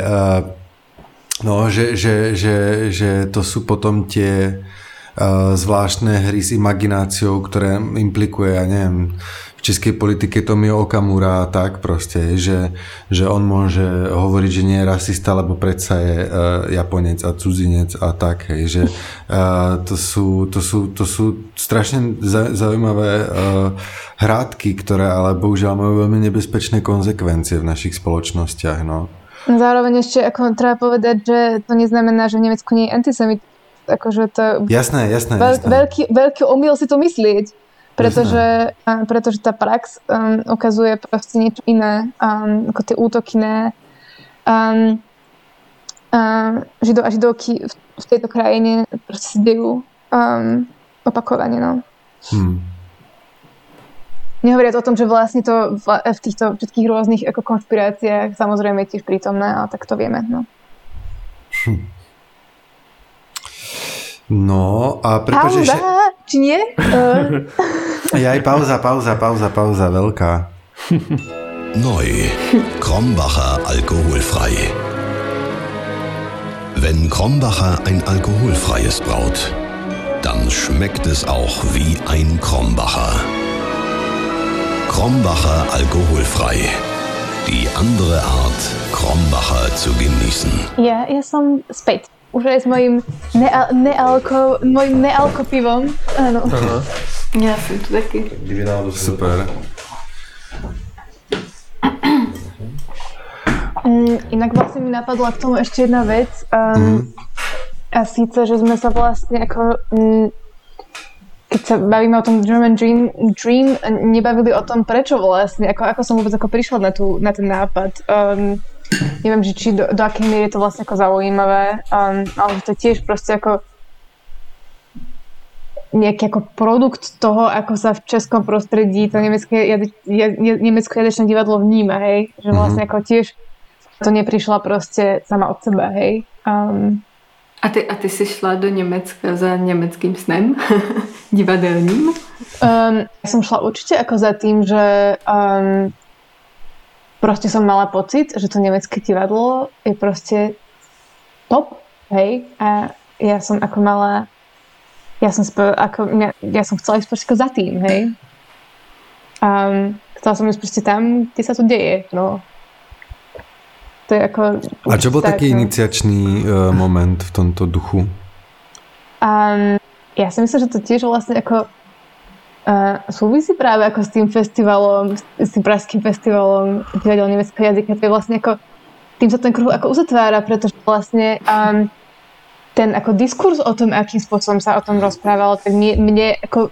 no, že, že, že, že to sú potom tie zvláštne hry s imagináciou, ktoré implikuje, ja neviem, v českej politike Tomio Okamura a tak proste, že, že on môže hovoriť, že nie je rasista, lebo predsa je uh, Japonec a cudzinec a tak, hej, že uh, to, sú, to, sú, to sú strašne zaujímavé uh, hrádky, ktoré ale bohužiaľ majú veľmi nebezpečné konzekvencie v našich spoločnostiach, no. Zároveň ešte ako treba povedať, že to neznamená, že v Nemecku nie je antisemit. Akože to jasné, jasné, veľ, jasné. Veľký, veľký omyl si to myslieť, pretože, um, pretože tá prax um, ukazuje proste niečo iné, um, ako tie útoky na um, um, židov a židovky v, v tejto krajine proste si dejú um, opakovane, no. Hmm. Nehovoriac o tom, že vlastne to v, v týchto všetkých rôznych ako konšpiráciách samozrejme je tiež prítomné, ale tak to vieme, no. Hm. No a prepáč ešte... Pauza, či nie? Uh. Ja aj pauza, pauza, pauza, pauza, veľká. Neu. Krombacher alkoholfrei. Wenn Krombacher ein alkoholfreies braut, dann schmeckt es auch wie ein Krombacher. Krombacher alkoholfrei. Die andere Art, Krombacher zu genießen. Ja, ja som späť. Už aj s mojím neal- nealko, mojím nealko pivom. Áno. Aha. Já jsem tu taky. Super. Mm, inak vlastne mi napadla k tomu ešte jedna vec. Um, mm. A síce, že sme sa vlastne ako... Mm, keď sa bavíme o tom German Dream, Dream nebavili o tom, prečo vlastne, ako, ako som vôbec ako prišla na, tú, na ten nápad. Um, neviem, že či do, do akej miery je to vlastne ako zaujímavé, um, ale to je tiež proste ako nejaký ako produkt toho, ako sa v českom prostredí to nemecké, jade, jade, nemecko-jazyčné divadlo vníma, hej? Že vlastne ako tiež to neprišla proste sama od seba, hej? Um, A ty, a ty jsi šla do Německa za německým snem? Divadelním? Um, ja som šla určite ako za tým, že um, proste som mala pocit, že to nemecké divadlo je proste top, hej? A ja som ako mala ja som, sp- ako, ja, ja som chcela ísť proste za tým, hej? Um, chcela som ísť proste tam, kde sa to deje, no. To je ako... A čo bol tak, taký no. iniciačný uh, moment v tomto duchu? Um, ja si myslím, že to tiež vlastne ako uh, súvisí práve ako s tým festivalom, s tým pražským festivalom divadel nemeckého jazyka. To je vlastne ako, tým sa ten kruh ako uzatvára, pretože vlastne um, ten ako diskurs o tom, akým spôsobom sa o tom rozprávalo, tak mne, mne ako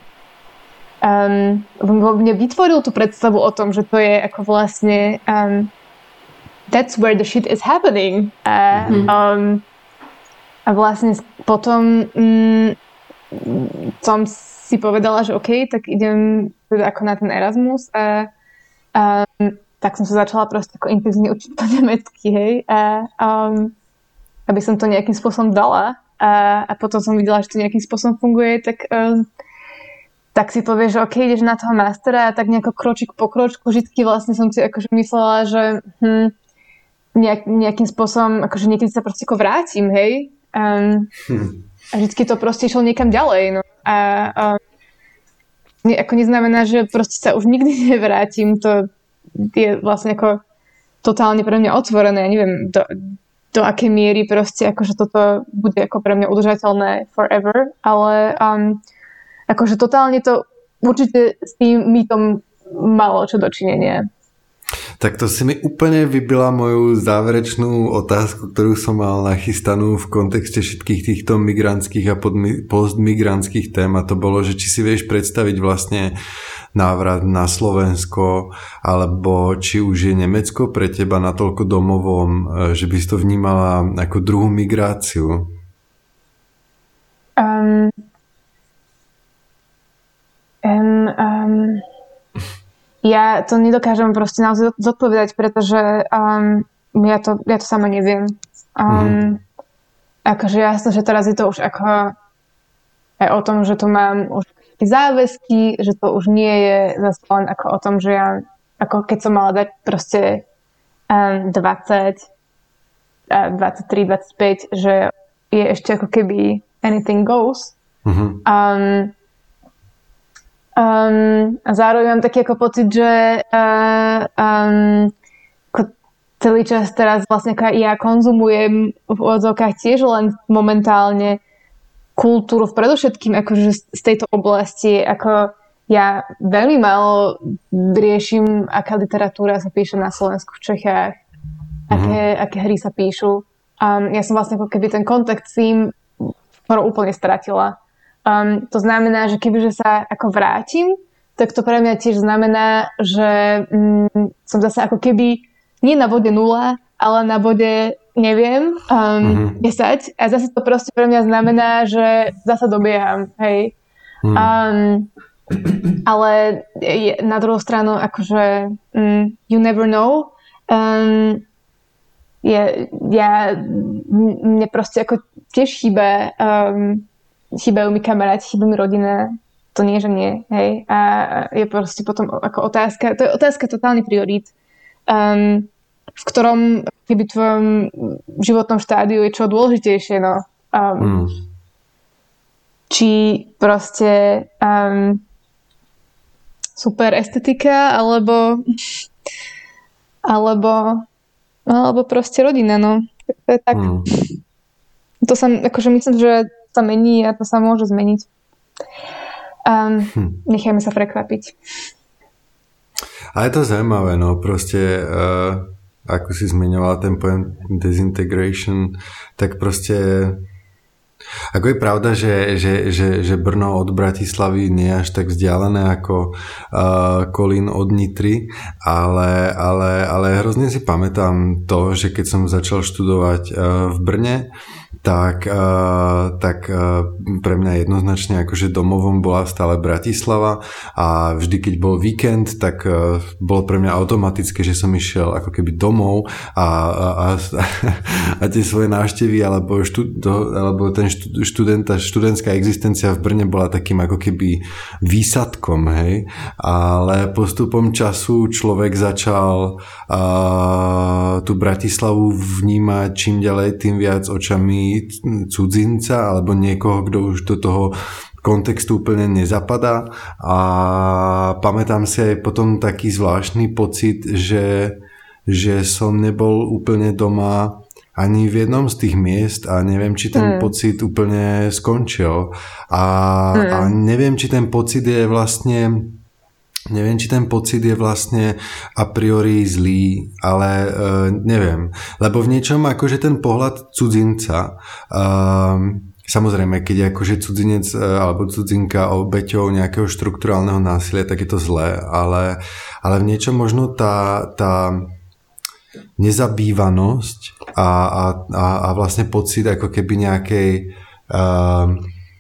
um, mne vytvoril tú predstavu o tom, že to je ako vlastne um, that's where the shit is happening. A, mm-hmm. um, a vlastne potom um, som si povedala, že OK, tak idem ako na ten Erasmus a um, tak som sa začala proste ako intenzívne učiť po nemecky, hej. A, um, aby som to nejakým spôsobom dala a, a potom som videla, že to nejakým spôsobom funguje, tak um, tak si povieš, že OK, ideš na toho mastera a tak nejako kročík po kročku vždycky vlastne som si akože myslela, že hm, nejak, nejakým spôsobom, akože niekedy sa proste ako vrátim, hej. Um, hm. A vždycky to proste išlo niekam ďalej, no. A um, ne, ako neznamená, že proste sa už nikdy nevrátim, to je vlastne ako totálne pre mňa otvorené, ja neviem, do, do akej miery proste akože toto bude ako pre mňa udržateľné forever, ale um, akože totálne to určite s tým mýtom malo čo dočinenia. Tak to si mi úplne vybila moju záverečnú otázku, ktorú som mal nachystanú v kontexte všetkých týchto migrantských a postmigrantských tém, a to bolo, že či si vieš predstaviť vlastne návrat na Slovensko, alebo či už je Nemecko pre teba natoľko domovom, že by si to vnímala ako druhú migráciu? Um, um, um, ja to nedokážem proste naozaj zodpovedať, pretože um, ja, to, ja to sama neviem. Um, mm. Akože jasno, že teraz je to už ako aj o tom, že tu mám už záväzky, že to už nie je zase len ako o tom, že ja ako keď som mala dať proste um, dvadsať, dvadsaťtri, dvadsaťpäť, že je ešte ako keby anything goes. Mm-hmm. Um, um, a zároveň mám taký ako pocit, že uh, um, ako celý čas teraz vlastne ako ja konzumujem v odzvukách tiež len momentálne kultúru v predovšetkým akože z tejto oblasti, ako ja veľmi málo riešim, aká literatúra sa píše na Slovensku, v Čechách, mm-hmm. aké, aké hry sa píšu. Um, ja som vlastne ako keby ten kontakt s tým skoro úplne stratila. Um, to znamená, že kebyže sa ako vrátim, tak to pre mňa tiež znamená, že um, som zase ako keby nie na bode nula, ale na bode neviem, um, mm-hmm. desať. A zase to proste pre mňa znamená, že zase dobieham, hej. Mm. Um, ale je, na druhú stranu, akože um, you never know. Um, je, ja, mne proste ako tiež chýba, um, chýbajú mi kamaráti, chýba mi rodina. To nie, že nie, hej. A je proste potom ako otázka, to je otázka totálny priorít. Um, v ktorom keby tvojom životnom štádiu je čo dôležitejšie, no. Um, mm. Či proste um, super estetika, alebo alebo alebo proste rodina, no. To je tak. Mm. To sa, akože myslím, že sa mení a to sa môže zmeniť. Um, hm. Nechajme sa prekvapiť. A je to zaujímavé, no proste uh, ako si zmiňoval ten pojem disintegration, tak proste ako je pravda, že, že, že, že Brno od Bratislavy nie je až tak vzdialené ako uh, Kolín od Nitry, ale, ale, ale hrozne si pamätám to, že keď som začal študovať uh, v Brne, tak, uh, tak uh, pre mňa jednoznačne akože domovom bola stále Bratislava a vždy, keď bol víkend, tak uh, bolo pre mňa automatické, že som išiel ako keby domov a, a, a, a tie svoje návštevy alebo, štud, alebo ten študenta, študentská existencia v Brne bola takým ako keby výsadkom, hej, ale postupom času človek začal uh, tú Bratislavu vnímať čím ďalej tým viac očami cudzinca alebo niekoho, kto už do toho kontextu úplne nezapadá a pamätám si aj potom taký zvláštny pocit, že, že som nebol úplne doma ani v jednom z tých miest a neviem, či ten mm. pocit úplne skončil a, mm. a neviem, či ten pocit je vlastne Neviem, či ten pocit je vlastne a priori zlý, ale uh, neviem. Lebo v niečom akože ten pohľad cudzinca, uh, samozrejme, keď je akože cudzinec uh, alebo cudzinka obeťou nejakého štrukturálneho násilia, tak je to zlé, ale, ale v niečom možno tá, tá nezabývanosť a, a, a, a vlastne pocit ako keby nejakej uh,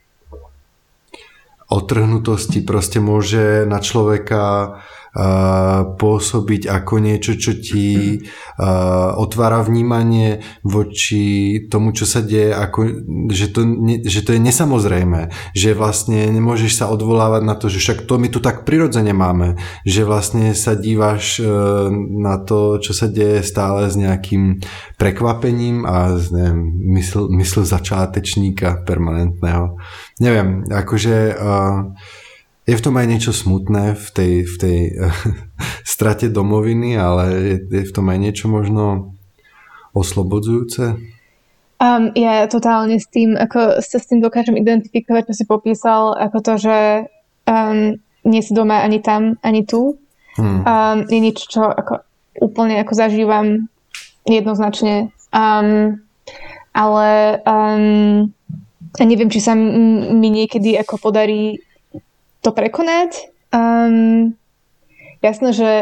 otrhnutosti proste môže na človeka uh, pôsobiť ako niečo, čo ti uh, otvára vnímanie voči tomu, čo sa deje, ako, že, to, ne, že to je nesamozrejmé, že vlastne nemôžeš sa odvolávať na to, že však to my tu tak prirodzene máme, že vlastne sa díváš uh, na to, čo sa deje stále s nejakým prekvapením a s neviem, mysl, mysl začátečníka permanentného. Neviem, akože uh, je v tom aj niečo smutné v tej, v tej uh, strate domoviny, ale je, je v tom aj niečo možno oslobodzujúce. Um, ja totálne s tým, ako sa s tým dokážem identifikovať, čo si popísal, ako to, že um, nie si doma ani tam, ani tu. Hmm. Um, je niečo, čo ako, úplne ako zažívam jednoznačne. Um, ale um, a neviem, či sa mi niekedy ako podarí to prekonať. Um, jasné, že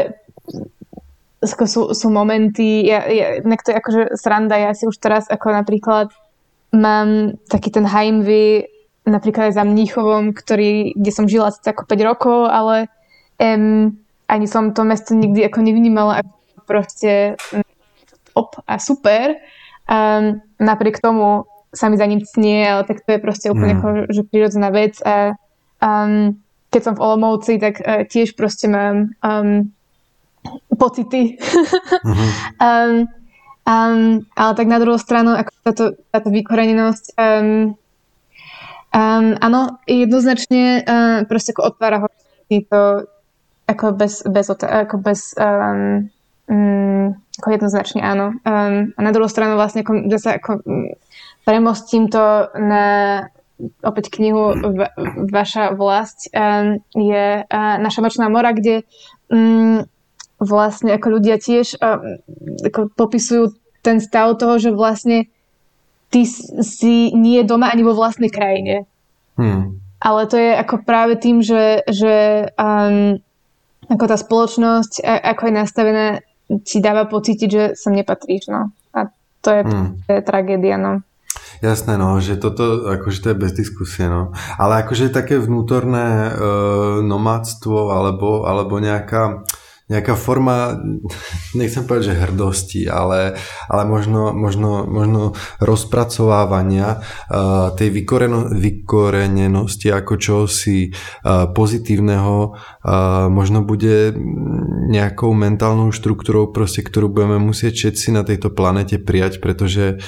sú, sú momenty, ja, ja, to je akože sranda, ja si už teraz ako napríklad mám taký ten Heimweh napríklad aj za Mníchovom, ktorý, kde som žila asi ako päť rokov, ale um, ani som to mesto nikdy ako nevnímala ako proste op a super. Um, napriek tomu sa mi za ním cnie, ale tak to je proste úplne mm. ako, že prirodzená vec a um, keď som v Olomouci, tak uh, tiež proste mám um, pocity. Mm-hmm. um, um, ale tak na druhú stranu, ako táto, táto vykorenenosť um, um, áno, jednoznačne uh, proste ako otvára horizonty to ako bez, bez, ako bez um, um, ako jednoznačne áno. Um, a na druhú stranu vlastne ako, zase ako premostím to na opäť knihu v, Vaša vlast um, je uh, Naša nočná mora, kde um, vlastne ako ľudia tiež um, ako popisujú ten stav toho, že vlastne ty si nie je doma ani vo vlastnej krajine. Hmm. Ale to je ako práve tým, že, že um, ako tá spoločnosť, ako je nastavená, ti dáva pocítiť, že sem nepatríš. No. A to je, hmm. to je tragédia, no. Jasné, no, že toto, akože to je bez diskusie, no. Ale akože také vnútorné e, nomádstvo alebo, alebo nejaká, nejaká forma, nechcem povedať, že hrdosti, ale, ale možno, možno, možno rozpracovávania uh, tej vykoreno, vykorenenosti ako čosi uh, pozitívneho uh, možno bude nejakou mentálnou štruktúrou, proste, ktorú budeme musieť všetci na tejto planete prijať, pretože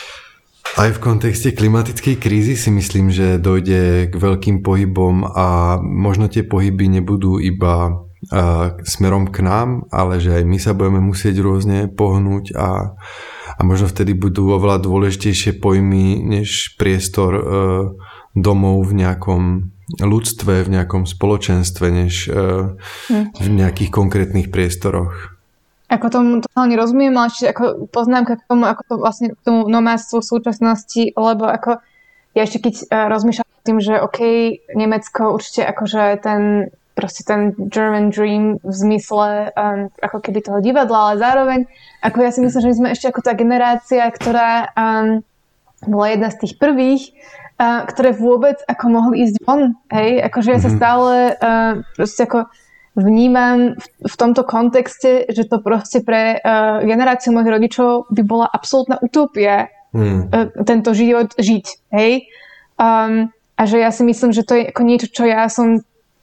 aj v kontexte klimatickej krízy si myslím, že dojde k veľkým pohybom a možno tie pohyby nebudú iba uh, smerom k nám, ale že aj my sa budeme musieť rôzne pohnúť a, a možno vtedy budú oveľa dôležitejšie pojmy než priestor uh, domov v nejakom ľudstve, v nejakom spoločenstve, než uh, v nejakých konkrétnych priestoroch. Ako tomu totálne rozumiem, ale čiže ako poznámka k tomu, ako to vlastne k tomu nomádstvu v súčasnosti, lebo ako ja ešte keď uh, rozmýšľam tým, že OK, Nemecko určite akože ten proste ten German Dream v zmysle um, ako keby toho divadla, ale zároveň ako ja si myslím, že my sme ešte ako tá generácia, ktorá um, bola jedna z tých prvých, uh, ktoré vôbec ako mohli ísť von, hej, akože ja sa stále uh, proste ako vnímam v, v tomto kontexte, že to proste pre uh, generáciu mojich rodičov by bola absolútna utopia mm. uh, tento život žiť, hej. Um, a že ja si myslím, že to je ako niečo, čo ja som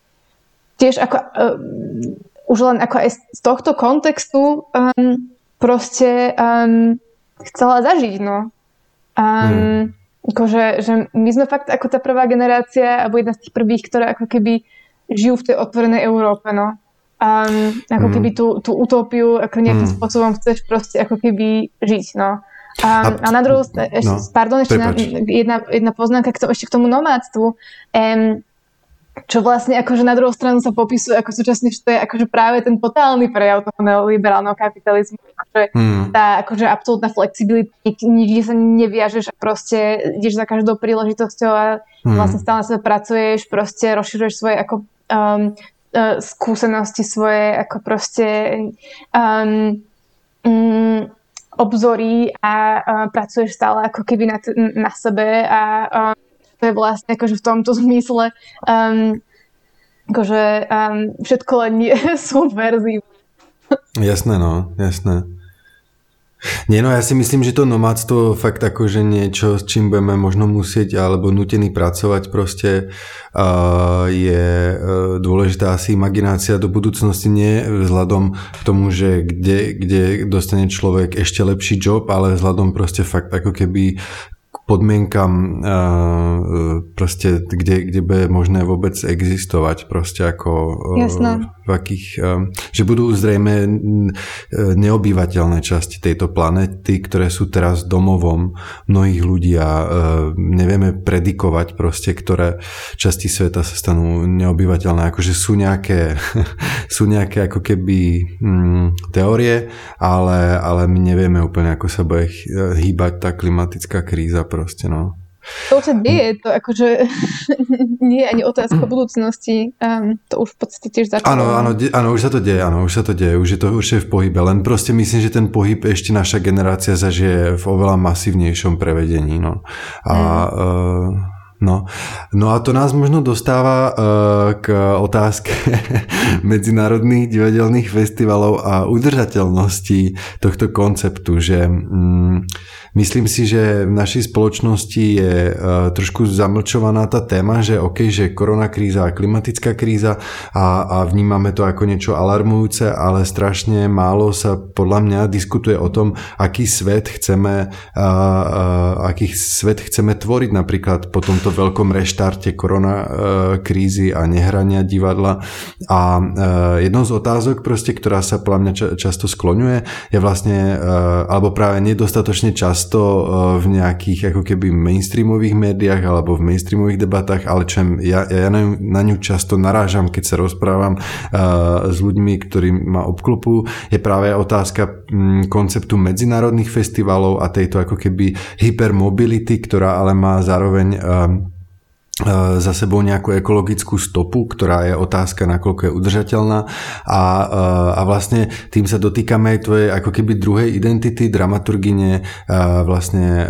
tiež ako uh, už len ako aj z tohto kontextu um, proste um, chcela zažiť, no. Um, mm. akože, že my sme fakt ako tá prvá generácia, alebo jedna z tých prvých, ktorá ako keby žijú v tej otvorenej Európe, no. Um, ako mm. keby tú, tú utópiu ako nejakým mm. spôsobom chceš proste ako keby žiť, no. Um, a, a na druhú stranu, no, pardon, ešte na, jedna, jedna poznámka k tomu, ešte k tomu nomádstvu, um, čo vlastne akože na druhú stranu sa popisuje ako súčasne, že to je akože práve ten totálny prejav toho neoliberálneho kapitalizmu, akože mm. tá akože absolútna flexibilita, nikde sa neviažeš a proste ideš za každou príležitosťou a mm. vlastne stále na sebe pracuješ, proste rozširuješ svoje ako um, uh, skúsenosti, svoje ako proste um, um, obzory a uh, pracuješ stále ako keby na, t- na sebe a um, to je vlastne akože v tomto zmysle um, akože um, všetko len nie sú verzí. Jasné, no, jasné. Nie, no ja si myslím, že to nomádstvo fakt akože niečo, s čím budeme možno musieť alebo nutení pracovať proste uh, je uh, dôležitá asi imaginácia do budúcnosti, nie vzhľadom k tomu, že kde, kde dostane človek ešte lepší job, ale vzhľadom proste fakt ako keby podmienkam proste, kde, kde bude možné vôbec existovať proste ako Jasné. v akých, že budú zrejme neobývateľné časti tejto planety, ktoré sú teraz domovom mnohých ľudí a nevieme predikovať proste, ktoré časti sveta sa stanú neobývateľné, akože sú nejaké sú nejaké ako keby hm, teórie, ale, ale my nevieme úplne, ako sa bude hýbať tá klimatická kríza proste, no. To sa deje, to akože nie je ani otázka budúcnosti, um, to už v podstate tiež začalo. Áno, áno, de, áno, už sa to deje, áno, už sa to deje, už je to určite v pohybe, len proste myslím, že ten pohyb ešte naša generácia zažije v oveľa masívnejšom prevedení, no. A mm. uh, No, no a to nás možno dostáva uh, k otázke medzinárodných divadelných festivalov a udržateľnosti tohto konceptu, že um, myslím si, že v našej spoločnosti je uh, trošku zamlčovaná tá téma, že OK, že koronakríza a klimatická kríza a, a vnímame to ako niečo alarmujúce, ale strašne málo sa podľa mňa diskutuje o tom, aký svet chceme, uh, uh, aký svet chceme tvoriť napríklad po tomto veľkom reštarte korona krízy a nehrania divadla. A jednou z otázok proste, ktorá sa podľa mňa často skloňuje, je vlastne, alebo práve nedostatočne často v nejakých ako keby mainstreamových médiách alebo v mainstreamových debatách, ale čo ja, ja na, ňu, na ňu často narážam, keď sa rozprávam s ľuďmi, ktorí ma obklopujú, je práve otázka konceptu medzinárodných festivalov a tejto ako keby hypermobility, ktorá ale má zároveň za sebou nejakú ekologickú stopu, ktorá je otázka, nakoľko je udržateľná a, a vlastne tým sa dotýkame aj tvojej ako keby druhej identity, dramaturgine vlastne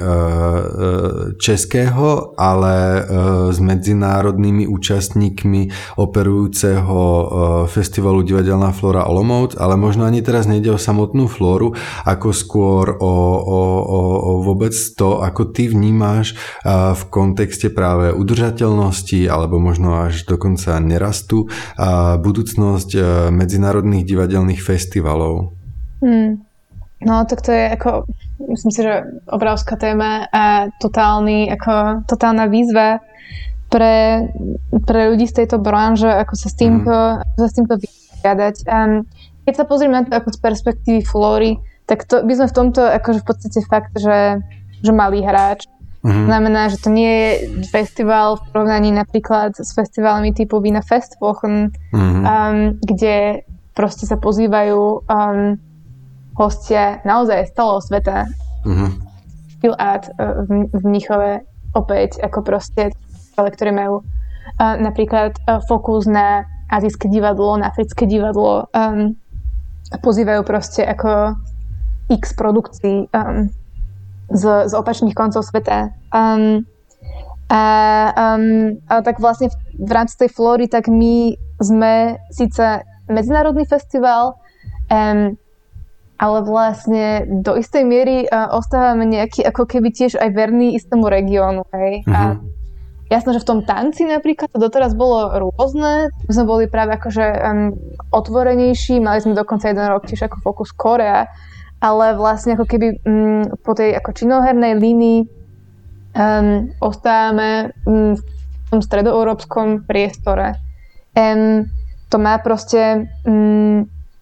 českého, ale s medzinárodnými účastníkmi operujúceho festivalu Divadelná Flóra Olomouc, ale možno ani teraz nejde o samotnú Flóru, ako skôr o, o, o, o vôbec to, ako ty vnímáš v kontexte práve udržateľnosti alebo možno až dokonca nerastu a budúcnosť medzinárodných divadelných festivalov. Hmm. No tak to je ako, myslím si, že obrovská téma a totálny, ako, totálna výzva pre, pre ľudí z tejto branže, ako sa s týmto, hmm. ako sa s týmto vyjadať. Um, keď sa pozrieme na to ako z perspektívy Flóry, tak to by sme v tomto akože v podstate fakt, že, že malý hráč. Mm-hmm. Znamená, že to nie je festival v porovnaní napríklad s festivalmi typu Wiener Festwochen, mm-hmm. um, kde proste sa pozývajú um, hostia naozaj z celého sveta. Mm-hmm. Feel Art uh, v, v Mníchove opäť ako proste, ktoré majú uh, napríklad uh, fokus na azijské divadlo, na africké divadlo, um, pozývajú proste ako x produkcií um, Z, z opačných koncov sveta. Um, a, um, a tak vlastne v, v rámci tej Flóry, tak my sme síce medzinárodný festival, um, ale vlastne do istej miery uh, ostávame nejaký ako keby tiež aj verný istému regiónu. Hej? Mm-hmm. A jasné, že v tom tanci napríklad to doteraz bolo rôzne. My sme boli práve akože um, otvorenejší, mali sme dokonca jeden rok tiež ako Focus Korea, ale vlastne ako keby um, po tej ako činohernej línii um, ostávame um, v tom stredoeurópskom priestore. Um, to má proste um,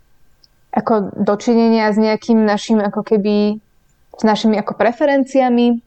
ako dočinenia s nejakým našim ako keby s našimi ako preferenciami,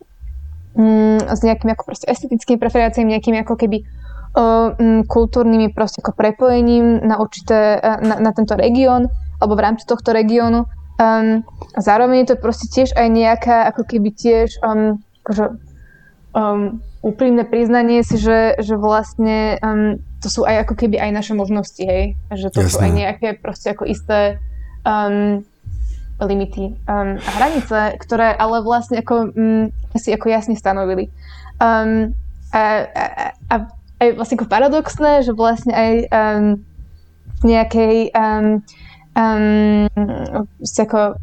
um, s nejakými ako proste estetickými preferenciami, nejakými ako keby uh, um, kultúrnymi proste ako prepojením na určité, uh, na, na tento región alebo v rámci tohto regiónu. Um, zároveň je to proste tiež aj nejaká ako keby tiež um, akože, um, úprimné priznanie si, že, že vlastne um, to sú aj ako keby aj naše možnosti, hej? Že to Jasné. Sú aj nejaké proste ako isté um, limity um, a hranice, ktoré ale vlastne ako um, si ako jasne stanovili. Um, a, a, a aj vlastne ako paradoxné, že vlastne aj um, nejakej um, Um, ako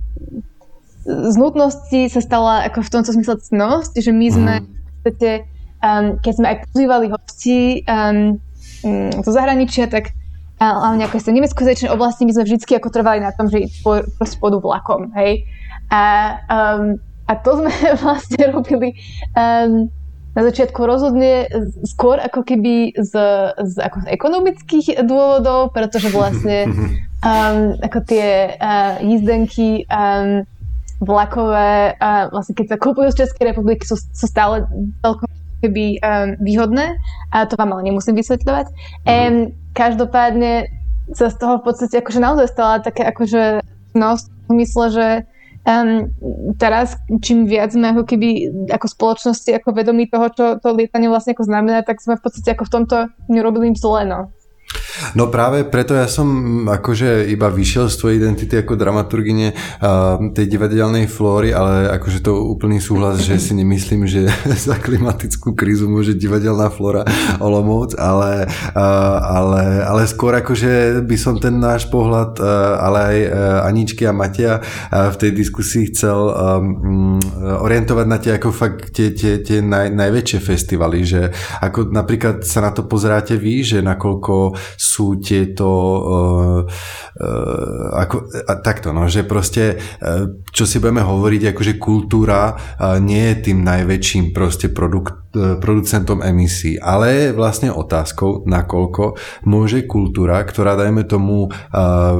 z nutnosti sa stala ako v tomto zmysle cnosť, že my sme mm. v podstate, um, keď sme aj pozývali hostí um, um, zo zahraničia, tak hlavne ako z tej nemeckojazyčnej oblasti my sme vždycky ako trvali na tom, že po, proste pôjdu vlakom, hej. A, um, a to sme vlastne robili um, na začiatku rozhodne skôr ako keby z, z, ako z ekonomických dôvodov, pretože vlastne um, ako tie uh, jízdenky um, vlakové, uh, vlastne keď sa kúpujú z Českej republiky, sú, sú stále celkom keby um, výhodné a to vám ale nemusím vysvetľovať. Um, každopádne sa z toho v podstate akože naozaj stala také akože nosť v mysle, že Um, teraz, čím viac sme ako keby ako spoločnosti ako vedomí toho, čo to lietanie vlastne ako znamená, tak sme v podstate ako v tomto nerobili im zle, no. No práve preto ja som akože iba vyšiel z tvojej identity ako dramaturgine uh, tej divadelnej Flóry, ale akože to úplný súhlas, že si nemyslím, že za klimatickú krízu môže divadelná Flóra Olomouc, ale, uh, ale, ale skôr akože by som ten náš pohľad, uh, ale aj uh, Aničky a Matia uh, v tej diskusii chcel um, orientovať na tie ako fakt tie, tie, tie naj, najväčšie festivaly, že ako napríklad sa na to pozeráte vy, že nakoľko sú tieto uh, uh, ako, uh, takto, no, že proste uh, čo si budeme hovoriť, akože kultúra uh, nie je tým najväčším proste produkt, uh, producentom emisí, ale je vlastne otázkou, nakoľko môže kultúra, ktorá dajme tomu uh, uh,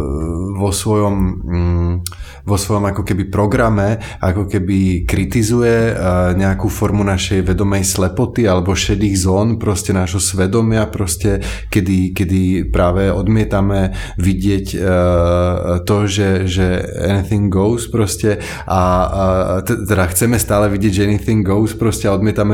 vo svojom um, vo svojom ako keby programe ako keby kritizuje uh, nejakú formu našej vedomej slepoty alebo šedých zón proste nášho svedomia proste, kedy kedy práve odmietame vidieť uh, to, že, že anything goes proste a, a teda chceme stále vidieť, že anything goes proste a odmietame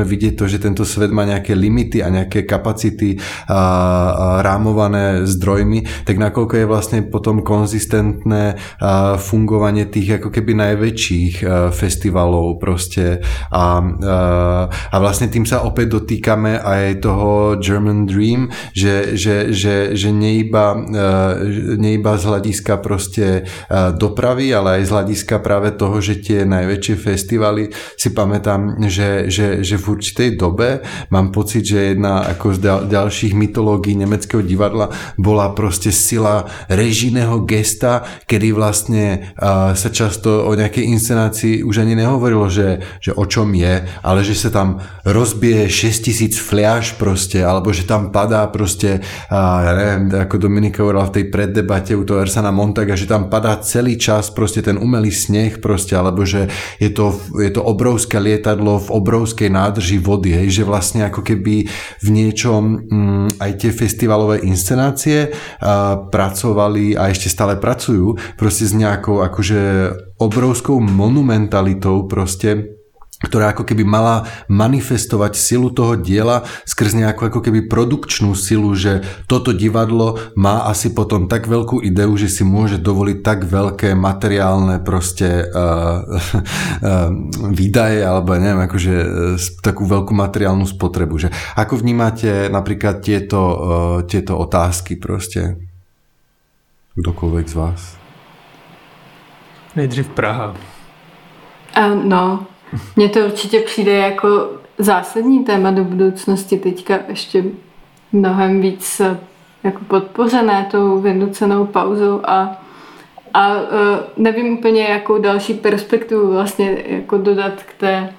vidieť to, že tento svet má nejaké limity a nejaké kapacity a, a rámované zdrojmi, tak nakoľko je vlastne potom konzistentné a, fungovanie tých ako keby najväčších a, festivalov proste a, a, a vlastne tým sa opäť dotýkame aj toho German Dream, že, že, že, že neiba, neiba z hľadiska proste dopravy, ale aj z hľadiska práve toho, že tie najväčšie festivaly, si pamätám, že, že, že v určitej dobe mám pocit, že jedna ako z ďalších mytológií nemeckého divadla bola proste sila režijného gesta, kedy vlastne uh, sa často o nejakej inscenácii už ani nehovorilo, že, že o čom je, ale že sa tam rozbije šesťtisíc fliaš proste, alebo že tam padá proste, uh, ja neviem, ako Dominika hovorila v tej preddebate u toho Ersana Montaga, že tam padá celý čas proste ten umelý sneh proste, alebo že je to, je to obrovské lietadlo v obrovskej nádrži vody, hej, že vlastne ako keby v niečom m, aj tie festivalové inscenácie a, pracovali a ešte stále pracujú proste s nejakou akože obrovskou monumentalitou proste, ktorá ako keby mala manifestovať silu toho diela skrz nejakú ako keby produkčnú silu, že toto divadlo má asi potom tak veľkú ideu, že si môže dovoliť tak veľké materiálne proste uh, uh, výdaje, alebo neviem, akože uh, takú veľkú materiálnu spotrebu. Že ako vnímate napríklad tieto, uh, tieto otázky proste? Kdokoľvek z vás? Nejdřív Praha. Uh, no, mně to určitě přijde jako zásadní téma do budoucnosti, teďka ještě mnohem víc jako podpořené tou vynucenou pauzou a, a nevím úplně, jakou další perspektivu vlastně jako dodat k té,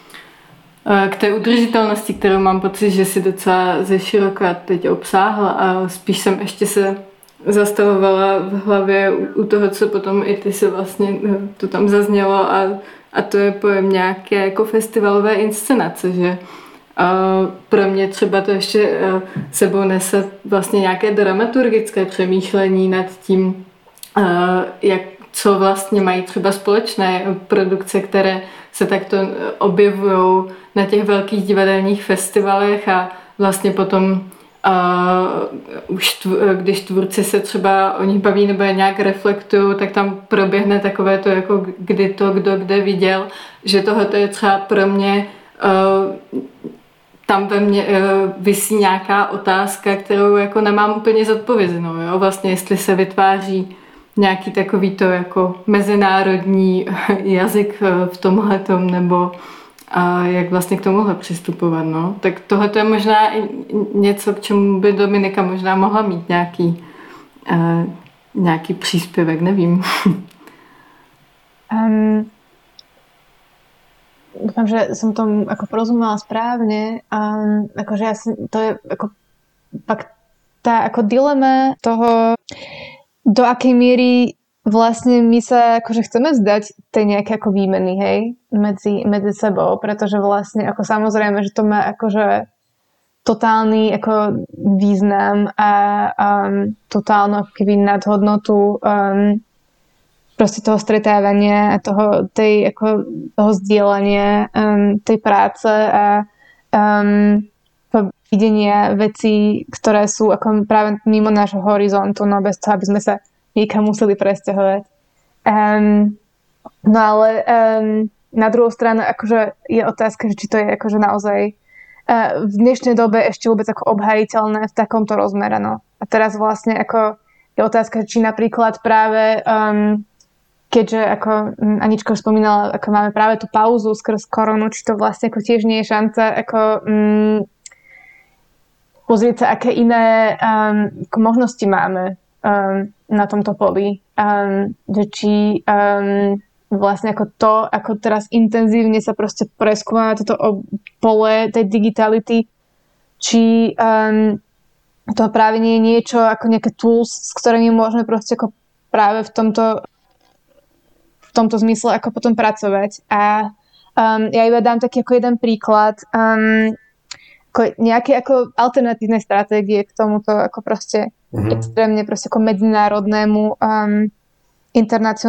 k té udržitelnosti, kterou mám pocit, že si docela ze široka teď obsáhla a spíš jsem ještě se zastavovala v hlavě u toho, co potom i ty se vlastně to tam zaznělo a A to je pojem nějaké jako festivalové inscenace, že uh, pro mě třeba to ještě uh, sebou nese vlastně nějaké dramaturgické přemýšlení nad tím, uh, jak, co vlastně mají třeba společné produkce, které se takto objevují na těch velkých divadelních festivalech a vlastně potom Uh, už tv, když tvůrci se třeba o nich baví nebo je nějak reflektují, tak tam proběhne takové to, jako kdy to kdo kde viděl, že tohoto je třeba pro mě, uh, tam ve mně uh, visí nějaká otázka, kterou jako nemám úplně zodpovězenou. Jo? Vlastně jestli se vytváří nějaký takový to jako mezinárodní jazyk v tomhletom, nebo a jak vlastně k tomuhle přistupovat, no. Tak tohle je možná i něco, k čemu by Dominika možná mohla mít nějaký, uh, nějaký příspěvek, nevím. um, dúfam, že som tomu ako porozumela správne. Um, akože ja si, to je ako fakt tá ako dilema toho, do akej miery vlastne my sa akože chceme vzdať tej nejaké ako výmeny, hej, medzi, medzi sebou, pretože vlastne ako samozrejme, že to má akože totálny ako význam a um, totálnu ako keby nadhodnotu um, proste toho stretávania a toho, tej, ako, toho zdieľania um, tej práce a um, videnia vecí, ktoré sú ako práve mimo nášho horizontu, no bez toho, aby sme sa niekam museli presťahovať. Um, no ale um, na druhú stranu akože je otázka, že či to je akože naozaj uh, v dnešnej dobe ešte vôbec ako obhajiteľné v takomto rozmere. No. A teraz vlastne ako je otázka, či napríklad práve um, keďže ako Anička už spomínala, ako máme práve tú pauzu skrz koronu, či to vlastne ako tiež nie je šanca ako um, pozrieť sa, aké iné um, ako možnosti máme Um, na tomto poli. Um, že či um, vlastne ako to, ako teraz intenzívne sa proste preskúma toto pole tej digitality, či um, to práve nie je niečo ako nejaké tools, s ktorými môžeme proste ako práve v tomto v tomto zmysle ako potom pracovať. A um, ja iba dám taký ako jeden príklad um, ako nejaké ako alternatívne stratégie k tomuto ako proste mm-hmm. extrémne proste ako medzinárodnému um,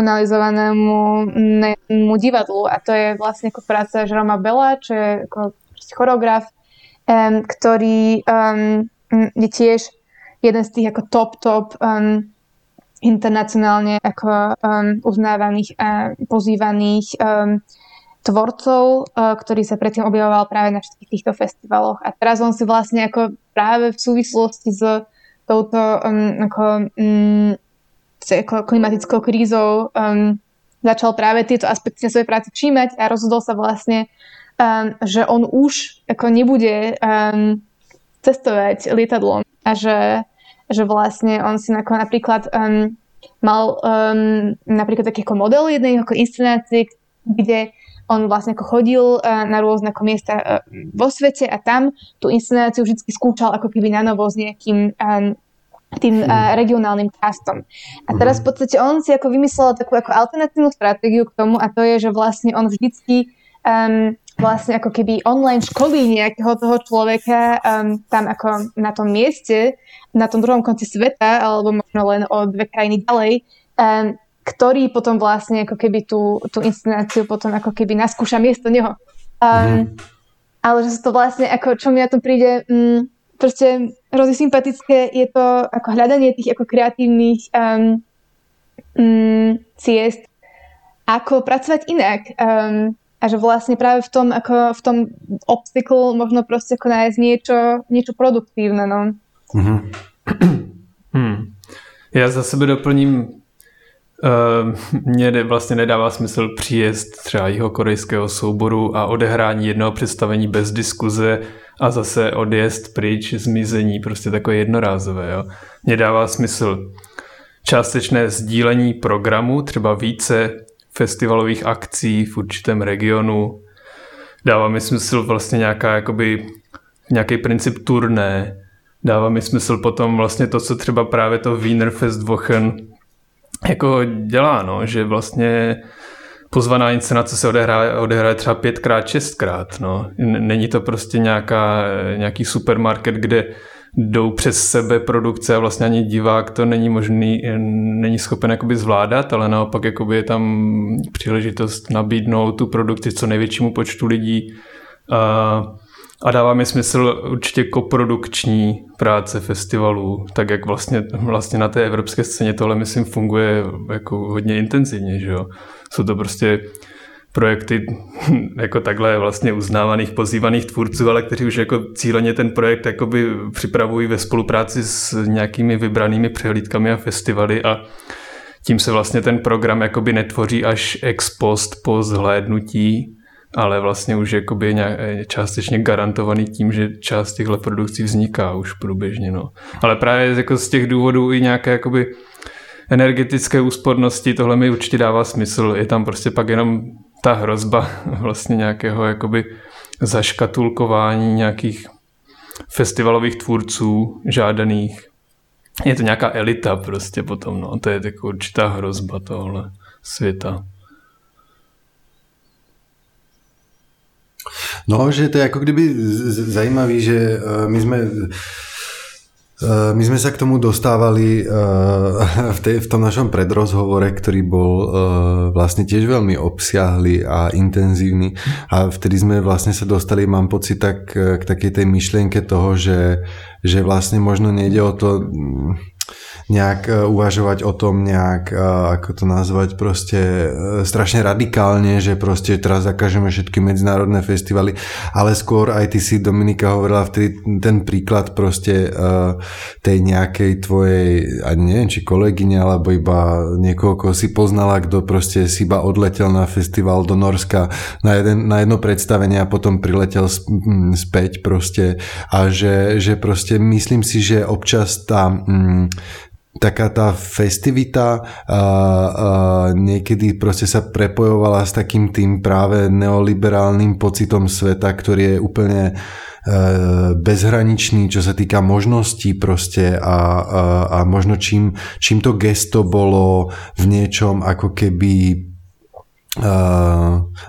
internacionalizovanému divadlu a to je vlastne ako práca Jeroma Bella, čo je ako choreograf, um, ktorý um, je tiež jeden z tých ako top, top um, internacionálne ako um, uznávaných a pozývaných um, tvorcov, uh, ktorý sa predtým objavoval práve na všetkých týchto festivaloch. A teraz on si vlastne ako práve v súvislosti s touto um, ako, um, ako klimatickou krízou um, začal práve tieto aspekty na svojej práci všímať a rozhodol sa vlastne, um, že on už ako nebude um, cestovať lietadlom a že, že vlastne on si ako napríklad um, mal um, napríklad taký ako model jednej ako inscenácie, kde on vlastne ako chodil uh, na rôzne ako miesta uh, vo svete a tam tú inscenáciu vždy skúšal ako keby na novo s nejakým um, tým uh, regionálnym castom. A teraz v podstate on si ako vymyslel takú ako alternatívnu stratégiu k tomu a to je, že vlastne on vždycky um, vlastne ako keby online školí nejakého toho človeka um, tam ako na tom mieste, na tom druhom konci sveta, alebo možno len o dve krajiny ďalej, um, ktorý potom vlastne ako keby tú, tú inscenáciu potom ako keby naskúša miesto neho. Um, mm. Ale že sa to vlastne, ako čo mi na to príde, um, proste hrozne sympatické je to ako hľadanie tých ako kreatívnych um, um, ciest, ako pracovať inak. Um, a že vlastne práve v tom, ako v tom obstacle možno proste ako nájsť niečo, niečo produktívne. No. Mm-hmm. Hmm. Já za sebe doplním, uh, mně vlastně nedává smysl příjezd třeba jihokorejského souboru a odehrání jednoho představení bez diskuze a zase odjezd pryč, zmizení, prostě takové jednorázové. Jo. Mně dává smysl částečné sdílení programu, třeba více festivalových akcí v určitém regionu. Dává mi smysl vlastně nějaká, jakoby, nějaký princip turné. Dává mi smysl potom vlastně to, co třeba právě to Wiener Festwochen jako dělá, no, že vlastně pozvaná inscenace se odehraje, odehraje třeba pětkrát, šestkrát. No. Není to prostě nějaká, nějaký supermarket, kde jdou přes sebe produkce a vlastně ani divák to není možný, není schopen jakoby zvládat, ale naopak jakoby je tam příležitost nabídnout tu produkci co největšímu počtu lidí. A, a dává mi smysl určitě koprodukční práce festivalů, tak jak vlastně, vlastně na té evropské scéně tohle myslím funguje jako hodně intenzivně, že jo. Jsou to prostě projekty jako takhle vlastně uznávaných, pozývaných tvůrců, ale kteří už jako cíleně ten projekt jakoby připravují ve spolupráci s nějakými vybranými přehlídkami a festivaly a tím se vlastně ten program jakoby netvoří až ex post po zhlédnutí, ale vlastně už jakoby částečně garantovaný tím, že část těchto produkcí vzniká už průběžně. No. Ale právě jako z těch důvodů i nějaké jakoby energetické úspornosti, tohle mi určitě dává smysl. Je tam prostě pak jenom ta hrozba vlastně nějakého jakoby zaškatulkování nějakých festivalových tvůrců žádaných. Je to nějaká elita prostě potom, no. To je jako určitá hrozba tohle světa. No, že to je ako kdyby zajímavý, že my sme my sme sa k tomu dostávali v, tej, v tom našom predrozhovore, ktorý bol vlastne tiež veľmi obsiahly a intenzívny a vtedy sme vlastne sa dostali, mám pocit, tak k takej tej myšlienke toho, že, že vlastne možno nejde o to nejak uvažovať o tom nejak, ako to nazvať, proste strašne radikálne, že proste teraz zakážeme všetky medzinárodné festivaly, ale skôr aj ty si, Dominika, hovorila vtedy ten príklad proste tej nejakej tvojej, ani neviem, či kolegyne, alebo iba niekoho, koho si poznala, kto proste si iba odletel na festival do Norska na, jeden, na jedno predstavenie a potom priletel späť proste a že, že proste myslím si, že občas tá mm, taká tá festivita a, a niekedy proste sa prepojovala s takým tým práve neoliberálnym pocitom sveta, ktorý je úplne e, bezhraničný, čo sa týka možností proste a, a, a možno čím, čím to gesto bolo v niečom ako keby Uh,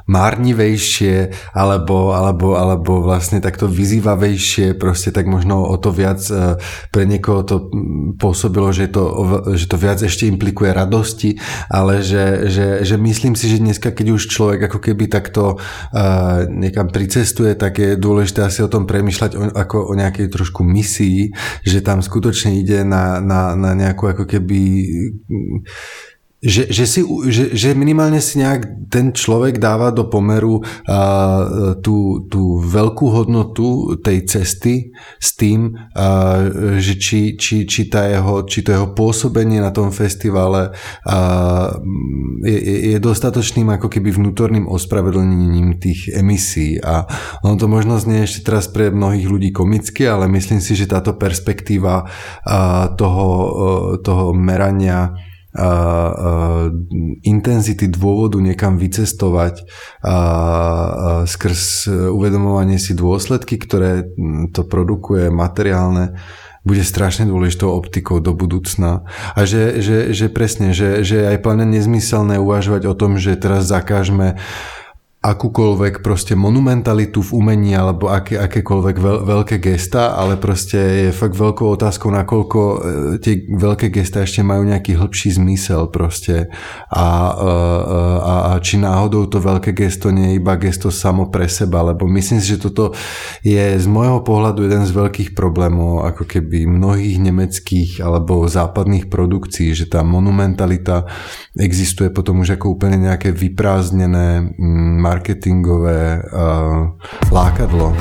márnivejšie alebo, alebo, alebo vlastne takto vyzývavejšie, proste tak možno o to viac pre niekoho to pôsobilo, že to, že to viac ešte implikuje radosti, ale že, že, že myslím si, že dneska, keď už človek ako keby takto uh, niekam pricestuje, tak je dôležité asi o tom premýšľať o, ako o nejakej trošku misii, že tam skutočne ide na, na, na nejakú ako keby Že, že, si, že, že minimálne si nejak ten človek dáva do pomeru uh, tú, tú veľkú hodnotu tej cesty s tým, uh, že či, či, či, tá jeho, či to jeho pôsobenie na tom festivale uh, je, je dostatočným ako keby vnútorným ospravedlnením tých emisí. A ono to možno znie ešte teraz pre mnohých ľudí komicky, ale myslím si, že táto perspektíva uh, toho, uh, toho merania a, a, intenzity dôvodu niekam vycestovať a, a skrz uvedomovanie si dôsledky, ktoré to produkuje materiálne, bude strašne dôležitou optikou do budúcna. A že, že, že presne, že, že je aj plne nezmyselné uvažovať o tom, že teraz zakážeme akúkoľvek proste monumentalitu v umení alebo aké, akékoľvek veľ, veľké gesta, ale proste je fakt veľkou otázkou, nakoľko tie veľké gesta ešte majú nejaký hĺbší zmysel proste a, a, a či náhodou to veľké gesto nie je iba gesto samo pre seba, lebo myslím si, že toto je z môjho pohľadu jeden z veľkých problémov ako keby mnohých nemeckých alebo západných produkcií, že tá monumentalita existuje potom už ako úplne nejaké vyprázdnené marketingové uh, lákadlo.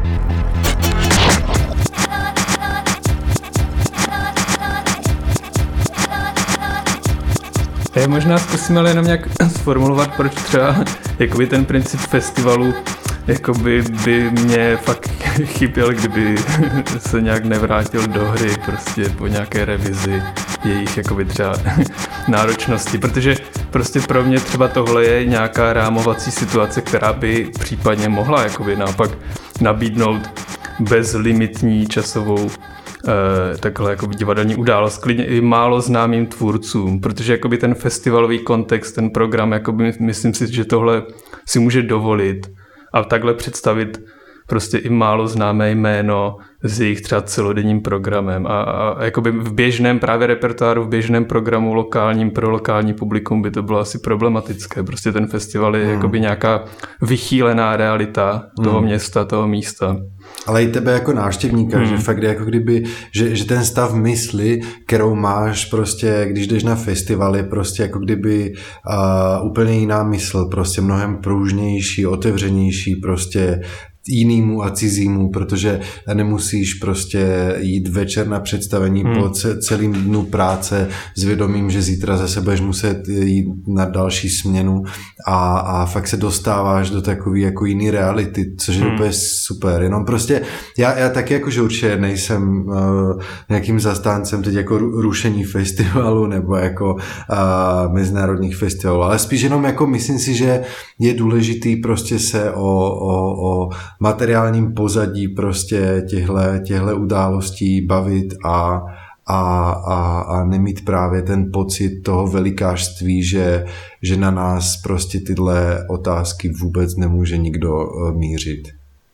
Já možná zkusím ale jenom nějak sformulovat, proč třeba jakoby ten princip festivalu jakoby by mě fakt chyběl, kdyby se nějak nevrátil do hry prostě po nějaké revizi jejich jakoby třeba náročnosti, protože prostě pro mě třeba tohle je nějaká rámovací situace, která by případně mohla jakoby naopak nabídnout bezlimitní časovou Uh, takhle jako divadelní událost, klidně i málo známým tvůrcům, protože jakoby ten festivalový kontext, ten program, jakoby myslím si, že tohle si může dovolit a takhle představit prostě i málo známé jméno s jejich třeba celodenním programem a, a jakoby v běžném právě repertoáru, v běžném programu lokálním pro lokální publikum by to bylo asi problematické. Prostě ten festival je hmm. jakoby nějaká vychýlená realita toho hmm. města, toho místa. Ale i tebe jako návštěvníka, hmm. že fakt jako kdyby, že, že ten stav mysli, kterou máš prostě, když jdeš na festival, je prostě jako kdyby uh, úplně jiná mysl, prostě mnohem pružnější, otevřenější, prostě jinému a cizímu, protože nemusíš prostě jít večer na představení hmm. po celým dnu práce s vědomím, že zítra zase budeš muset jít na další směnu a, a fakt se dostáváš do takové jako jiný reality, což je hmm. úplně super. Jenom prostě já, já taky jakože určitě nejsem uh, nějakým zastáncem teď jako rušení festivalu nebo jako uh, mezinárodních festivalů, ale spíš jenom jako myslím si, že je důležitý prostě se o, o, o materiálním pozadí prostě těhle, těhle událostí bavit a, a, a, a nemít právě ten pocit toho velikářství, že, že na nás prostě tyhle otázky vůbec nemůže nikdo mířit.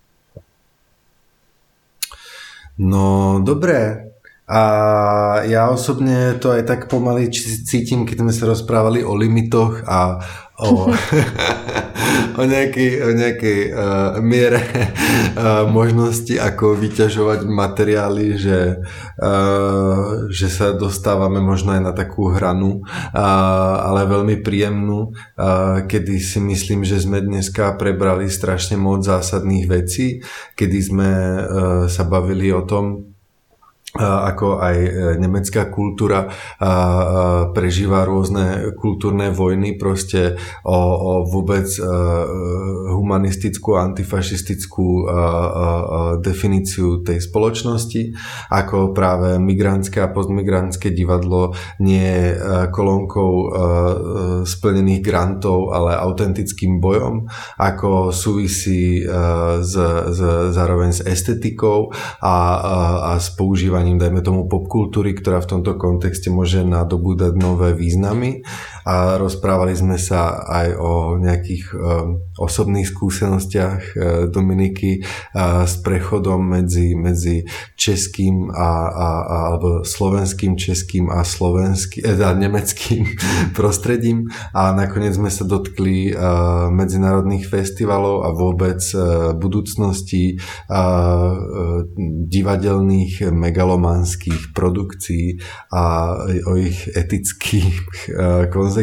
No dobré. A já osobně to aj tak pomaly cítím, keď jsme se rozprávali o limitoch a o, o nejakej, o nejakej uh, miere uh, možnosti, ako vyťažovať materiály, že, uh, že sa dostávame možno aj na takú hranu, uh, ale veľmi príjemnú, uh, kedy si myslím, že sme dneska prebrali strašne moc zásadných vecí, kedy sme uh, sa bavili o tom, ako aj nemecká kultúra prežíva rôzne kultúrne vojny proste o, o vôbec humanistickú a antifašistickú definíciu tej spoločnosti, ako práve migrantské a postmigrantské divadlo nie je kolónkou splnených grantov, ale autentickým bojom, ako súvisí z, z, zároveň s estetikou a, a, a s používaním spracovaním, dajme tomu popkultúry, ktorá v tomto kontexte môže nadobúdať nové významy, a rozprávali sme sa aj o nejakých um, osobných skúsenostiach uh, Dominiky uh, s prechodom medzi, medzi českým a, a, a alebo slovenským, českým a slovenským, eh, nemeckým prostredím, a nakoniec sme sa dotkli uh, medzinárodných festivalov a vôbec uh, budúcnosti uh, uh, divadelných megalomanských produkcií a o ich etických uh, konzekvenciách.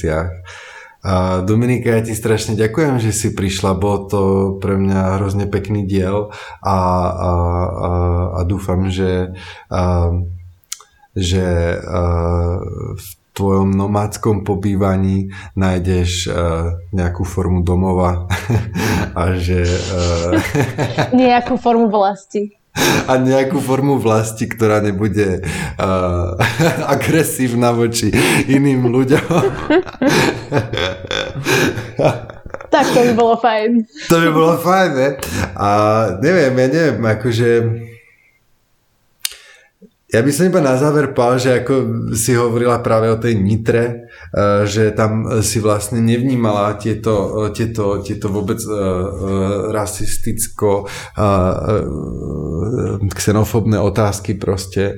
A Dominika, ja ti strašne ďakujem, že si prišla, bol to pre mňa hrozne pekný diel a, a, a, a dúfam, že, a, že a, v tvojom nomádskom pobývaní nájdeš a, nejakú formu domova a že a, nejakú formu vlasti. A nejakú formu vlasti, ktorá nebude uh, agresívna voči iným ľuďom. Tak to by bolo fajn. To by bolo fajn, ne? A neviem, ja neviem, akože... Ja by som iba na záver povedal, že ako si hovorila práve o tej Nitre, že tam si vlastne nevnímala tieto, tieto, tieto vôbec rasisticko xenofóbne otázky proste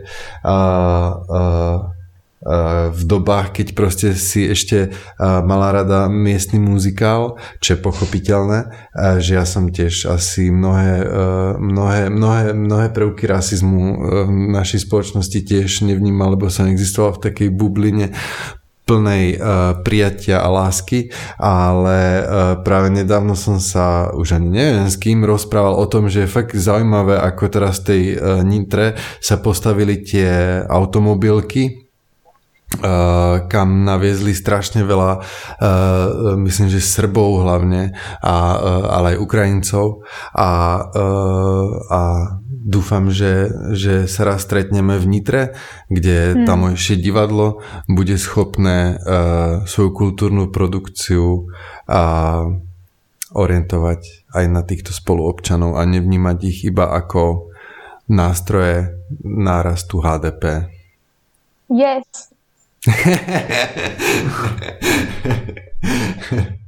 v dobách, keď proste si ešte mala rada miestny muzikál, čo je pochopiteľné, že ja som tiež asi mnohé, mnohé, mnohé, mnohé prvky rasizmu v našej spoločnosti tiež nevnímal, lebo som existoval v takej bubline plnej uh, prijatia a lásky, ale uh, práve nedávno som sa, už ani neviem s kým, rozprával o tom, že je fakt zaujímavé, ako teraz v tej uh, Nitre sa postavili tie automobilky, Uh, kam naviezli strašne veľa, uh, myslím, že Srbov hlavne, a, uh, ale aj Ukrajincov, a, uh, a dúfam, že, že sa raz stretneme v Nitre, kde hmm. tamojšie divadlo bude schopné uh, svoju kultúrnu produkciu a orientovať aj na týchto spoluobčanov a nevnímať ich iba ako nástroje nárastu há dé pé. Yes.